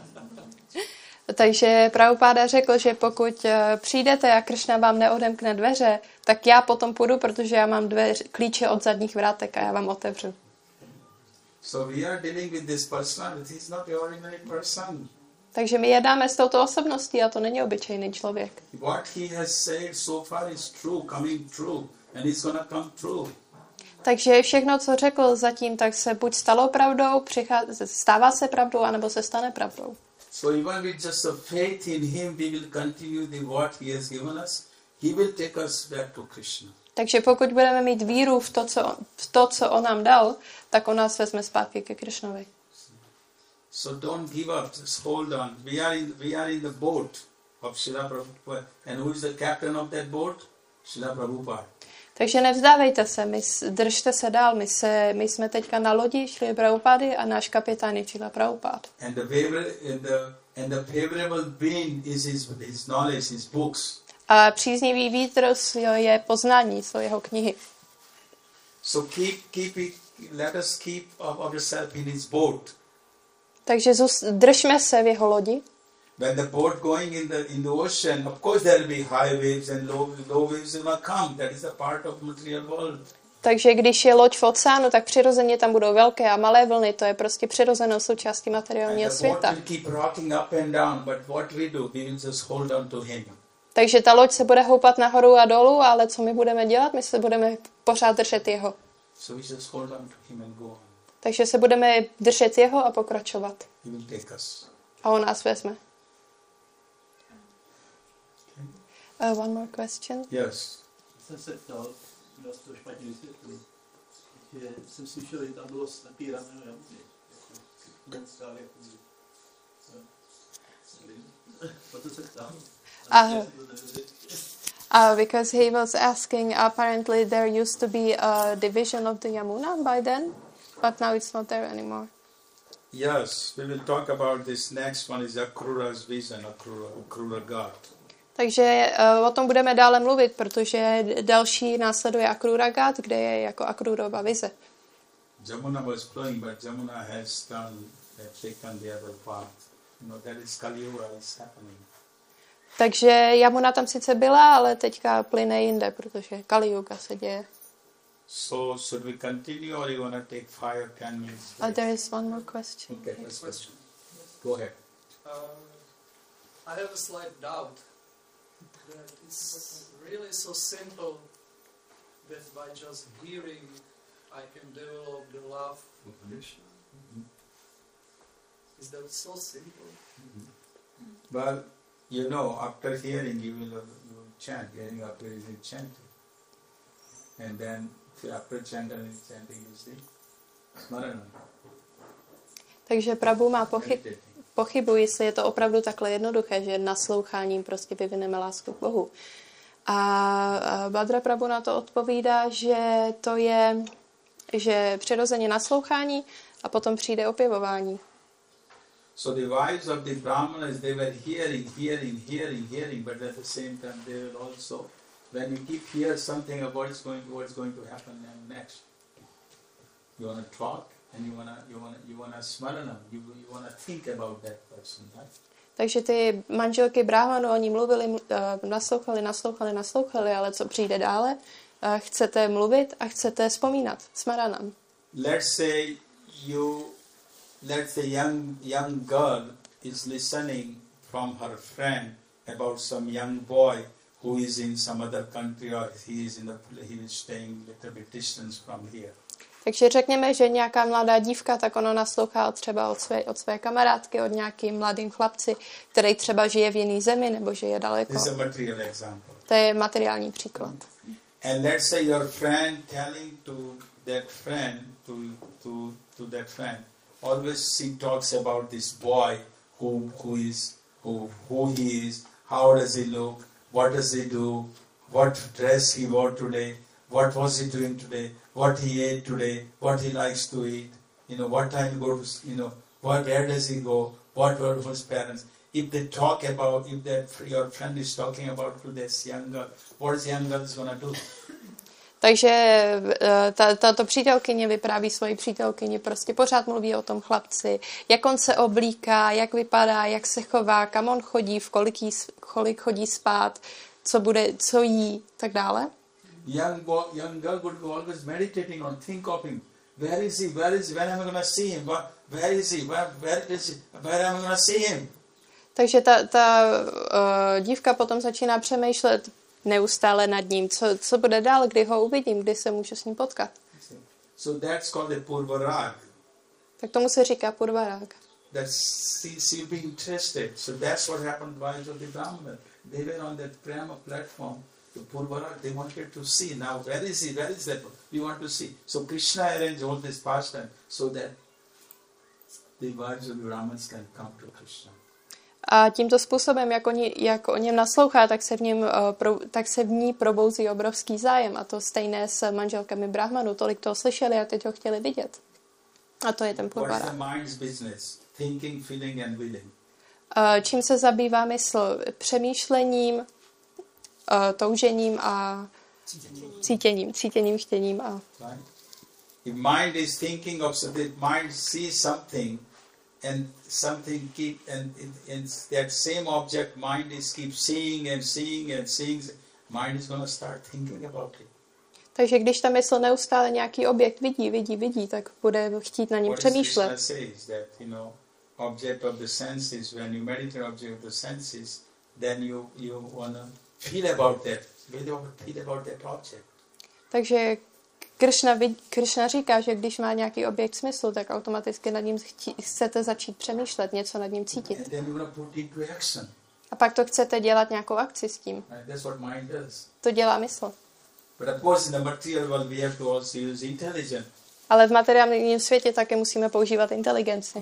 Takže Prabhupáda řekl, že pokud přijdete a Krishna vám neodemkne dveře, tak já potom půjdu, protože já mám dveře, klíče od zadních vrátek a já vám otevřu. So we are dealing with this personality. He's not the ordinary person. Takže my jednáme s touto osobností a to není obyčejný člověk. What he has said so far is true, coming true, and it's gonna come true. Takže všechno, co řekl zatím, tak se buď stalo pravdou, přichází, stává se pravdou, anebo se stane pravdou. So even with just a faith in him, we will continue the what he has given us. He will take us back to Krishna. Takže pokud budeme mít víru v to, co, v to, co on nám dal, tak on nás vezme zpátky ke Krishnovi. So don't give up, just hold on. We are in, we are in the boat of Srila Prabhupada. And who is the captain of that boat? Srila Prabhupada. Takže nevzdávejte se, my, držte se dál, my, se, my jsme teďka na lodi Šrily Prabhupády a náš kapitán je Šrila Prabhupád. And the favorable, and the, and the favorable wind is his, his knowledge, his books. A příznivý vítr je poznání, jsou jeho knihy. So keep, keep it, let us keep ourselves in his boat. Takže zůst, držme se v jeho lodi. When the boat going in the in the ocean, of course there will be high waves and low, low waves will come. That is a part of material world. Takže když je loď v oceánu, tak přirozeně tam budou velké a malé vlny. To je prostě přirozenou součástí materiálního světa. Takže ta loď se bude houpat nahoru a dolů, ale co my budeme dělat? My se budeme pořád držet jeho. So we just hold on to him and go on. Takže se budeme držet jeho a pokračovat. He will take us. A on nás vezme. Uh, one more question. Yes. Jsem se ptal, já to špatně vysvětlil, že jsem slyšel, že tam bylo slepý rameno jamuny. Proto se ptal. Uh, uh, because he was asking, apparently there used to be a division of the Yamuna by then, but now it's not there anymore. Yes, we will talk about this. Next one is Akrura's vision, Akrura, Akrura God. Takže uh, o tom budeme dále mluvit, protože další následuje Akrura God, kde je jako Akrurova vize. Jamuna was flowing, but Jamuna has done, has taken the other path. You know, that is Kali Yuga is happening. Takže Jamuna tam sice byla, ale teďka plyne jinde, protože Kali Yuga se děje. So, should we continue or you want to take five or ten minutes? Uh, there is one more question. Okay, first question. Go ahead. Um, I have a slight doubt that it's really so simple that by just hearing I can develop the love for Krishna. Mm-hmm. Is that so simple? Mm-hmm. Well, you know, after hearing, you will, you will chant. Hearing after is chanting. And then after chanting and chanting is the smarana. Takže Prabhu má pochyb, pochybu, jestli je to opravdu takhle jednoduché, že nasloucháním prostě vyvineme lásku k Bohu. A Bhadra Prabhu na to odpovídá, že to je, že přirozeně naslouchání a potom přijde opěvování. So the wives of the Brahmanas, they were hearing, hearing, hearing, hearing, but at the same time they were also, when you keep hear something about what's going, what's going to happen next, you want to talk and you want to, you want to, you want to smarana, you, you want to think about that person, right? Takže ty manželky Brahmanu, oni mluvili, naslouchali, naslouchali, naslouchali, ale co přijde dále? Chcete mluvit a chcete vzpomínat. Smaranam. Let's say you, let's say young young girl is listening from her friend about some young boy who is in some other country or he is in the he is staying a little bit distance from here. Takže řekněme, že nějaká mladá dívka, tak ona naslouchá třeba od své, od své kamarádky, od nějakým mladým chlapci, který třeba žije v jiné zemi nebo žije daleko. This is a material example. To je materiální příklad. And let's say your friend telling to that friend, to, to, to that friend, always she talks about this boy who, who is who, who he is, how does he look, what does he do, what dress he wore today, what was he doing today, what he ate today, what he likes to eat, you know, what time he go to, you know, what, where does he go, what were his parents. If they talk about, if that your friend is talking about to this young girl, what is young girl is going to do? Takže ta, tato přítelkyně vypráví svoji přítelkyni, prostě pořád mluví o tom chlapci, jak on se oblíká, jak vypadá, jak se chová, kam on chodí, v kolik, jí, kolik chodí spát, co bude, co jí, tak dále. Young boy, young girl would go always meditating on, think of him. Where is he? Where is? When am I going to see him? Where is he? Where, where is he? Where am I going to see him? Takže ta, ta uh, dívka potom začíná přemýšlet neustále nad ním, co, co bude dál, kdy ho uvidím, kdy se můžu s ním potkat. So that's called the Purvarag. Tak tomu se říká Purvarag. That's she'll be interested. So that's what happened to the Brahman. They were on that prema platform. The Purvarag, they wanted to see. Now, where is he? Where is that? We want to see. So Krishna arranged all this pastime so that the wives of the Brahmins can come to Krishna. A tímto způsobem, jak, oni, jak o něm naslouchá, tak se, v něm, uh, pro, tak se v ní probouzí obrovský zájem. A to stejné s manželkami Brahmanu. Tolik toho slyšeli a teď ho chtěli vidět. A to je ten Purvarag. What is the mind's business? Thinking, feeling and willing. Uh, čím se zabývá mysl? Přemýšlením, uh, toužením a cítěním. Cítěním, chtěním. A... Right? If mind is thinking of something, mind sees something, and something keep and in that same object mind is keep seeing and seeing and seeing, mind is going to start thinking about it. Takže když ta mysl neustále nějaký objekt vidí, vidí, vidí, tak bude chtít na něm přemýšlet. What says that, you know, object of the senses, when you meditate object of the senses, then you you want to feel about that, feel about that object. Takže Krishna, Krishna říká, že když má nějaký objekt smyslu, tak automaticky nad ním chtí, chcete začít přemýšlet, něco nad ním cítit. A pak to chcete dělat nějakou akci s tím. To dělá mysl. Ale v materiálním světě také musíme používat inteligenci.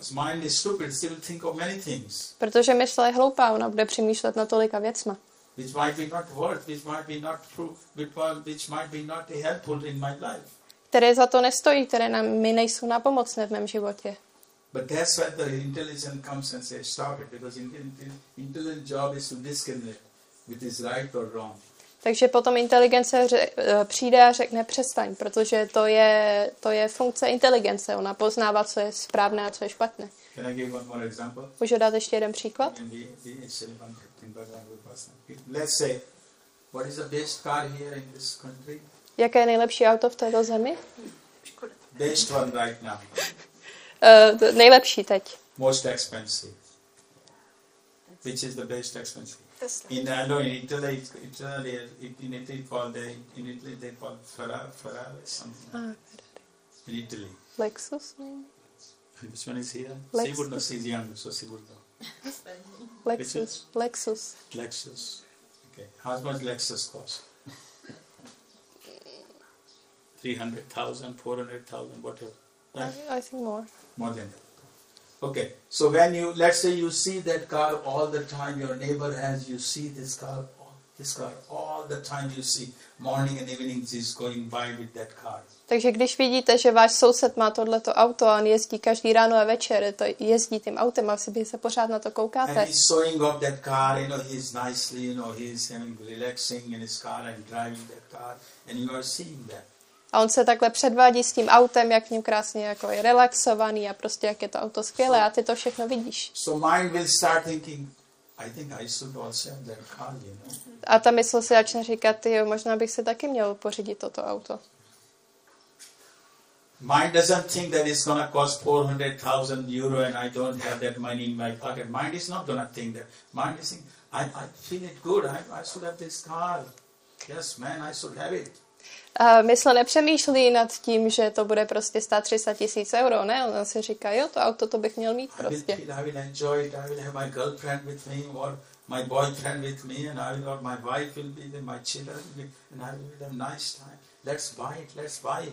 Protože mysl je hloupá, ona bude přemýšlet na tolika věcma. Which might be not worth, which might be not proof, which might be not helpful in my life. Které za to nestojí, které nám mi nejsou nápomocné v mém životě. But that's why the intelligence comes and says stop it, because intelligent job is to discriminate with is right or wrong. Takže potom inteligence ře, přijde a řekne přestaň, protože to je, to je funkce inteligence, ona poznává, co je správné a co je špatné. Can I give one more example? Můžu dát ještě jeden příklad? Let's say, what is the best car here in this country? Jaké je nejlepší auto v této zemi? Best one right now. Uh, nejlepší teď. Most expensive. Which is the best expensive? In I know in Italy, Italy, in Italy called the in Italy they call Ferrari, Ferrari something. Ah, in Italy. Lexus. Which one is here? Lexus. She would know. She's young, so she would know. Lexus. Lexus. Lexus. Okay. How much Lexus cost? Three hundred thousand, four hundred thousand, whatever. I, I think more. More than that. Okay. So when you, let's say you see that car all the time, your neighbor has, you see this car, this car all the time. You see morning and evening she's going by with that car. Takže když vidíte, že váš soused má tohleto auto a on jezdí každý ráno a večer, to jezdí tím autem a vy se pořád na to koukáte. And he's showing off that car, you know, he's nicely, you know, he's having relaxing in his car and driving that car, and you are seeing that. A on se takhle předvádí s tím autem, jak v něm krásně jako je relaxovaný a prostě jak je to auto skvělé a ty to všechno vidíš. So mind will start thinking, I think I should also have that car, you know. A ta mysl si začne říkat, ty, možná bych si taky měl pořídit toto auto. Mind doesn't think that it's going to cost four hundred thousand euro and I don't have that money in my pocket. Mind is not going to think that. Mind is thinking, I, I feel it good, I, I should have this car. Yes, man, I should have it. A mysl nepřemýšlí nad tím, že to bude prostě stát tři sta tisíc euro, ne? On si říká, jo, to auto to bych měl mít prostě. I will, I will enjoy it, I will have my girlfriend with me or my boyfriend with me and I will, or my wife will be there, my children will be, and I will have a nice time. Let's buy it, let's buy it.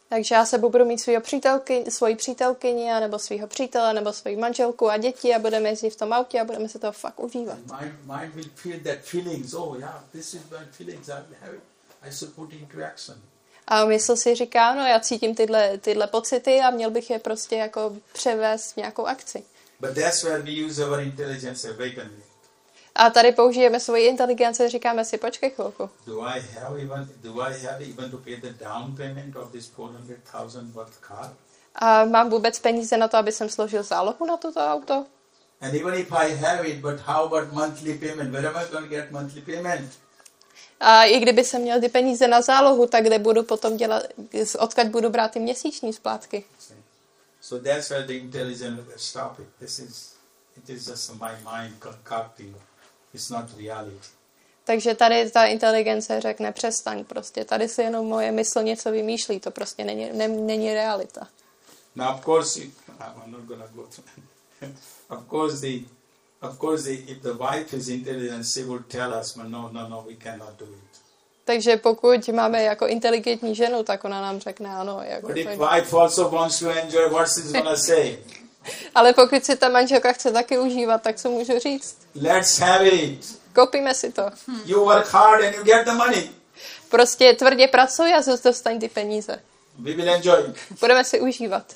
Takže já sebou budu mít svýho přítelky, svoji přítelkyni, nebo svého přítele, nebo svoji manželku a děti a budeme jezdit v tom autě a budeme se toho fakt užívat. Mind, mind will feel that feelings. Oh yeah, this is my feelings I'm having. I should put into action. A mysl si říká, no já cítím tyhle, tyhle pocity a měl bych je prostě jako převést v nějakou akci. But that's where we use our intelligence awakening. A tady použijeme svoji inteligenci a říkáme si, počkej chvilku. Do I have even do I have even to pay the down payment of this four hundred thousand worth car? A mám vůbec peníze na to, aby jsem složil zálohu na toto auto? And even if I have it, but how about monthly payment? Where am I going to get monthly payment? A i kdyby jsem měl ty peníze na zálohu, tak kde budu potom dělat, odkud budu brát ty měsíční splátky? So that's where the intelligence will stop it. This is, it is just my mind concocting. It's not reality. Takže tady ta inteligence řekne, přestaň prostě, tady si jenom moje mysl něco vymýšlí, to prostě není, ne, není realita. Now of course, it, I'm not going to go to of course the, of course the, if the wife is intelligent, she will tell us, well, no, no, no, we cannot do it. Takže pokud máme jako inteligentní ženu, tak ona nám řekne ano. Jako But if to... wife also wants to enjoy, what's she going to say? Ale pokud si ta manželka chce taky užívat, tak co můžu říct? Let's have it. Koupíme si to. You work hard and you get the money. Prostě tvrdě pracuj a zase dostaň ty peníze. We will enjoy. Budeme si užívat.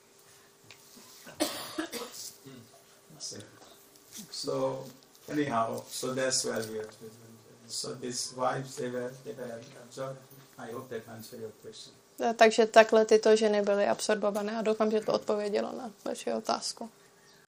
So anyhow, so that's where we are. So these wives, they were, they were absorbed. I hope that answered your question. Takže takhle tyto ženy byly absorbované a doufám, že to odpovědělo na vaši otázku.